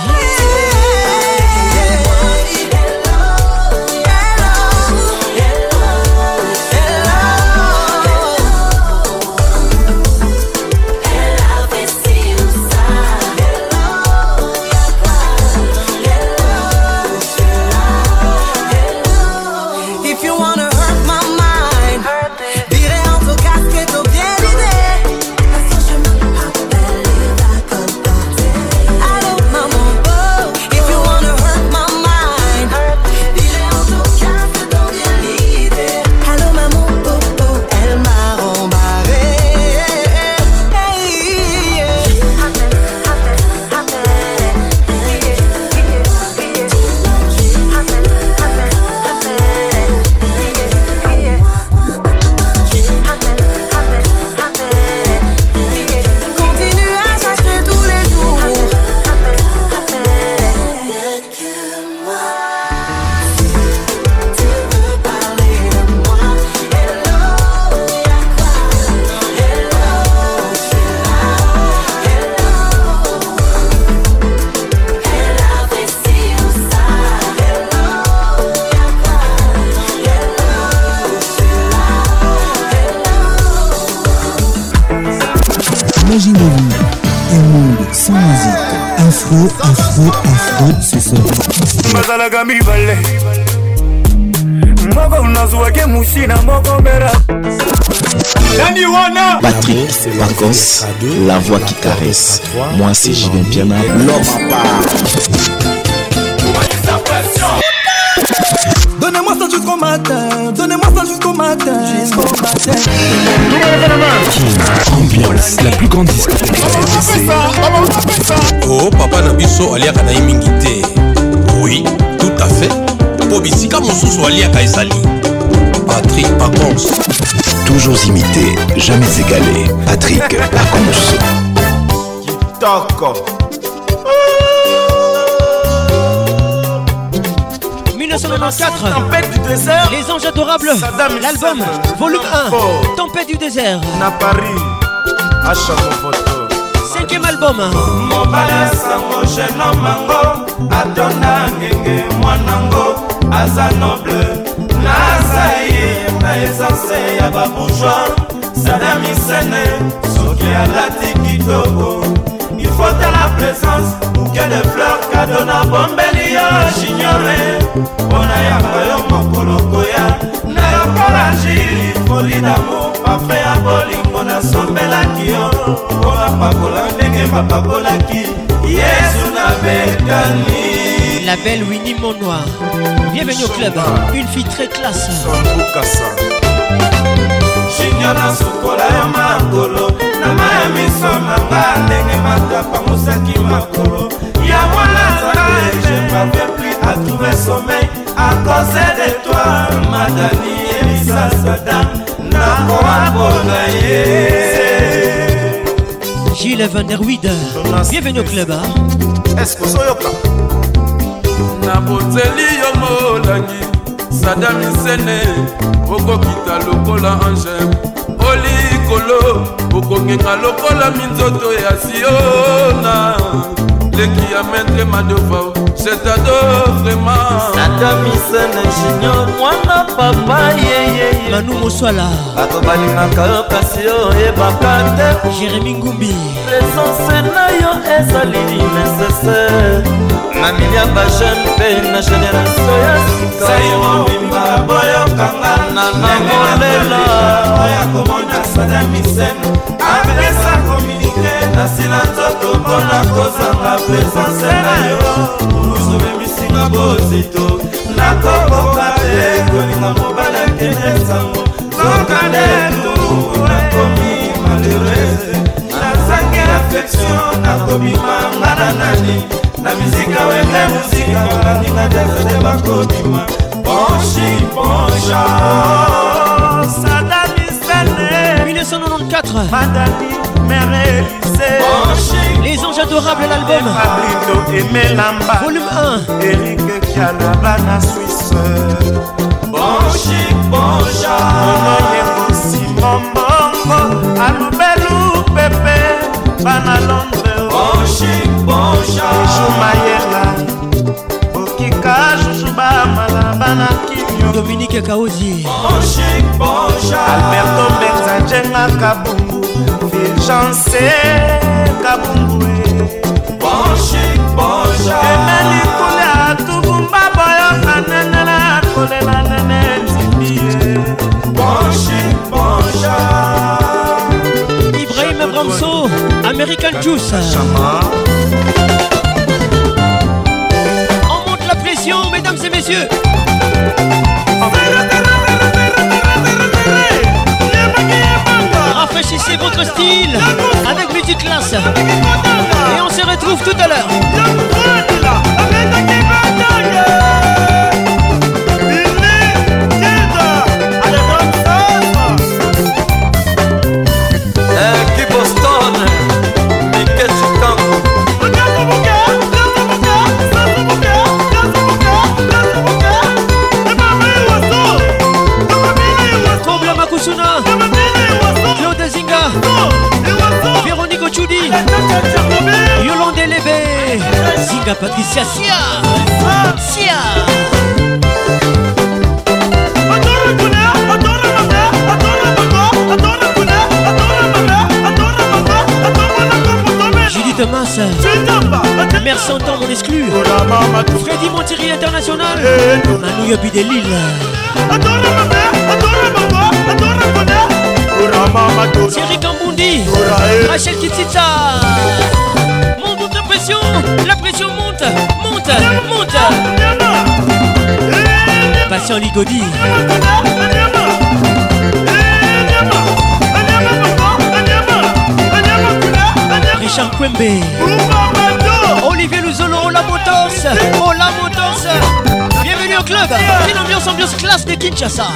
Imaginez-vous un monde sans musique. Afro, afro, afro, c'est ça. Mazalaga mibale Moko unazuake mushina moko mera Nani wana Patrick Pacos, la voix qui caresse. Moi c'est Julien Piana, l'homme à part. Donnez-moi ça jusqu'au matin, donnez-moi ça jusqu'au matin, jusqu'au matin. Ambiance, la plus grande discothèque. Oh, papa Nabiso aliaka na imingité. Oui, tout à fait. Pobisika mosusu aliaka ezali. Patrick Pacons. Toujours imité, jamais égalé. Patrick Pacons. Kitoko. mille neuf cent quatre-vingt-quatorze, Les Anges Adorables, l'album, volume un, Tempête du désert. Na Paris, à Chamofoto. Cinquième album. Mobala sango jeune mango, adona ngenge mwanango, aza noble. Nazaye na essence ya babourgeois, Saddam Hussein, soki alati kitoko. Il faut de la présence, bouquet de fleurs, cadeau na bombeli yo j'ignore. Ona ya bayo mokoloko ya, na yo kolajili, folie d'amour, parfait ya bolingo na sombelaki yo. Ona pakola ndenge bapakolaki, Yesu na betani. La belle Winnie Monnoir. Bienvenue au club, une fille très classe. Shinyana sukola ya makolo na maya miso nanga ndenge matapa musaki makolo ya mwana zala je m'avais pris à trouver sommeil à cause de toi madani Elisa Sadam na koabona ye Gilles Van der Wiede. Bienvenue au club. Est-ce que soyoka na boteli yo molangi Saddam Hussein okokita lokola ange olikolo okongenga lokola minzoto ya Siona le leki ya maître Madofao, c'est ado vraiment. Sadamisene Junior, mwana papa yeye. Manu Moswala. Bato balingaka yo kasi yo yebaka te. Jérémy Ngumbi. Présence na yo ezali nécessaire. Na milia ba jeune pe na génération ya sika. Sayo bimba boyo kanga na na molela. Oya komona Sadamisene. Apesa communiqué na sila toko mpona kozanga présence na yo. Uzobe misinga bozito nakoboka te kolinga mobala kende sango zokanetu nakomi malheureuse nazangi affection nakobima nga na nani na mizika wenge muzika baninga desede bakobima bonchi boncha Sadamisene mille neuf cent quatre-vingt-quatrize Madani Mère Élysée Les Anges Adorables, l'album Volume un Eric Kialabana Suisse Bonchi Bonja Monoyengo Simon Bongo Alubelu Pepe Bana Londres Bonchi Bonja Jumayela Okika Jujuba Malabana Kimyo Dominique Kaozi Bonchi Bonja Alberto Benzajenga Kabungu Fulgence Kabungu Bonchi Bonja Emeli Kule Atubumba Boyo Kanenela Kule Nanene Tibie Bonchi Bonja Ibrahim Bramso American Juice On monte la pression mesdames et messieurs. Rafraîchissez votre style avec musique classe. Et on se retrouve tout à l'heure. Claude Zinga, Véronique Ochudi, Yolande Lébé, Zinga Patricia Sia, Sia. Judith Thomas, Mère Santan, mon exclu, Freddy Montieri International, Manu Yobi de Lille. Thierry Kambundi, Rachel Kitita. Monte, monte la pression, la pression monte, monte, monte. Patient Ligodi. Richard Kwembe. Olivier Luzolo, Ola Motors, Ola Motors. Bienvenue au club. Une ambiance, ambiance classe de Kinshasa.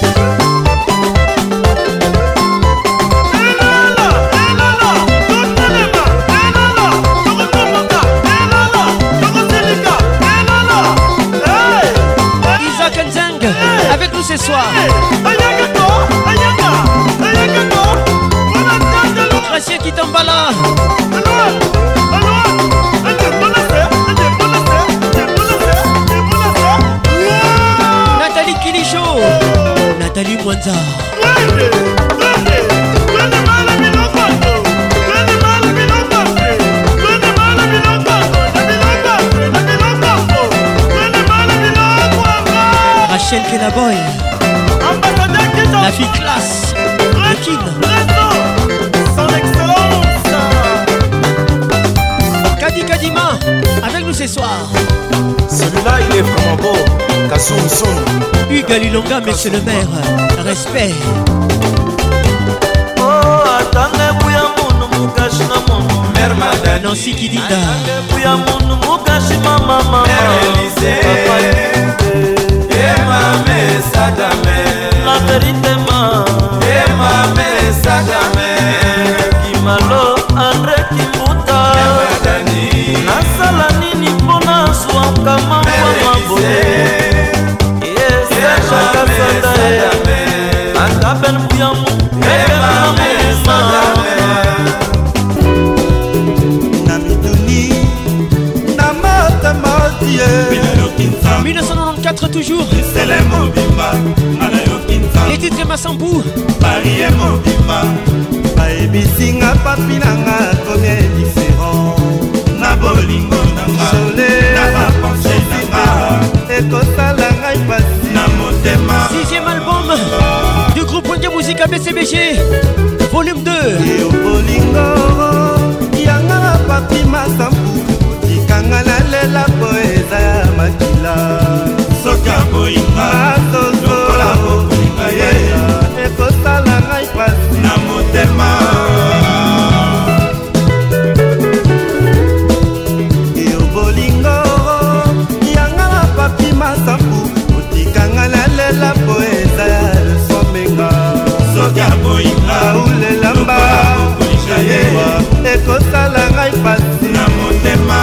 Avec nous ce soir. Gracieux Kitambala. Nathalie Kilicho. Nathalie Mwanza. Rachel Kenaboy, la fille classe, le king. Son excellence Kadi Kadima, avec nous ce soir. Celui-là il est vraiment beau. Kassoum Soum Hugues Lilonga, monsieur le maire. Respect. Oh, attendez, bouya mounu mukashi na mounu. Mère Madani Nancy Kidinda. Attendez, bouya mounu mukashi mama mama. Mère Élysée. Emame Sadame, la vérité ma. Emame Sadame, Kimalo Andre Kimuta. Madani, nasala nini pona swaka mama mabo. Yes, Emame Sadame, ataben buyamu. Emame Sadame, na mituni toujours. Les titres Massambou. Paris est mobimba. Baebisinga papi nanga combien différent. Na bolingo nanga. Na bapense nanga. Ekosala ngai pasi na motema. Sixième album du groupe Wenge Musique B C B G. Volume deux. Et au bolingo yanga na papi Massambou. Tikanga na lela poeza ya makila. Soka boinga sozo la boinga ye. Ekosala ngai pasi na motema. Et au bolingo yanga na papi Massambou. Tikanga na lela poeza ya somenga. Soka boinga ulela mba. Ekosala ngai pasi na motema.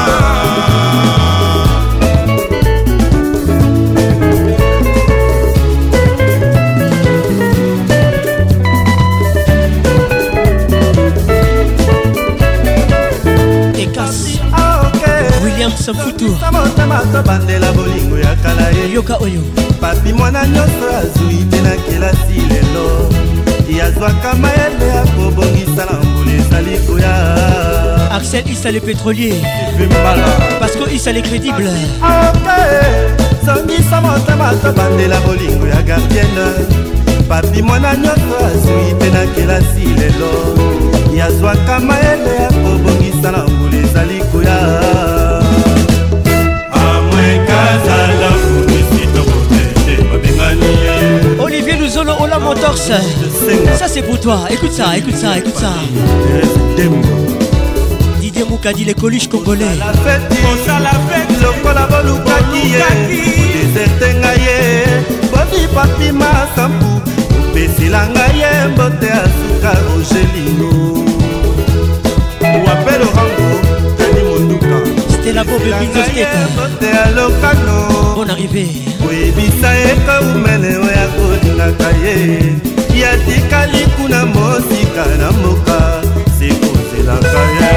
William Samfutu bandela bolingo ya kala yoka oyo papi mwana nyonso azwi te na kelasi lelo yazwaka mayele ya kobongisa na mbula ezali koya. Axel Issa le pétrolier parce que Issa le crédible. songisa motema tobandela bolingo ya gardienne papi mwana nyonso azwi te na kelasi lelo yazwaka mayele ya kobongisa na mbula ezali koya. Olivier Luzolo Ola Motors. Ça c'est pour toi. Écoute ça, écoute ça, écoute ça. Didier Moukadi, les coluches congolais. La fête, la fête, le kolaboluki ye. Déserte ngaye, boni papi Massambou. Pesila ngaye, mbote asuka Rogelino. Wapelo rango, Tani Monduka. Stella Bob Binzo Skate. Bonne arrivée. Webisa eka umene oya kodingaka ye. Yatikali kuna mosika na moka. Sekozelaka ye.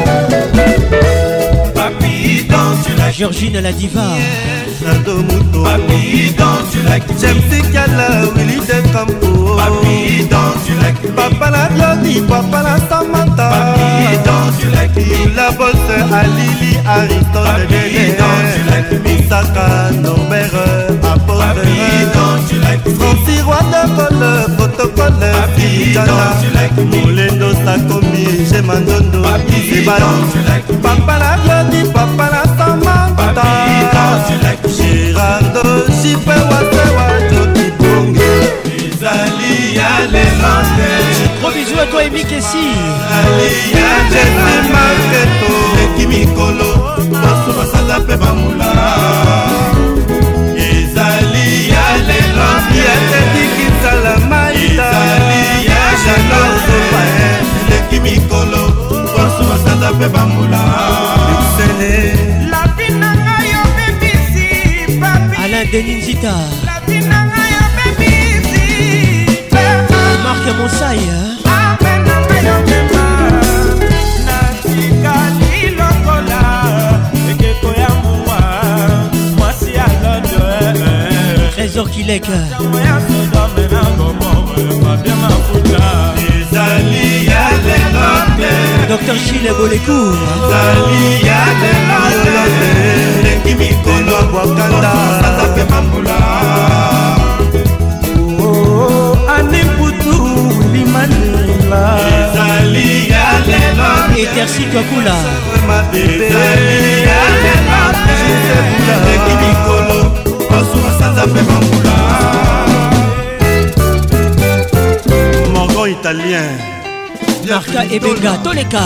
Papi danse la Georgine la diva. Jado Muto. Papi danse la James Kala Willy de Campo. Papi danse la Papa la Glody, Papa la Samantha. Papi danse la la bosse Alili Aristote. Papi danse la Misaka Norbert Apôtre. Francis Roi de Cole, protocole Fidjana. Molendo Sakomi, Gemandondo, Sebalo. Papa la Glody, Papa la Samantha. Gérardo, Chipé, Wasewa, Joki Bongo. Izali, Yale, Lande. Gros bisous à toi et Mick Essi. Izali, Yale, Marketo. Kimikolo, Basso, Basada, Pebamula. Izali, Yale, Lande. Yale, Diki, Salamaita. Izali, Yale, Lande. Kimikolo, Basso, Basada, Pebamula. Luxene. Alain Deninzita. Marc Monsaï. Trésor Kilek. Docteur Chile Bolekou. Et Tercy Kakula. Morgon italien. Marca et Benga, Toleka.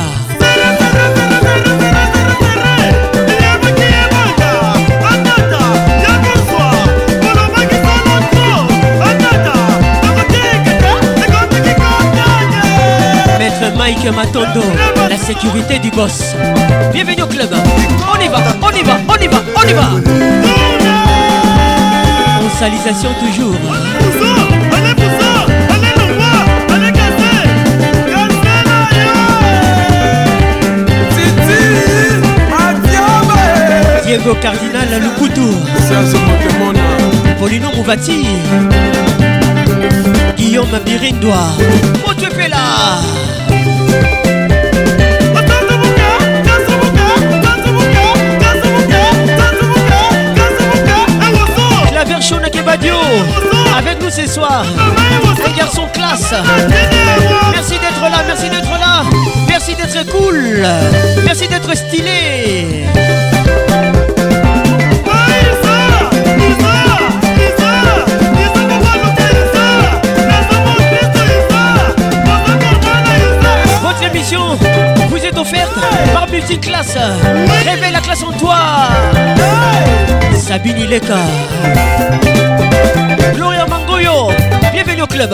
Maître Mike Matondo, la sécurité du boss. Bienvenue au club. On y va, on y va, on y va, on y va. On salisation toujours. Diego Cardinal Lukutu. Serge Motemona. Apollino Mouvati, Guillaume Birindois, Motepela. La Verchon Kebadio, avec nous ce soir. Un garçon classe. Merci d'être là, merci d'être là. Merci d'être cool. Merci d'être stylé. Votre émission vous est offerte par Multiclass. Réveille la classe en toi. Sabine Ileka, Gloria Mangoyo, bienvenue au club.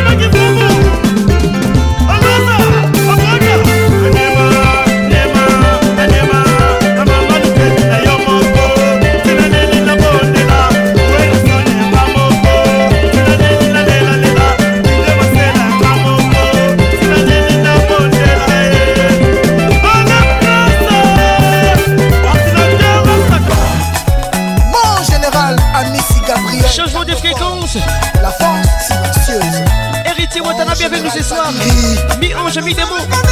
Changement de fréquence. La force silencieuse. Héritier Watanabe avec nous ce soir. Mi-ange, mi-démon.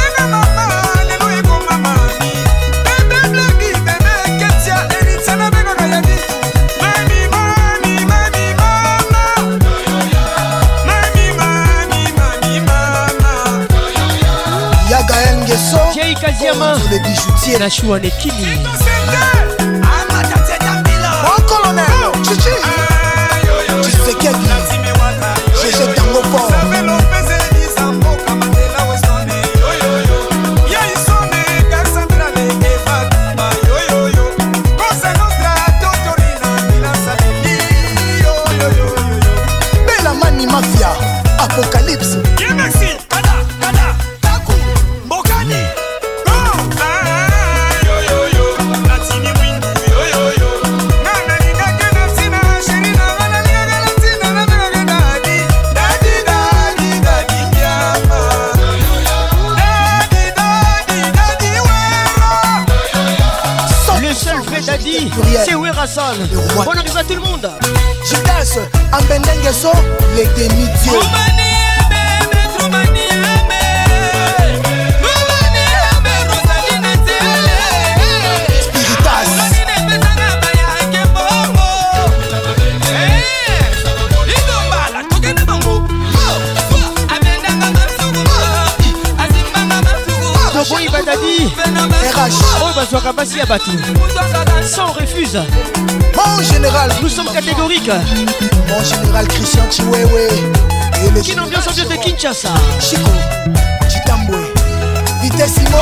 Yagaël Nguesso. Thierry Kaziama. Le bijoutier. La Chouane Kini. Bon colonel. Chichi. J'ai tango fort. Bella Mani Mafia, Apocalypse. C'est Werasan. Bon arrive à tout le monde. Judas, Ambendengeso, les demi-dieux. Boy Badadi R H Oh Bazouaka Bassi Abatou. Ça on refuse. Mon général, nous sommes catégoriques. Mon général Christian Chiwewe. Qui ambiance ambiance de Kinshasa. Chico, Chitambwe, Vitessimo.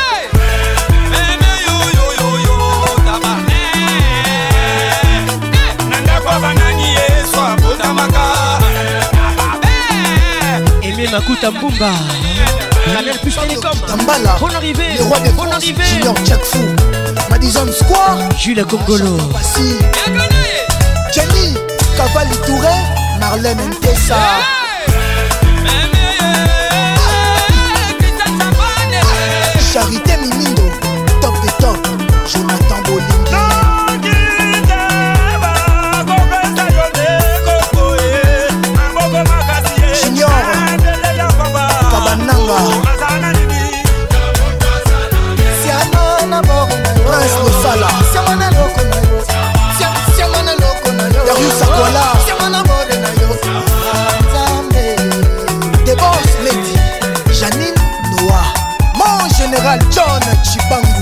Aimé Makuta Mbumba. Canal Plus Télécom. Tambala. Bonne arrivée. Le roi des Bonne arrivée. Junior Jackfou. Madison Square. Jules Congolo. Passi. Jenny. Cavalli Touré. Marlène Ntessa. Charité Mimindo. Top des top. Jonathan Bolingi. Junior Kabananga. Prince Losala. Darius Akwala. The Boss Lady Janine Noah. Mon général John Chibangu.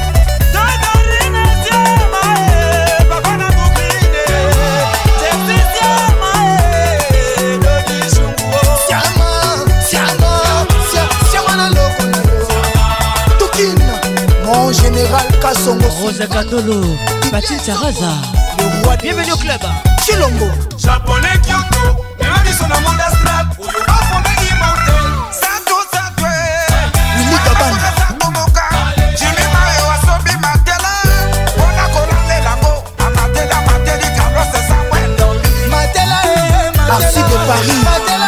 Mon général Kassongo. Rosa Kandolo. Patin Saraza. Bienvenue au club. Chilombo. Japonais Kyoto. Même sur le monde astral. Où you are for the mountain. Sato Sato. Willy Kabana. Jimmy Mae Wasobi Matela. Ona Kolande Lango. Amatela Mateli Carlos Samuel. Matela. Arcy de Paris. Matela.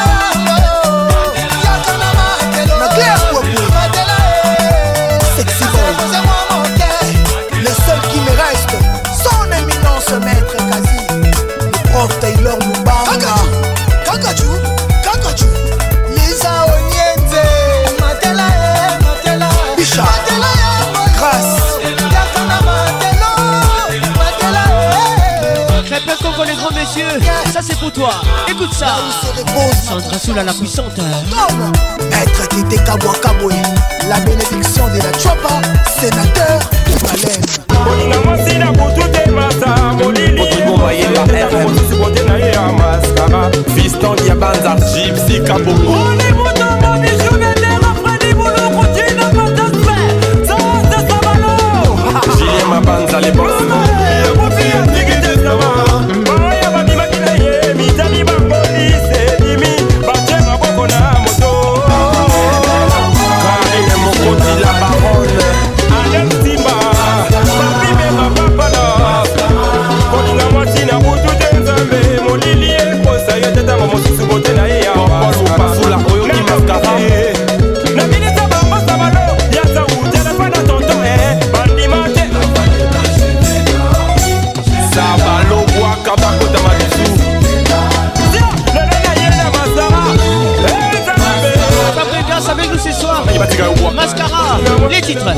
Claire Popo. Sexy boy. Le seul qui me reste, son éminence maître Kazi. Le prof Taï messieurs, ça c'est pour toi. Écoute ça. Sandra Soula la puissante. Maître Tite Kabwa Kabwe, la bénédiction de la Chopa, sénateur de Malène. Fiston Diabanza, Gypsy Kaboko. Julien Mabanza, les boss. Mascara, les titres.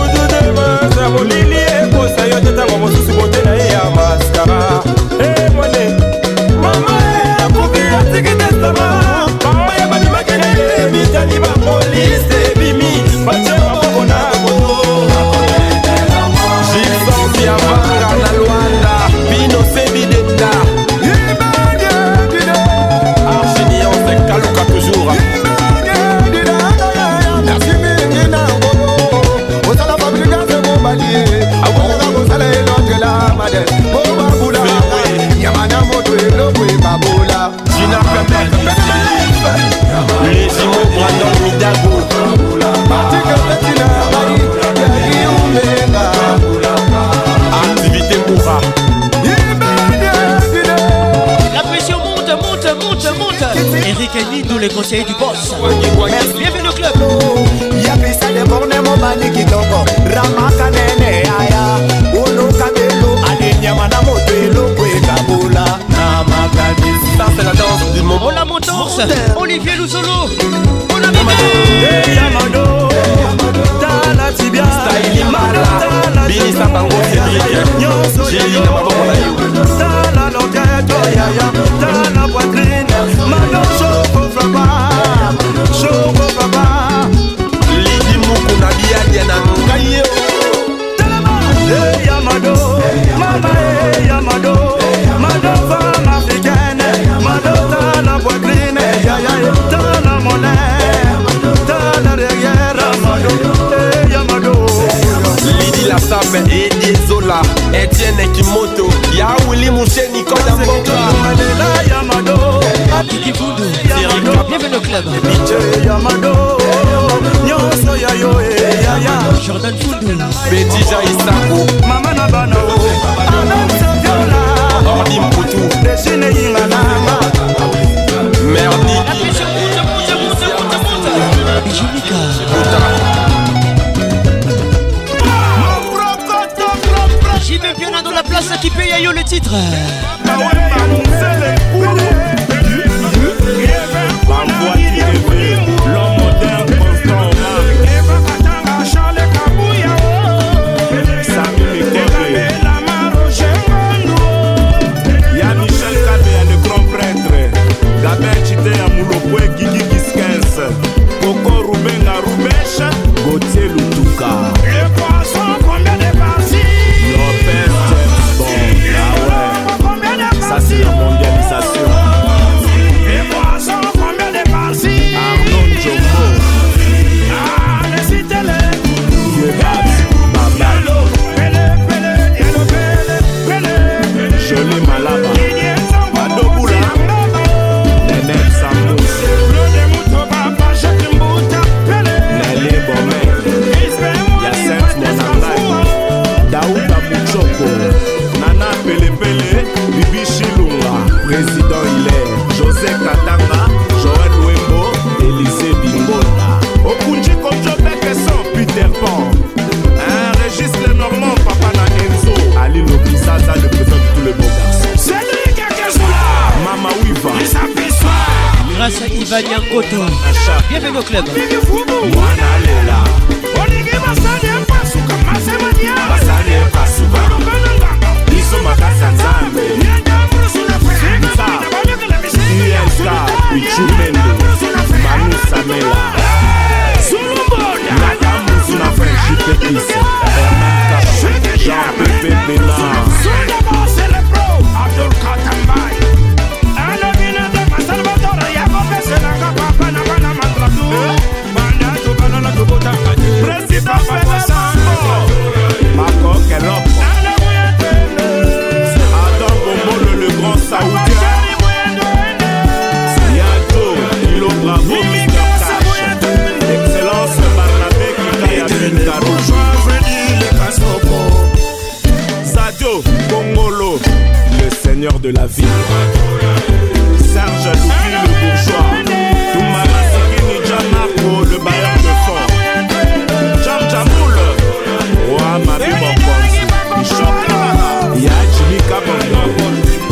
Eric et Nido, les conseillers du boss. Bienvenue au club. Yapisa de borne mo bani kitoko. Ramaka nene aya. Uno kabelo alinya mana moto elo kwe kabula. Namaka ça c'est la danse du moment. On la montance. Olivier Louzolo. On a bébé. Yamado. Tala tibia. Style Mala. Bini Sabango Cédric. J'ai na maboko na yo. Tala loketo yaya. Tala poitrine. Mano choco frapa. Choco frapa. Lidi Moukou na bia diana ngayo. Hey Yamado. Mama hey Yamado. Mado femme africaine. Mado tala poitrine. Yaya tala monnaie. Tala derrière. Mado. Hey Yamado. Lidi la Sabe et Zola. Etienne Kimoto. Ya Willy Mouché Nicolas Mboka. Yamado. Kiki Voodoo. Bienvenue au club. Yamado. Nyonso ya yo e ya ya. Jordan Foundou. Betty Jaïsako. Mama na bana o. Anam Saviola. Ordi Mputu. Deshine yinga nanga. Merdi. La pression monte, monte, monte, monte, monte. Junica. J'y vais bien dans la place qui paye à yo le titre. L'homme moderne constant Y'a Michel Kabea, le grand prêtre. Gabin Chité à Moulopoué, Guigui Giskens. Coco Rubenga Rubecha, Gauthier Lutuka. Les poissons, combien de parties? Lopez James Bond, ah ouais. Ça c'est la mondialisation. Les poissons, combien de parties? Arnaud Joko. Ah, les citez-les. Yegabs, Babalo. Pele, pele, yelo, pele, pele. Joli Malaba. Madoboula. Nenel Samous. Nelly Bomé. Yacinthe Monangai. Daouda Mouchoko. Nana Pele Pele. Bibi Chilunga. Président Hilaire. José Katanga. Joël Wembo. Élisée Bingola. Okunji Kojobeke sans Peter Pan. Un Régis Lenormand, Papa na Enzo. Ali Lokisaza, le président de tous les beaux garçons. C'est lui qui a Mama Wiva. Grâce à Ivan Yankoto. Bienvenue au club. Mwana Lela. Olingi masani mpasuka masemania. Masani mpasuka. Iso makasa nzambe. Nyanja mrusu na frenza. Pamela Madame Suna French Pétis Herman Kaba Jean-Pépé Bénard C'est le pro Abdul Katambai Salvatore Yagope Senanga Papa Navana Mandratu Banda to Banana to Botanga Président Papa Marco Kellop Adam Bombolo le grand saoudien Yato Kilo Bravo Mister Cash Excellence Barnabé Kikaya Bengaro Sadio Kongolo le seigneur de la ville Serge Loupi le bourgeois Toumara Sikini Djanako le bailleur de fond Jam Jamoul Roi Mabi Mokonzi Bishop Yajimi Kabongo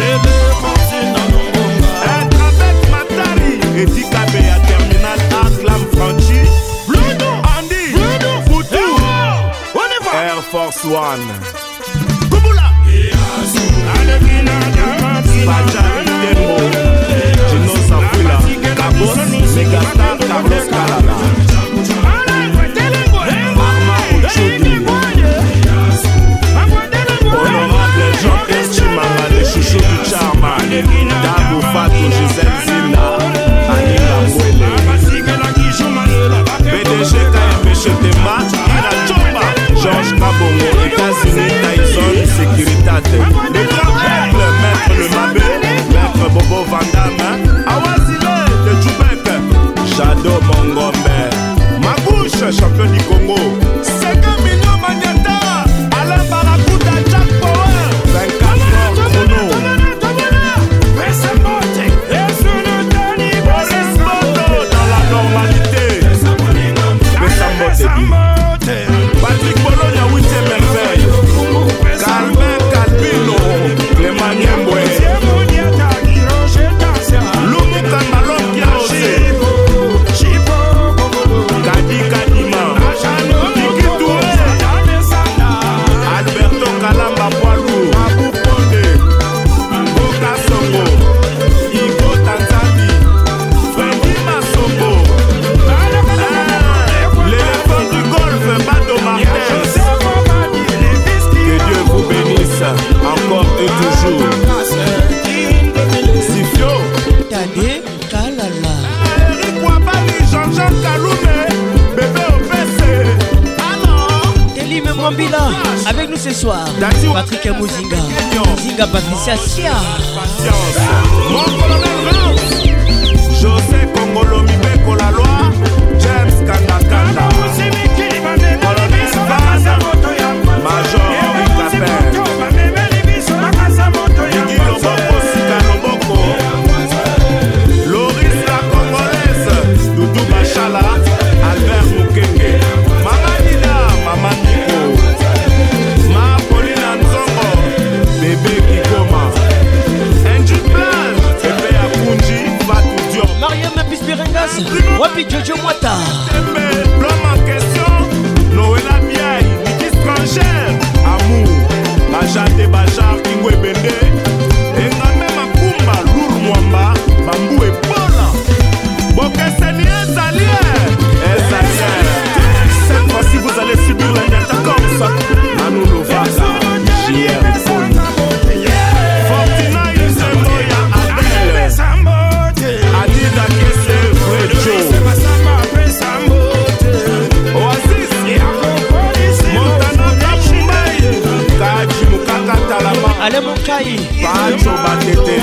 Être avec Matari Edi Kabea Terminal Aklam Franchi Andy Foutou Air Force One Bajari Tembo Gino Safula Cabos Megastar Carlos Calala Arma Ochudi Honorable Jean-Pierre Chimanga le chouchou du Charma Dabou Fatou Gisèle Zina Anila Mwele P D G K M P Chetema Ira Chomba Georges Kabongo États-Unis Tyson Sécuritate Le grand peuple Maître Le Mabé Maître Bobo Vandame Awazile de Djoubek Jado Mongombe Magouche champion du Congo cinq millions Magnata Alain Barakuta Jack Power vingt-quatre heures chrono Boris Bodo dans la normalité Bessambote Patrick Bologna huitième merveille Calvin Calvino Clément Niembwe Lumu Kambalon Kiaose Kadi Kadima Kiki Touré Alberto Kalamba Poilou Abou Ponde Boka Songo Igo Tanzani Freddy Masombo L'éléphant du golf Bado Martin Que Dieu vous bénisse encore et toujours Sifio Tade Kalala Eric Wabali Jean-Jean Kaloumé Bébé Opese Alors Elim Mwambila avec nous ce soir Patrick Mouzinga Zinga Patricia Sia Patience Mon colonel Rance José Kongolo Mibeko la loi James Kandakanda Colonel Van Major Henri Capin Guigui Loboko Sika Loboko Loris la Congolaise Doudou Bachala Albert Mukenge Mama Nida Mama Nico Ma Paulina Nzongo Bébé Kikoma Andrew Plage Bébé Akunji Fatou Diop Mariam Pispirengas Wapi Jojo Mwata L'homme en question Noëlla Biaï Niki Strangère Amour Bajate Bajar Kingwe Bende Engame Makumba Lour Mwamba Bambou et Bola Bokeseni Ezalier Ezalier Cette fois-ci vous allez subir l'indata comme ça Manu Lovaka J R Foni Fortina Yusemoya Adele Adida Kese Frejo Oasis Montana Kapumbaye Kaji Mukaka Talama Ale Monkai Pacho Batete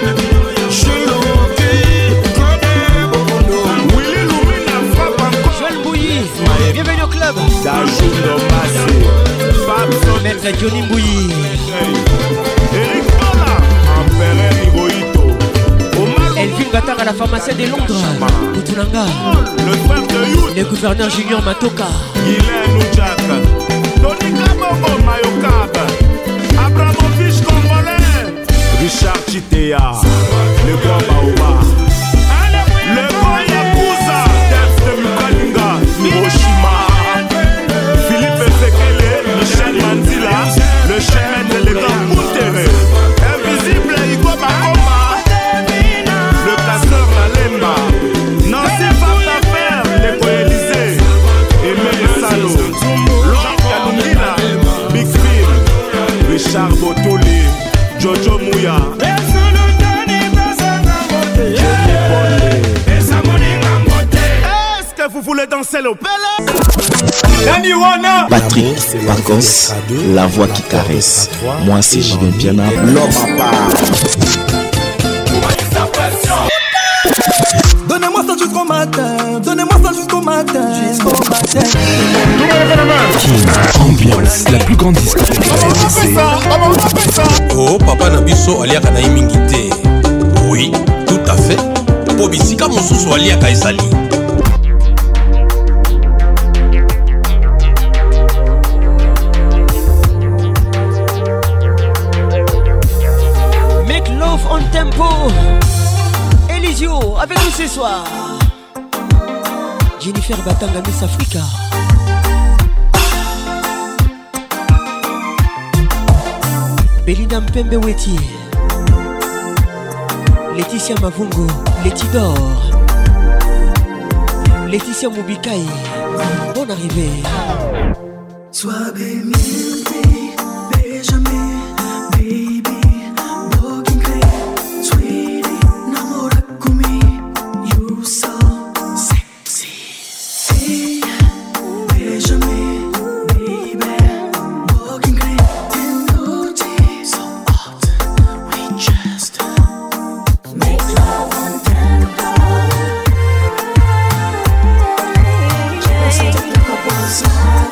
Willy Lumina frappe encore Joël Bouilly Bienvenue au club Dajundo Massé Fabson Maître Johnny Bouilly Eric Bola Empereur Hirohito Elvin Batar à la pharmacie de Londres Koutoulanga Le frère de Youth Le gouverneur Junior Matoka Guylaine Oudjak Tony Kabongo Mayokab Abramovich Congolais Richard Chitea Le grand Baoba Le grand Yakuza Def de Mukalinga Hiroshima Philippe Ezekiel Michel Manzila Le chemin de l'État Moutere Invisible Igo Bakoma Le casseur Nalemba Nancy Fatafel Patrick Pacos, la voix qui caresse. Moi c'est Julien Piana, l'homme à part. Donnez-moi ça jusqu'au matin, donnez-moi ça jusqu'au matin, jusqu'au matin. Ambiance, la plus grande discothèque. Oh, papa Nabiso aliaka na imingité. Oui, tout à fait. Pobisika mosusu aliaka ezali. Make love on tempo. Elisio avec nous ce soir. Jennifer Batanga Miss Africa. Belinda Mpembe Weti. Laetitia Mavungo, Letidor. Laetitia Moubikai. Bonne arrivée. Sois béni, béjame, baby, walking clean, sweetie, namora kumi, you so sexy. Hey, béjame, baby, walking clean, energy so hot, we just make love on tempo. Just take a pause.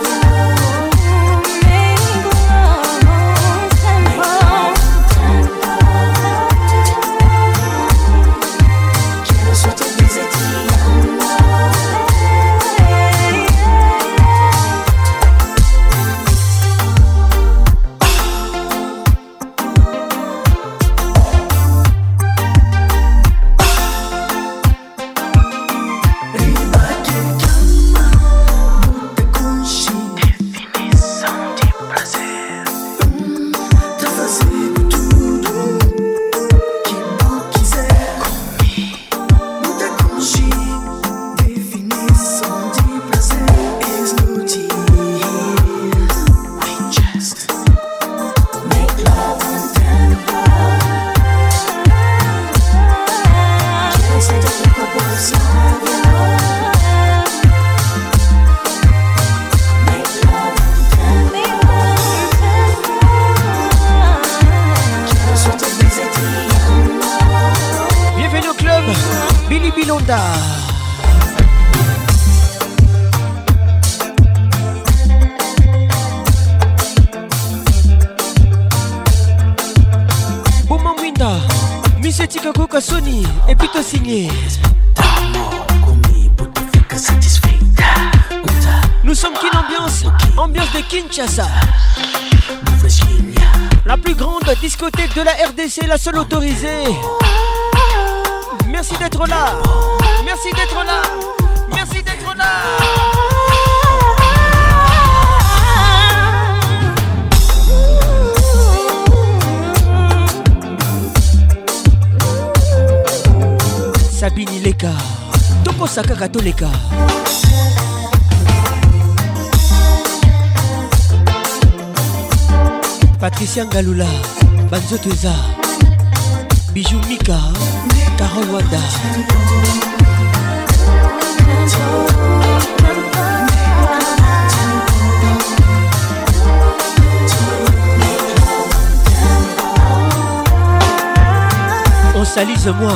Sony et plutôt signé. Nous sommes qu'une ambiance, ambiance de Kinshasa. La plus grande discothèque de la R D C, la seule autorisée. Merci d'être là. Merci d'être là. Merci d'être là. Sabini Leka, Toko Saka Katoleka. Patricia Ngalula, Banzoteza, Bijou Mika, Carole Wanda. On salise-moi.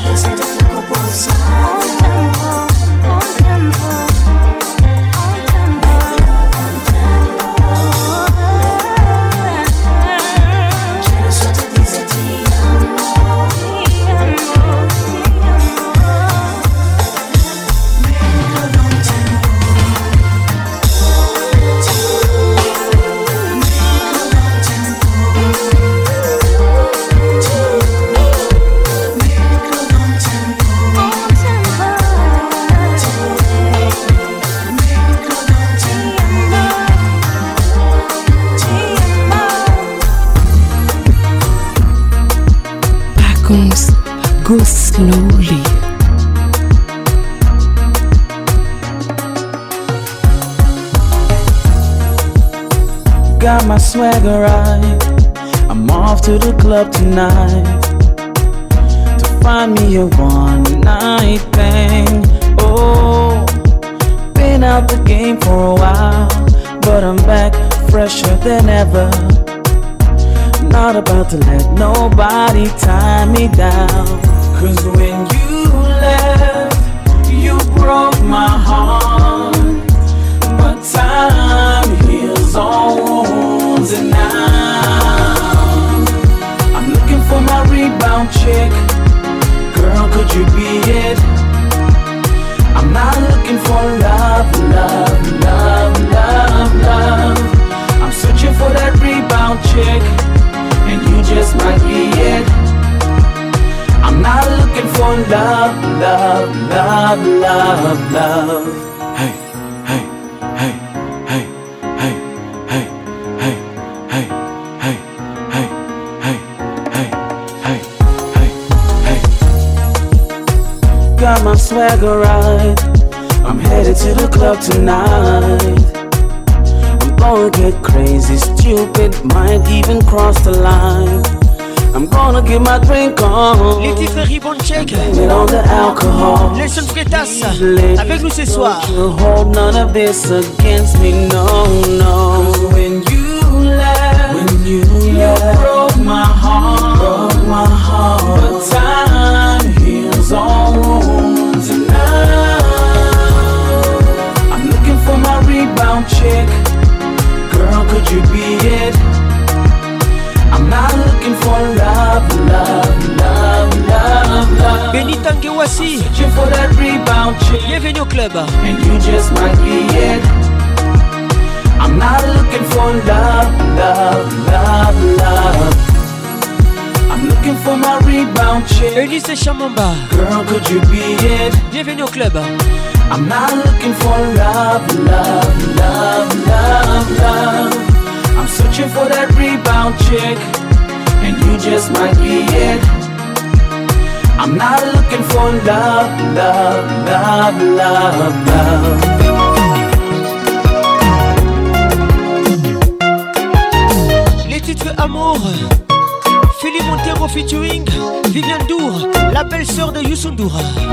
Go slowly. Got my swagger right. I'm off to the club tonight to find me a one night thing. Oh, baby. been out the game for a while, but I'm back fresher than ever. Not about to let nobody tie me down. Cause when you left, you broke my heart. But time heals all wounds, and now I'm looking for my rebound chick. Girl, could you be it? I'm not looking for love, love, love, love, love. I'm searching for that rebound chick, and you just might be it. I'm not looking for love, love, love, love, love. Hey, hey, hey, hey, hey, hey, hey, hey, hey, hey, hey, hey, hey, hey, hey. Got my swagger right. I'm headed to the club tonight. I'm gonna get crazy, stupid, might even cross the line. I'm gonna get my drink on. Les titres Ribbon Check. On the alcohol. Les sons Freitas avec nous ce soir. Hold none of this against me, no, no. When you left, when you, you left, broke my heart, broke my heart. But time heals all wounds, and now I'm looking for my rebound chick. Girl, could you be it? I'm not looking for love, love, love, love, love. Benny Tangewasi, searching for that rebound chick. Bienvenue au club. And you just might be it. I'm not looking for love, love, love, love. I'm looking for my rebound chick. Elise Chamamba. Girl, could you be it? Bienvenue au club. I'm not looking for love, love, love, love, love. I'm searching for that rebound chick, and you just might be it. I'm not looking for love, love, love, love, love. Les titres Amour, Philippe Montero featuring Viviane Dour, la belle sœur de Youssou N'Dour.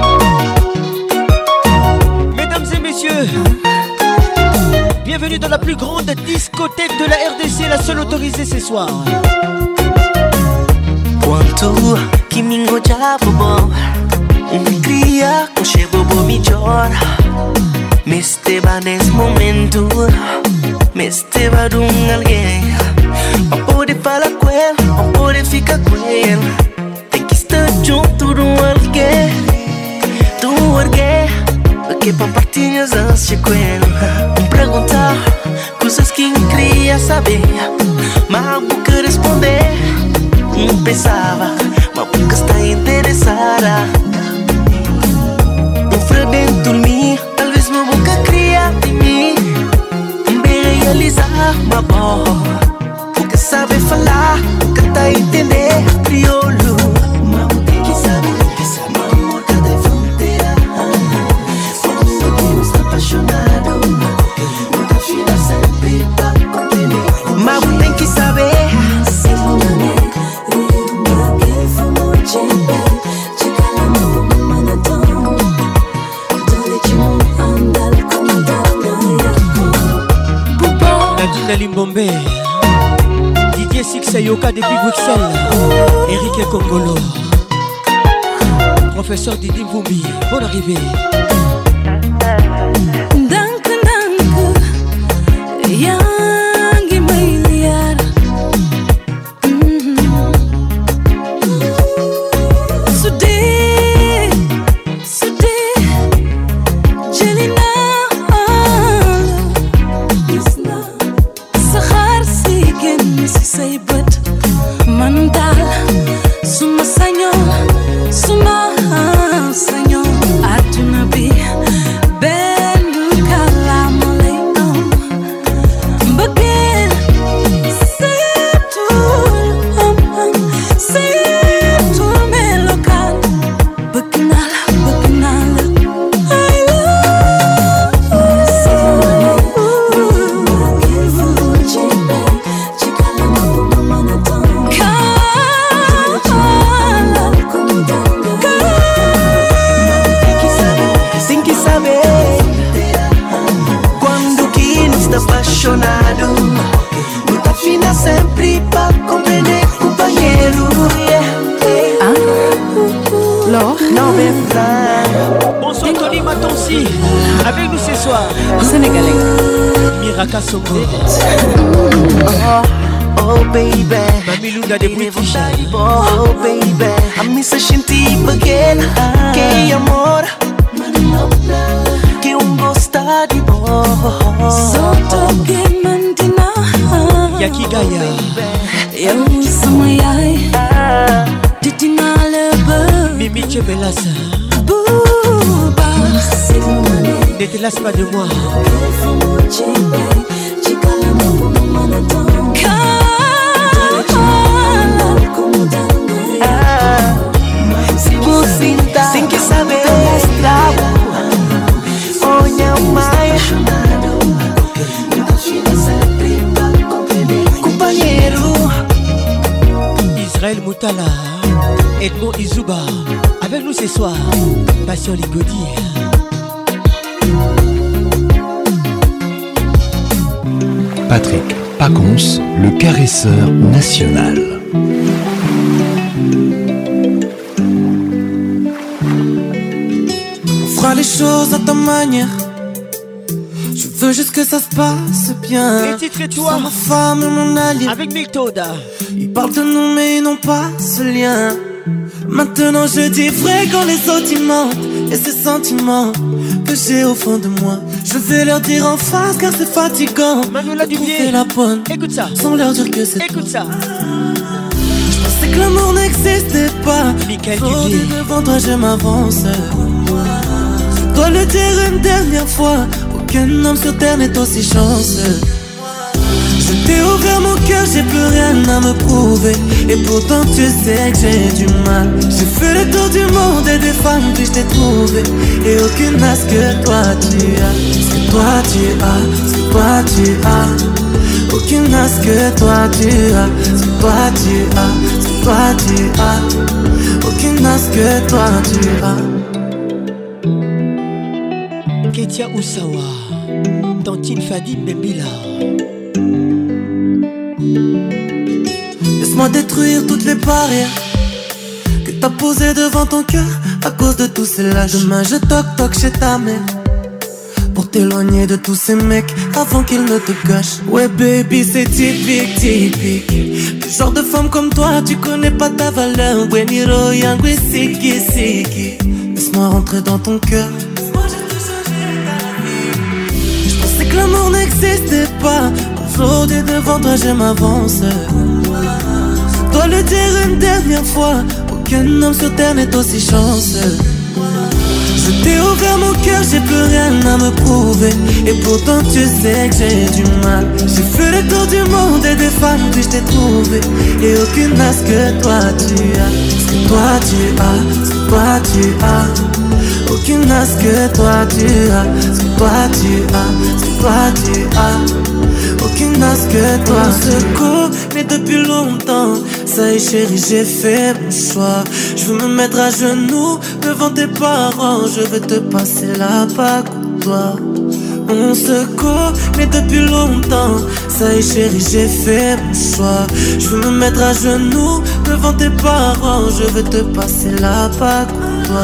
Mesdames et messieurs, bienvenue dans la plus grande discothèque de la R D C, la seule autorisée ce soir. Quanto que me engojava bom, me cria com cheiro bom me chora. Me esteva nesse momento, me esteva de um alguém. Pra poder falar com ele, pra poder ficar com ele, tem que estar junto de um alguém, de um alguém. Porque pra partilhar as ânsias com ele, me perguntar coisas que me queria saber, mas a boca responder. Não pensava, mas a boca está interessada. Um frio dentro de mim, talvez minha boca cria de mim. Me realizar, mas bom, porque sabe falar, porque tá a entender crioulo. Mas tem que saber, que sabe o amor cadê fronteira. Quando quem está apaixonado, nunca fica sempre pra compreender. Mas tem que saber. Nadine Limbombe, Didier Sixayoka depuis Bruxelles, Eric Kongolo, professeur Didi Mvumbi, bonne arrivée. Danke, danke, Yangi Mailiar. Sudé, Sudé, Jelina. Say but mandal suma sanyo suma sanyo atuna bi apaixonado. Muita fina sempre pra compreender companheiro. Ah, Laure. Non mais frère. Bonsoir Tony Matonsi. Avec nous ce soir. Sénégalais. Miraka Songé. Oh, oh baby. Mamilunga de British. Oh baby. A missa senti again. Que amor. Que um gostar de bom. Só toquei mantina. Yaki Gaia. Eu sou ai. Titina lebe. Mimi Chebelasa. Bouba. Ne te lasse pas de moi. Sem que saber escravo. Olha o mais companheiro. Israël Moutala, Edmond Izuba, avec nous ce soir, Passion Ligodi. Patrick Pacons, le caresseur national. On fera les choses à ta manière. Je veux juste que ça se passe bien. Les titres et toi, ma femme et mon allié. Avec Miltoda. Ils parlent de nous mais ils n'ont pas ce lien. Maintenant je dis vrai quand les autres ils mentent. Et ces sentiments que j'ai au fond de moi, je vais leur dire en face car c'est fatigant. Manuela Dubier, la bonne. Écoute ça. Sans leur dire que c'est Écoute toi. ça. Je pensais que l'amour n'existait pas. Michael Aujourd'hui Dubier. devant toi je m'avance. Je dois le dire une dernière fois. Aucun homme sur terre n'est aussi chanceux. Je t'ai ouvert mon cœur, j'ai plus rien à me prouver. Et pourtant tu sais que j'ai du mal. J'ai fait le tour du monde et des femmes puis je t'ai trouvé. Et aucune n'a ce que toi tu as. Ce que toi tu as, ce que toi tu as. Aucune n'a ce que toi tu as. Ce que toi tu as, ce que toi tu as. Aucune n'a ce que toi tu as. Ketia Oussawa, Tantine Fadi Mbembila. Laisse-moi détruire toutes les barrières que t'as posées devant ton cœur à cause de tous ces lâches. Demain je toque toque chez ta mère pour t'éloigner de tous ces mecs avant qu'ils ne te gâchent. Ouais baby c'est typique, typique. Le genre de femme comme toi tu connais pas ta valeur. Bueniro yangui siki siki. Laisse-moi rentrer dans ton cœur. Je pensais que l'amour n'existait pas. Aujourd'hui devant toi je m'avance. Je dois le dire une dernière fois. Aucun homme sur terre n'est aussi chanceux. Je t'ai ouvert mon cœur, j'ai plus rien à me prouver. Et pourtant tu sais que j'ai du mal. J'ai fait le tour du monde et des femmes puis je t'ai trouvé. Et aucune n'a ce que toi tu as. Ce que toi tu as, ce que toi tu as. Aucune n'a ce que toi tu as. Ce que toi tu as, ce que toi tu as. Aucune n'a ce que toi. On se connaît depuis longtemps. Ça y est chérie j'ai fait mon choix. Je veux me mettre à genoux devant tes parents. Je veux te passer la bague pour toi. On se connaît depuis longtemps. Ça y est chérie j'ai fait mon choix. Je veux me mettre à genoux devant tes parents. Je veux te passer la bague pour toi.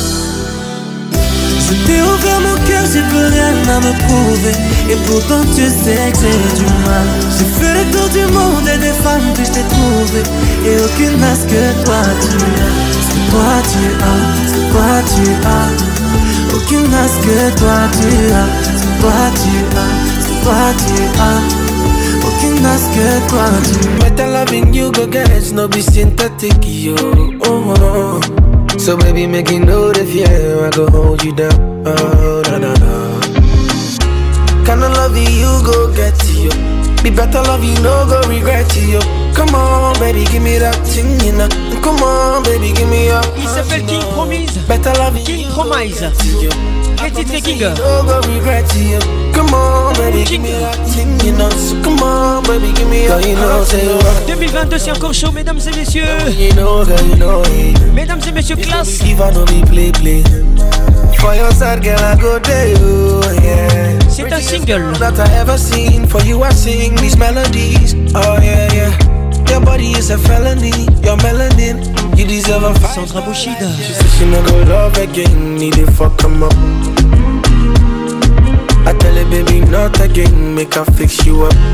Je t'ai ouvert mon cœur, j'ai plus rien à me prouver. Et pourtant tu sais que j'ai du mal. J'ai fait le tour du monde et des femmes puis je t'ai trouvé. Et aucune n'a ce que toi tu as. Ce que toi tu as, ce que toi tu as. Aucune n'a ce que toi tu as. Ce que toi tu as, ce que toi tu as. Aucune n'a ce que toi tu as. Better loving you go get it, no be synthetic yo. Oh, oh. So baby make you know the fear, I go hold you down. Oh, na na na. Kinda love you go get you. Be better love you, no go regret you. Come on baby, give me that thing, you know. Come on baby, give me up. Il s'appelle King Promise. Better love you. King Promise. Les titres King. No go regret you. Come on baby, give me that thing, you know. So come on baby, give me up. You know, say what. deux mille vingt-deux c'est encore chaud mesdames et messieurs. You know, girl, you know it. Mesdames et messieurs, classe. If I know me play play. For your side, girl, I go there, oh, yeah. C'est un single. That I ever seen. For you I sing these melodies. Oh yeah, yeah. Your body is a felony. Your melanin, you deserve a fight. Sandra Bouchida. She said she no go love again. Need to fuck him up. I tell her baby not again. Make her fix you up.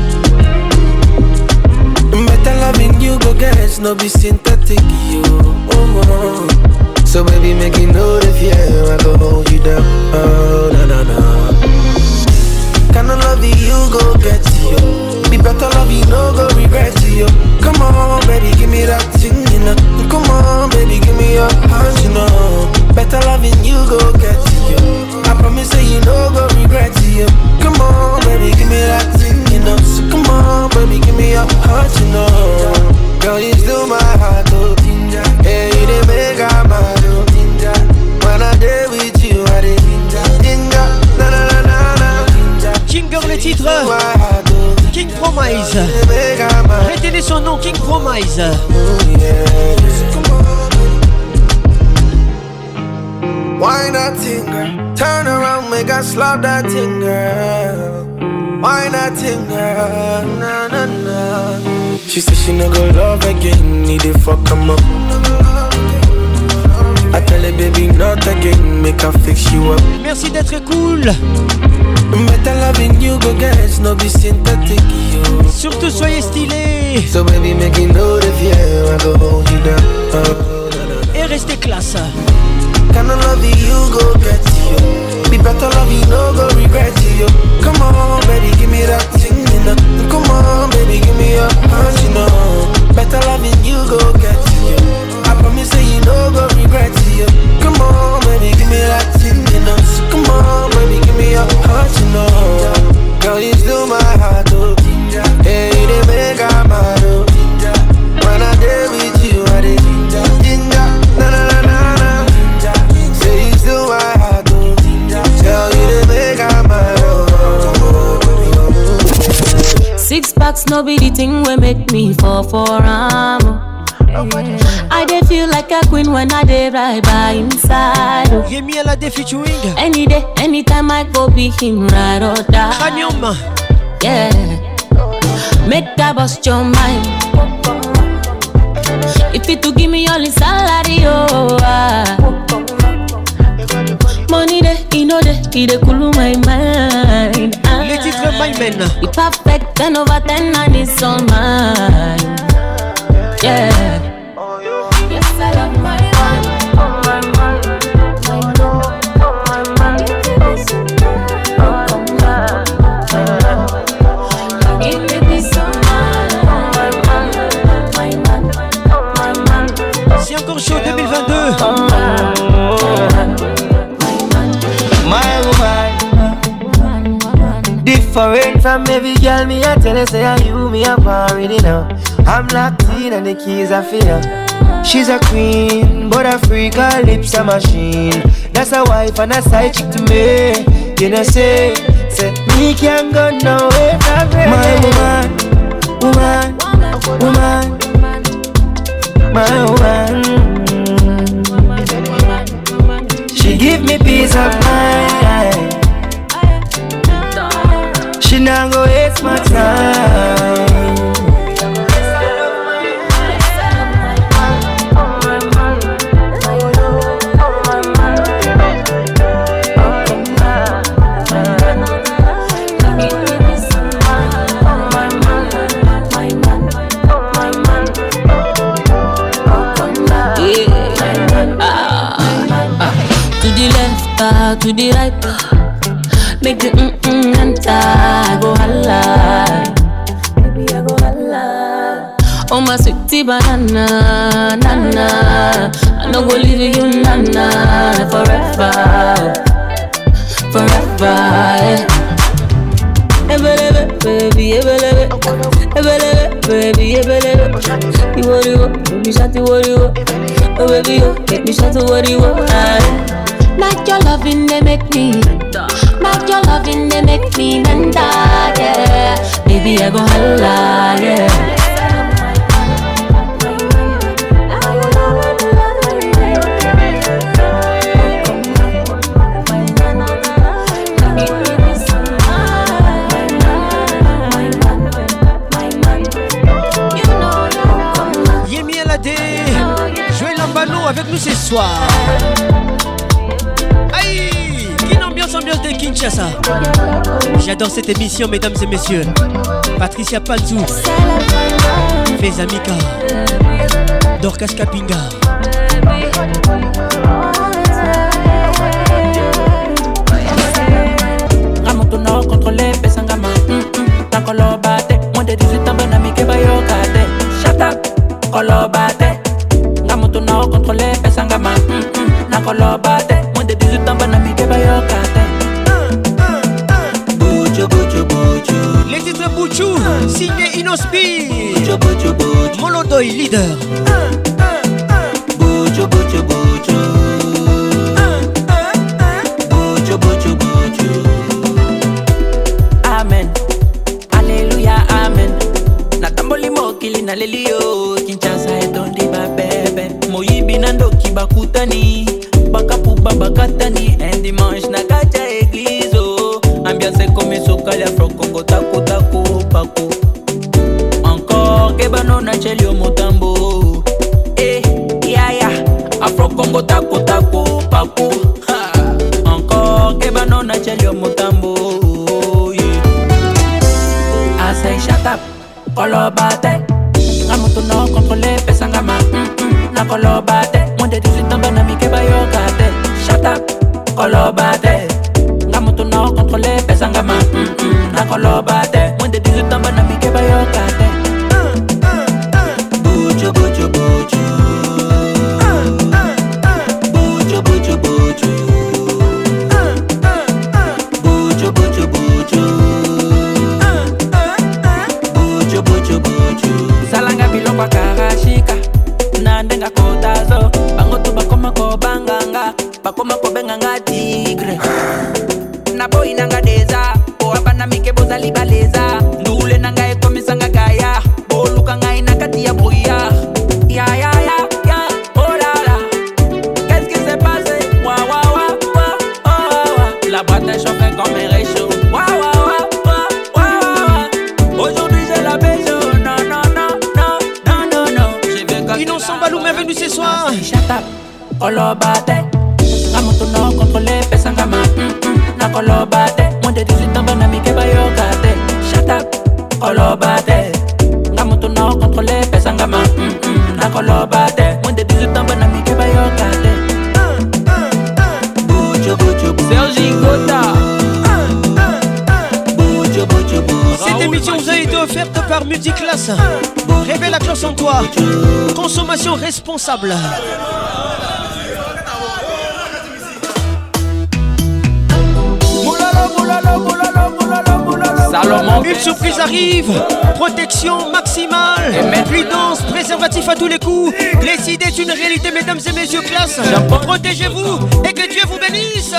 Better loving you go get it. No be synthetic you. Oh, oh. So baby make you know the fear. I go hold you down. Oh na na na. Kinda love you go get you. Be better love you no go regret you. Come on baby give me that thing you know. Come on baby give me your heart you know. Better loving you go get you. I promise say you no go regret you. Come on baby give me that thing you know. So come on baby give me your heart you know. Girl you still my heart oh ginger. Hey you dey make I mad oh ginger. When I dey with you I dey ginger ginger. Na na na na na. Ginger le titre. King Promise. Retenez son nom, King Promise. Why not thing, girl? Turn around, make us slap that thing, girl. Why not thing, girl? Na na na. She said she no go love again, need to fuck him up. I tell her baby not again, make her fix you up. Merci d'être cool. Better loving you go get it, no be synthetic yo. Surtout soyez stylé. So baby make you know the fear, I go hold you down. Oh, et restez classe. Kinda love you go get you. Be better love you no go regret you. Come on baby give me that thing you know. Come on baby give me your heart you know. Better loving you go get you. I promise say you no go regret you. Come on baby give me that thing you know. So come on baby give me your heart you know. Girl you still my heart oh ginger. Hey you dey make I mad oh ginger. When I dey with you I dey ginger ginger. Na na na na na. Say you still my heart oh ginger. Girl you dey make I mad oh. Six packs no be the thing we make me fall for am. I dey feel like a queen when I dey right by inside. Rémi Alade featuring. Any day, anytime I go be him right or die. Cranium. Yeah. Make that bust your mind. If it to give me all the salary, oh. Ah. Money day, you know day, he dey cool my mind. Ah. Les titres My Men. He perfect, ten over ten and it's all mine. Yeah. Yes, I love my man. Oh, my man. My man. Oh, my man. Oh, my man. Give me this man. Oh, my man. My man. Oh, my man. C'est encore chaud deux mille vingt-deux. Oh, my woman. Different from every girl, me I tell her say I you me up already now. I'm locked in and the keys are for her. She's a queen, but a freak, her lips a machine. That's a wife and a side chick to me. You know say, say me can't go nowhere from her. My woman, woman, woman, my woman. She give me peace of mind. She not go waste my time. To the right, make the mm-mm enter. I go holla, baby I go holla. Oh my sweetie banana, nana, I no go leave you nana forever, forever. Ebelebe, baby, ebelebe, ebelebe, baby, ebelebe. You worry what, baby, shut the worry what, oh baby, you make me shut the worry what. Not your loving, they make me. Not your loving, they make me menda, yeah. Baby, I go holla, yeah. soir. Aïe, Kin Ambiance, ambiance de Kinshasa. J'adore cette émission, mesdames et messieurs. Patricia Panzou, Feza Mika, Dorcas Kapinga. Ramotono contrôlé, Pesangama. Nakolo bate, moins de dix-huit ans, bonami ke bayo kate. Shut up, kolo bate. Ramotono contrôlé, Pesangama. Nakolo bate, moins de dix-huit ans, bonami ke bayo kate. Bucho, bucho, bucho. Les titres Bouchou, signé Inospi. Molodoy, leader. Bucho, bucho, bucho. Bucho, bucho, bucho. Amen. Alléluia, amen. Natamboli mokili na lelio. Kinshasa etondi babebe. Moyibi nando kibakutani. Bakapu babakatani. Un dimanche na kacha église. Ambiance comme sokali afro Congo taku taku paku. Encore kebano na chelio motambo. Eh, ya ya. Afro Congo taku taku paku. Ha. Encore kebano na chelio motambo. I say shut up, kolo bate. Ramoto no contrôlé, pesangama. Na kolo bate. Moins de dix-huit ans, banami ke bayo kate. Shut up, kolo bate. Ramoto no contrôlé, pesangama. Na kolo bate. Moins de dix-huit ans, banami ke bayo kate. Bucho, bucho, bucho. Bucho, bucho, bucho. Bucho, bucho, bucho. Bucho, bucho, bucho. Salanga bilokwa karashika. Nandenga kotazo. Bango tu bakoma ko banganga. Bakoma ko benganga tigre. Na boy nanga deza. O abana mike boza libaleza. Ndule nanga ekomisanga gaya. Boluka ngai nakati ya brouillard. Ya ya ya ya. Oh la la. Qu'est-ce qui s'est passé? Wa wa wa wa. Oh wa wa. La boîte est chauffée comme un réchaud. Wa wa wa wa wa wa. Aujourd'hui j'ai la beso. Non non non non non non non. J'ai vu quand Inon Sambalou, bienvenue ce soir. Shut up. Kolo bate. Ramoto no contrôlé, pesangama. Na kolo bate. Moins de dix-huit ans, banami ke bayo kate. Shut up. Kolo bate. Ramoto no contrôlé, pesangama. Na kolo bate. Moins de dix-huit ans, banami ke bayo kate. Bucho, bucho, bucho. Sergi Gota. Bucho, bucho, bucho. Cette émission vous a été offerte par Multiclass. Révèle la classe en toi. Consommation responsable. Salomon. Une surprise arrive. Protection maximale. Fluidance, préservatif à tous les coups. Glécide est une réalité, mesdames et messieurs, classe. Protégez-vous et que Dieu vous bénisse.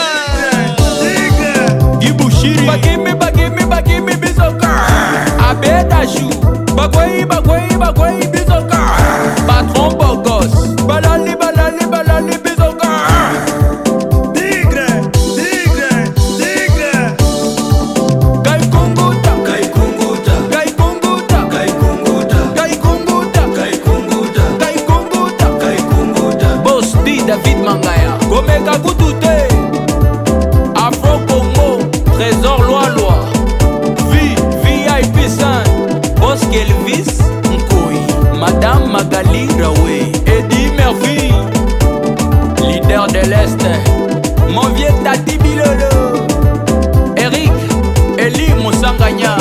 Ibushiri Bagimi, bagimi, bagimi, bizoka Abedajou Bagwai, bagwai, bagwai, bizoka Patron Bogos Balali, balali, balali, bizoka Tigre, tigre, tigre Gai Kunguta Gai Kunguta Gai Kunguta Gai Kunguta Gai Kunguta Gai Kunguta Gai Kunguta Gai Kunguta Boss D David Mangaya. Komeka Kutute Afro Congo Trésor loi loi V I P cinq Boss Kelvis Nkoi Madame Magali Rawe Eddie Murphy Leader de l'Est Mon vieux Tati Bilolo Eric Eli Moussanganya.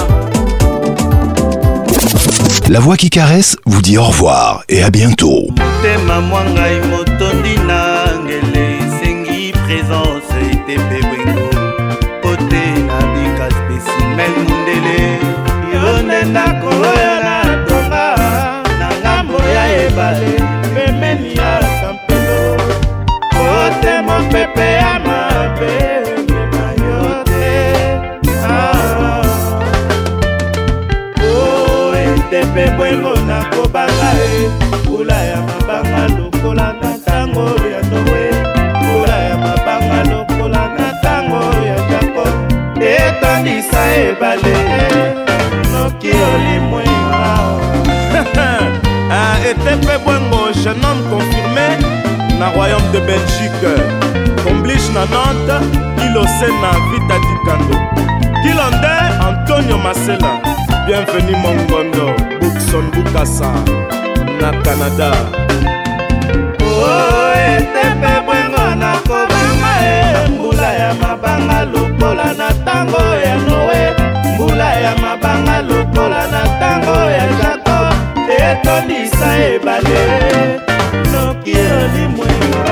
La voix qui caresse vous dit au revoir et à bientôt. Tema mwangai motondi nangele sengi présence itepe bwengo pote na bika spécimen mundele yone ndako oyo na tonga na ngambo ya ebale pembeni ya kampelo pote mopepe ya mabe mema yote o itepe bwengo na kobanga e pula ya mabanga lokola na tango ya nowe pula ya mabanga lokola na tango ya jacob etandisa ebale noki olimwenga etepe bwango jeune homme confirmé na royaume de na Nantes, Ilosena Vita Dikando. Kilande Antonio Masela. Bienvenue Mongondo, Bookson Bukasa, na Canada. Oh, etepe bwengo na kobanga e mbula ya mabanga lokola na tango ya Noé. Mbula ya mabanga lokola na tango ya Jacob. Etondisa ebale noki olimwenga.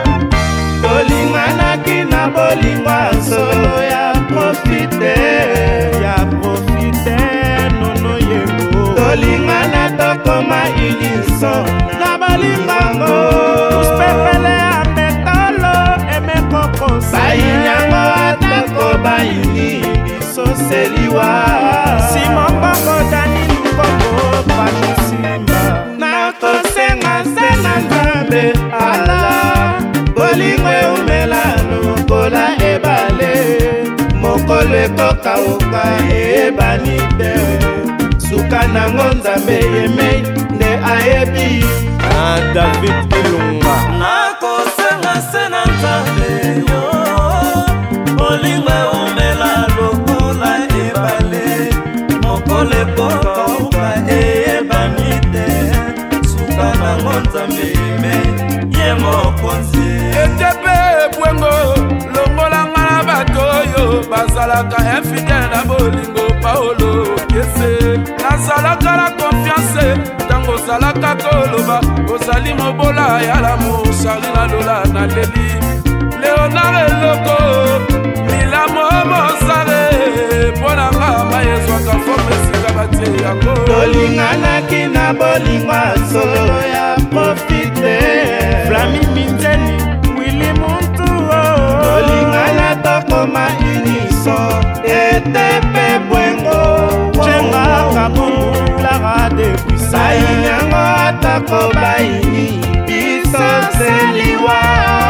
Tolinganaki na bolingwa solo ya profite. Ya profite nono yembo. Tolingana tokoma iliso na bolingango. Uspepele ametolo emekoko bayinyango atako bayini biso seliwa. Simokoko dani lukoko panusimba. Na kosenga senga nzambe ala. Bolingwe umela lokola ebale. Mokolo ekokauka ebanite. Suka nango nzambe yemei nde ayebi. Ah, David Ilunga. Nakosenga sena nzambe yo. Bolingwe umela lokola ebale. Mokolo ekokauka ebanite. Suka nango nzambe yemei ye mokonzi. Etepe bwengo longola ngana bato yo bazalaka infidèle na bolingo Paolo Kese. Nazalaka la confiance tango zalaka koloba ozali mobola ya l'amour Charina Lola na leli Léonard Eloko Milamo Mozare pona ngama yezwaka forme sika batie yango. Tolinganaki na bolingwa solo ya profite. Flami Miteni Willy Muntu. Tolingana tokoma unison. Etepe bwengo Chenga kabumu Lara de Puissance. Bayinyango atako bayini biso seliwa.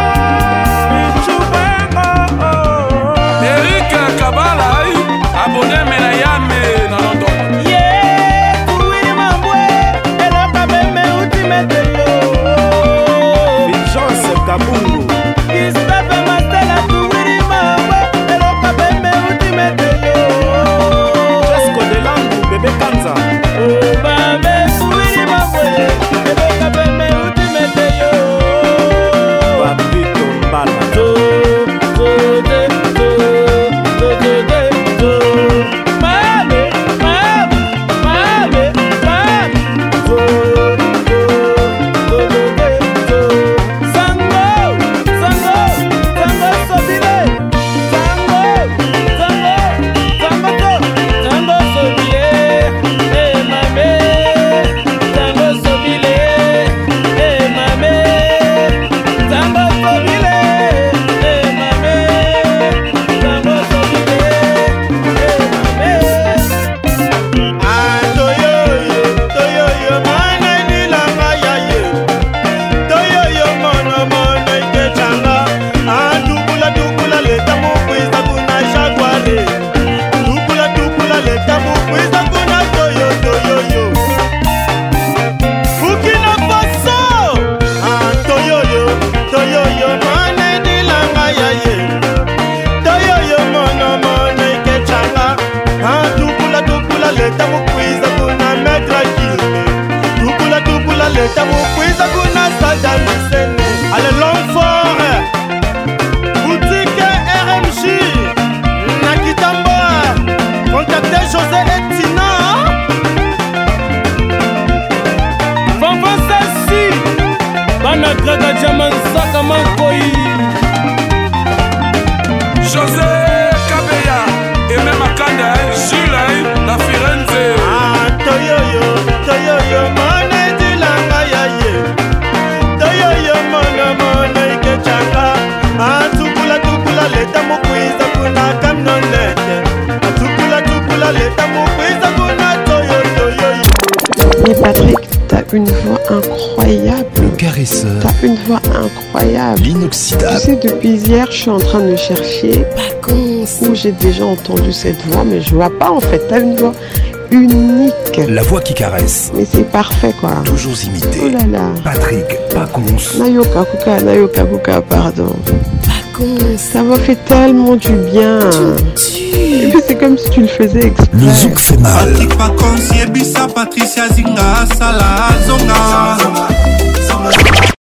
Eric Kabala abonné mena yame na London. Yeah, kuwiri mambwe eloka beme ultimate yo. Vigence Kabungu. Ispepe Mastela kuwiri mambwe eloka beme ultimate yo. Jesco de Langu bébé Kanza. Oh babe kuwiri mambwe eloka beme ultimate yo. Papito Mbala. Allez, Longfort, boutique R M J, Nakitambo, contactez José et Tina. Fanfan Sassi, Bana Graga Diamant Saka Mankoi. José Kabeya et même Akanda, Jules, la Firenze. Ah, Toyoyo, Toyoyo, Mane Dilanga Yaye. Toyoyo, Mone Mone Ikechanga. Ah, Tukula Tukula, Leta Mokwiza Kuna Kamnonete. Ah, Tukula Tukula, Leta Mokwiza Kuna Toyo Toyoyo. Mais Patrick, t'as une voix incroyable. Le caresseur. T'as une voix incroyable. L'inoxydable. Tu sais, depuis hier, je suis en train de chercher où j'ai déjà entendu cette voix, mais je vois pas en fait. T'as une voix unique. La voix qui caresse. Mais c'est parfait quoi. Toujours imité. Oh là là. Patrick Pacons. Nayoka Kuka, Nayoka Kuka, pardon. Ça m'a fait tellement du bien. Et puis c'est comme si tu le faisais exprès. Le zouk fait mal. Patrick Pacons, Yebisa, Patricia Zinga, Salah,